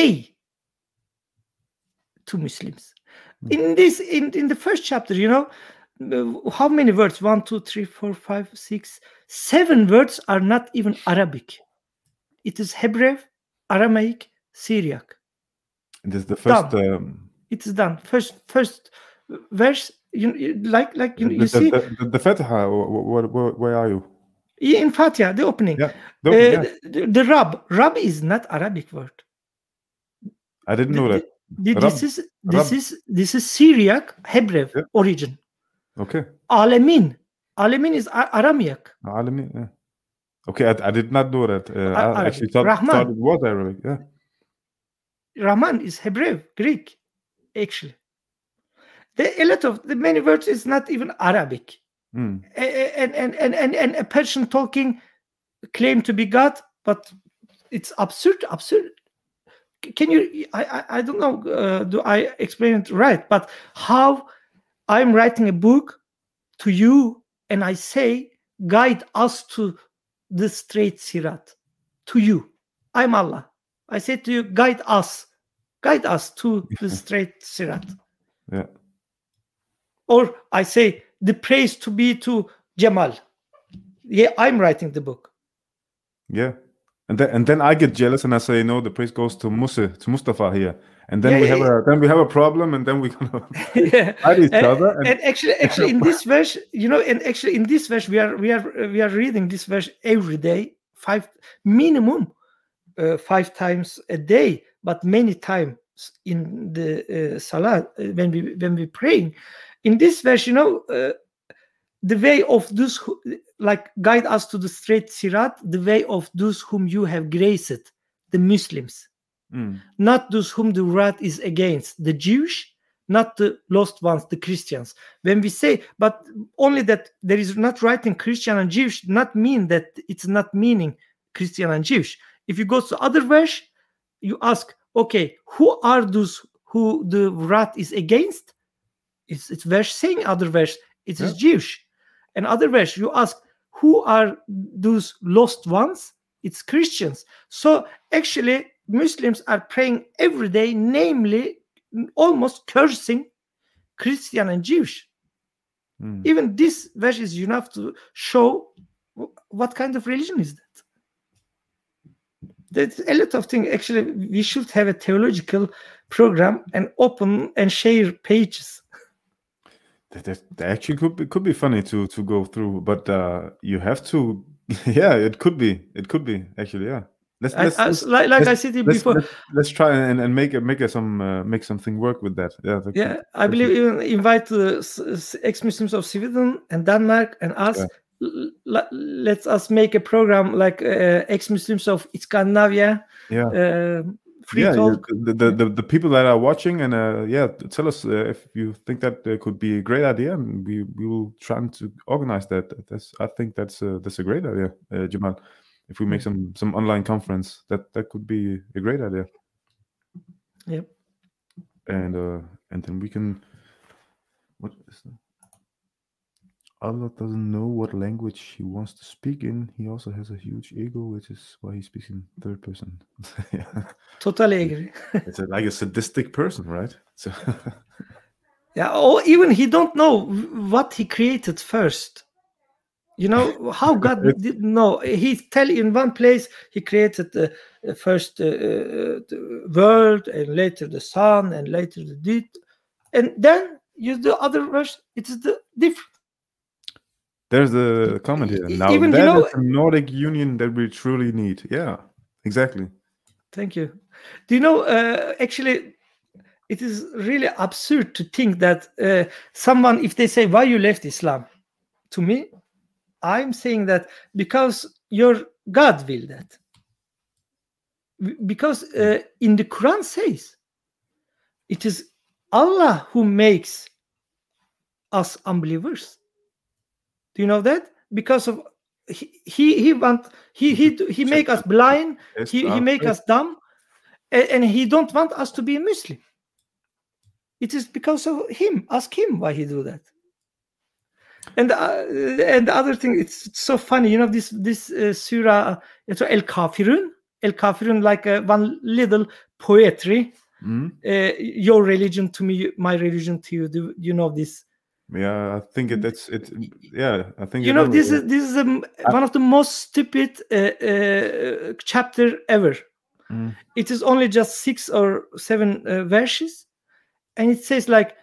to Muslims. In the first chapter, how many words? 1, 2, 3, 4, 5, 6, 7 words are not even Arabic. It is Hebrew, Aramaic, Syriac. And this is the first. It is done. First verse. You see the Fatiha. Where are you? In Fatiha, the opening. Yeah. The Rab is not Arabic word. I didn't know that. This is Syriac Hebrew origin. Okay. Alamin is Aramaic. Alamin. Yeah. Okay, I did not know that. I actually thought it was Arabic. Yeah. Rahman is Hebrew, Greek, actually. A lot of the many words is not even Arabic. And a person talking claim to be God, but it's absurd. Can you? I don't know. Do I explain it right? But how I'm writing a book to you, and I say, guide us to the straight sirat. To you, I'm Allah. I say to you, guide us to the straight sirat. Yeah. Or I say the praise to be to Jamal. Yeah, I'm writing the book. Yeah. And then I get jealous and I say, no, the praise goes to Mustafa here. And then we have a problem, and then we're gonna fight each other. And actually in this verse, we are reading this verse every day, 5 times a day, but many times in the salat when we praying. In this verse, the way of those who like guide us to the straight sirat, the way of those whom you have graced, the Muslims, not those whom the wrath is against, the Jewish, not the lost ones, the Christians. When we say, but only that there is not writing Christian and Jewish, not mean that it's not meaning Christian and Jewish. If you go to other verse, you ask, okay, who are those who the wrath is against? It's verse saying other verse, it is Jewish. And other verse, you ask, who are those lost ones? It's Christians. So actually, Muslims are praying every day, namely, almost cursing Christian and Jewish. Even this verse is enough to show what kind of religion is that. There's a lot of things. Actually, we should have a theological program and open and share pages. That actually could be funny to go through, but you have to. Yeah, it could be actually. Yeah. I said it before. Let's try and make something work with that. Yeah. I believe even invite the ex-Muslims of Sweden and Denmark and us. Yeah. Let us make a program like ex-Muslims of Scandinavia. Yeah. Free talk. The people that are watching and tell us if you think that could be a great idea, and we will try to organize that. I think that's a great idea, Jamal. If we make some online conference, that could be a great idea. Yep. And then we can. What is that? Allah doesn't know what language he wants to speak in. He also has a huge ego, which is why he speaks in third person. Yeah. Totally agree. It's like a sadistic person, right? So yeah, or even he don't know what he created first. How God didn't know. He tell in one place he created the first the world, and later the sun, and later the deed, and then use the other verse. It is the different. There's a comment here. Now even, that is a Nordic union that we truly need. Yeah, exactly. Thank you. Do you know, actually, it is really absurd to think that someone, if they say, why you left Islam? To me, I'm saying that because your God will that. Because in the Quran says, it is Allah who makes us unbelievers. Do you know that? Because of he make us blind, he make us dumb, and he don't want us to be a Muslim. It is because of him. Ask him why he do that. And the other thing, it's so funny. This surah, El Kafirun, like one little poetry. Your religion to me, my religion to you. Do you know this? Yeah, I think that's it. Yeah, I think this is one of the most stupid chapter ever. It is only just 6 or 7 verses, and it says like,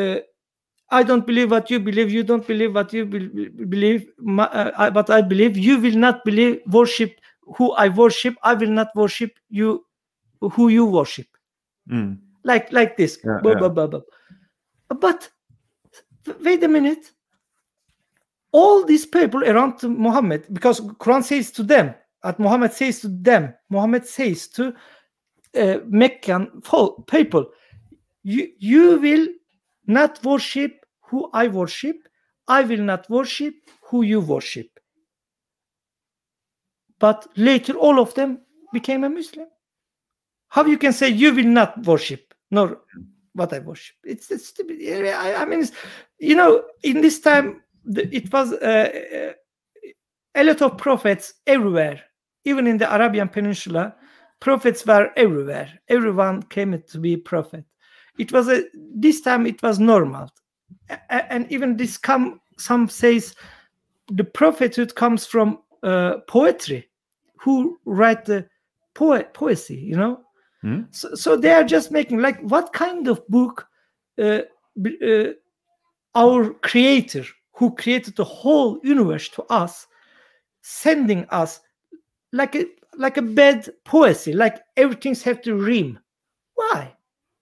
I don't believe what you believe. You don't believe what you believe. But I believe. You will not believe worship who I worship. I will not worship you who you worship. Like this. Yeah. But wait a minute. All these people around Muhammad, because Quran says to them, and Muhammad says to them, Muhammad says to Meccan people, you will not worship who I worship. I will not worship who you worship. But later, all of them became a Muslim. How you can say you will not worship nor what I worship? It's stupid. I mean, in this time, it was a lot of prophets everywhere. Even in the Arabian Peninsula, prophets were everywhere. Everyone came to be a prophet. It was this time it was normal, and even this some says the prophethood comes from poetry. Who write the poesy? So they are just making like what kind of book our Creator, who created the whole universe to us, sending us like a bad poesy, like everything's have to rhyme. Why?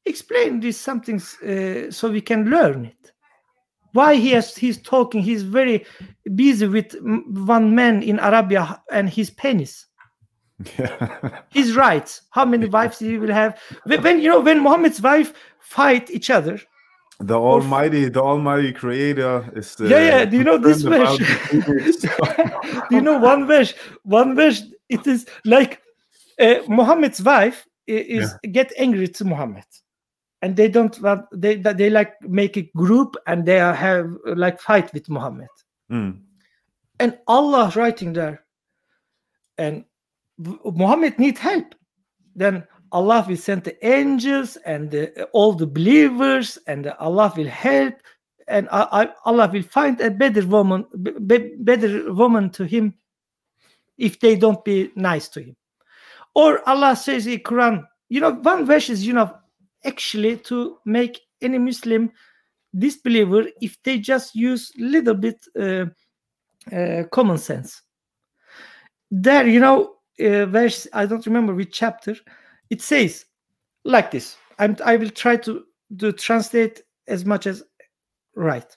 explain these something so we can learn it. Why he's talking? He's very busy with one man in Arabia and his penis. Yeah. His rights. How many wives he will have? When Muhammad's wife fight each other. The Almighty Creator is. Do you know this verse? Do you know one verse? One verse. It is like Muhammad's wife get angry to Muhammad, and they don't want. They like make a group and they have like fight with Muhammad. And Allah writing there, and Muhammad need help. Then Allah will send the angels and all the believers, and Allah will help, and Allah will find a better woman to him if they don't be nice to him. Or Allah says in Quran, one verse is, actually to make any Muslim disbeliever if they just use little bit common sense. There, verse, I don't remember which chapter. It says like this. I will try to translate as much as right.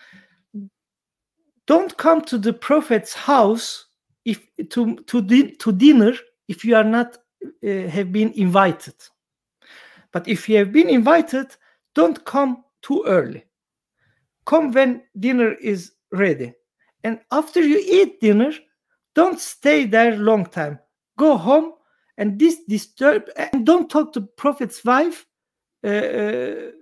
Don't come to the prophet's house to dinner if you are not have been invited. But if you have been invited, don't come too early. Come when dinner is ready. And after you eat dinner, don't stay there long time. Go home. And this and don't talk to prophet's wife, and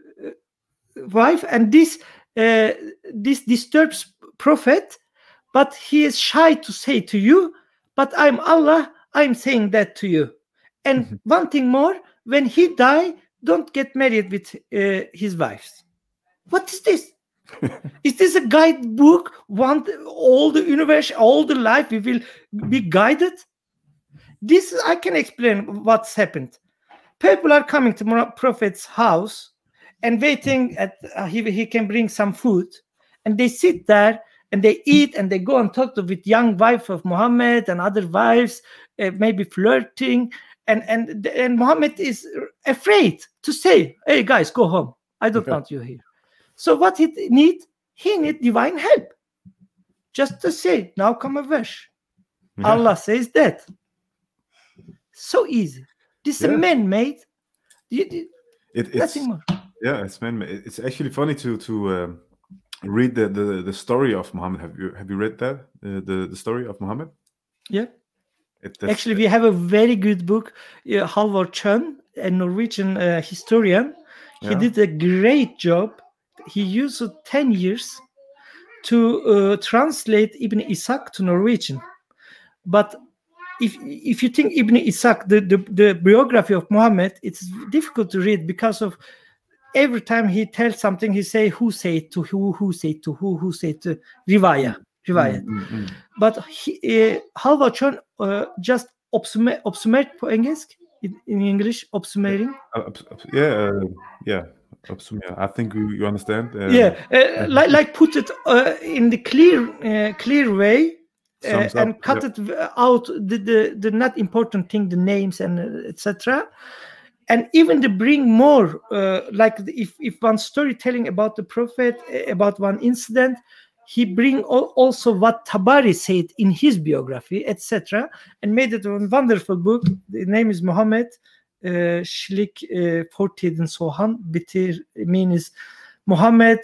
this disturbs prophet, but he is shy to say to you, but I'm Allah, I'm saying that to you. And one thing more, when he die, don't get married with his wives. What is this? Is this a guidebook? All the universe, all the life, we will be guided? This I can explain what's happened. People are coming to Prophet's house and waiting at he can bring some food, and they sit there and they eat and they go and talk with young wife of Muhammad and other wives, maybe flirting, and Muhammad is afraid to say, "Hey guys, go home. I don't want you here." So what he need divine help. Just to say, now come a verse. Allah says that. So easy. This is man-made. Nothing more. Yeah, it's man-made. It's actually funny to read the story of Muhammad. Have you read that? The story of Muhammad? Yeah. Actually, we have a very good book. Halvor Chønn, a Norwegian historian. He did a great job. He used 10 years to translate Ibn Ishaq to Norwegian. But if you think Ibn Ishaq, the biography of Muhammad, it's difficult to read because of every time he tells something, he say who say it to who say it to who say it to riwayat. But Halvor Chønn just oppsummert på engelsk, in English, oppsummering. I think you understand. Like put it in the clear way. And cut it out the not important thing, the names and etc. And even to bring more, like if one storytelling about the prophet, about one incident, he bring also what Tabari said in his biography, etc. And made it a wonderful book. The name is Muhammad Slik Fortiden Sohan Bitir, means Muhammad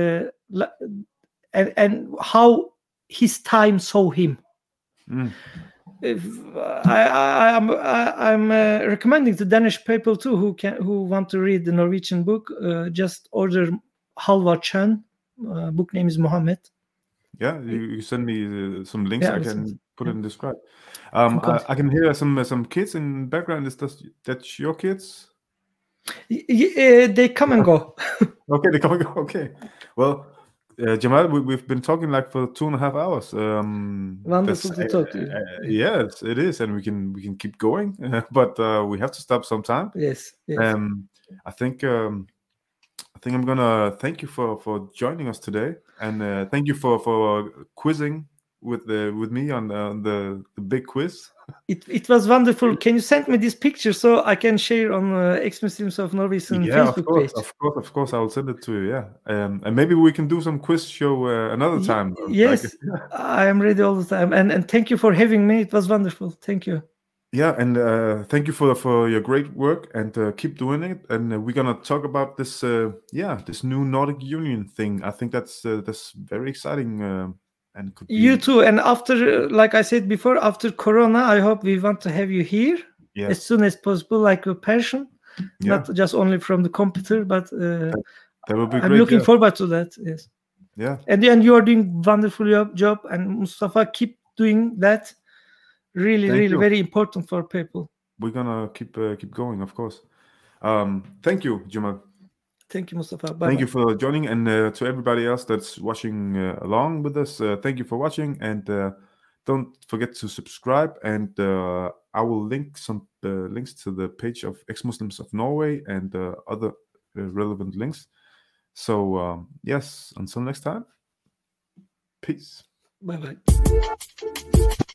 and how his time saw him. I'm recommending to Danish people too who want to read the Norwegian book. Just order Halvor Chønn. Book name is Muhammad. Yeah, you send me some links. I can put it in the description. I can hear some kids in the background. Is that your kids? They come and go. Okay, they come and go. Okay, well. Jamal, we've been talking like for 2.5 hours. Wonderful to talk to you. Yes, it is, and we can keep going, but we have to stop sometime. Yes. I think I'm gonna thank you for joining us today, and thank you for quizzing with me on the big quiz. It was wonderful. Can you send me this picture so I can share on Ex-Muslims of Norway's Facebook page? Of course, I will send it to you. Yeah, and maybe we can do some quiz show another time. Yes, I am ready all the time. And thank you for having me. It was wonderful. Thank you. Yeah, and thank you for your great work, and keep doing it. And we're gonna talk about this this new Nordic Union thing. I think that's very exciting. And could be... You too. And after, like I said before, after Corona, I hope we want to have you here as soon as possible, like a person, not just only from the computer, but that will be I'm great, looking forward to that. Yes. Yeah. And you are doing wonderful job, and Mustafa, keep doing that. Really, very important for people. We're gonna keep going, of course. Thank you, Jamal. Thank you, Mustafa. Bye-bye. Thank you for joining, and to everybody else that's watching along with us, thank you for watching, and don't forget to subscribe. And I will link some links to the page of Ex-Muslims of Norway and other relevant links. So yes, until next time, peace. Bye-bye.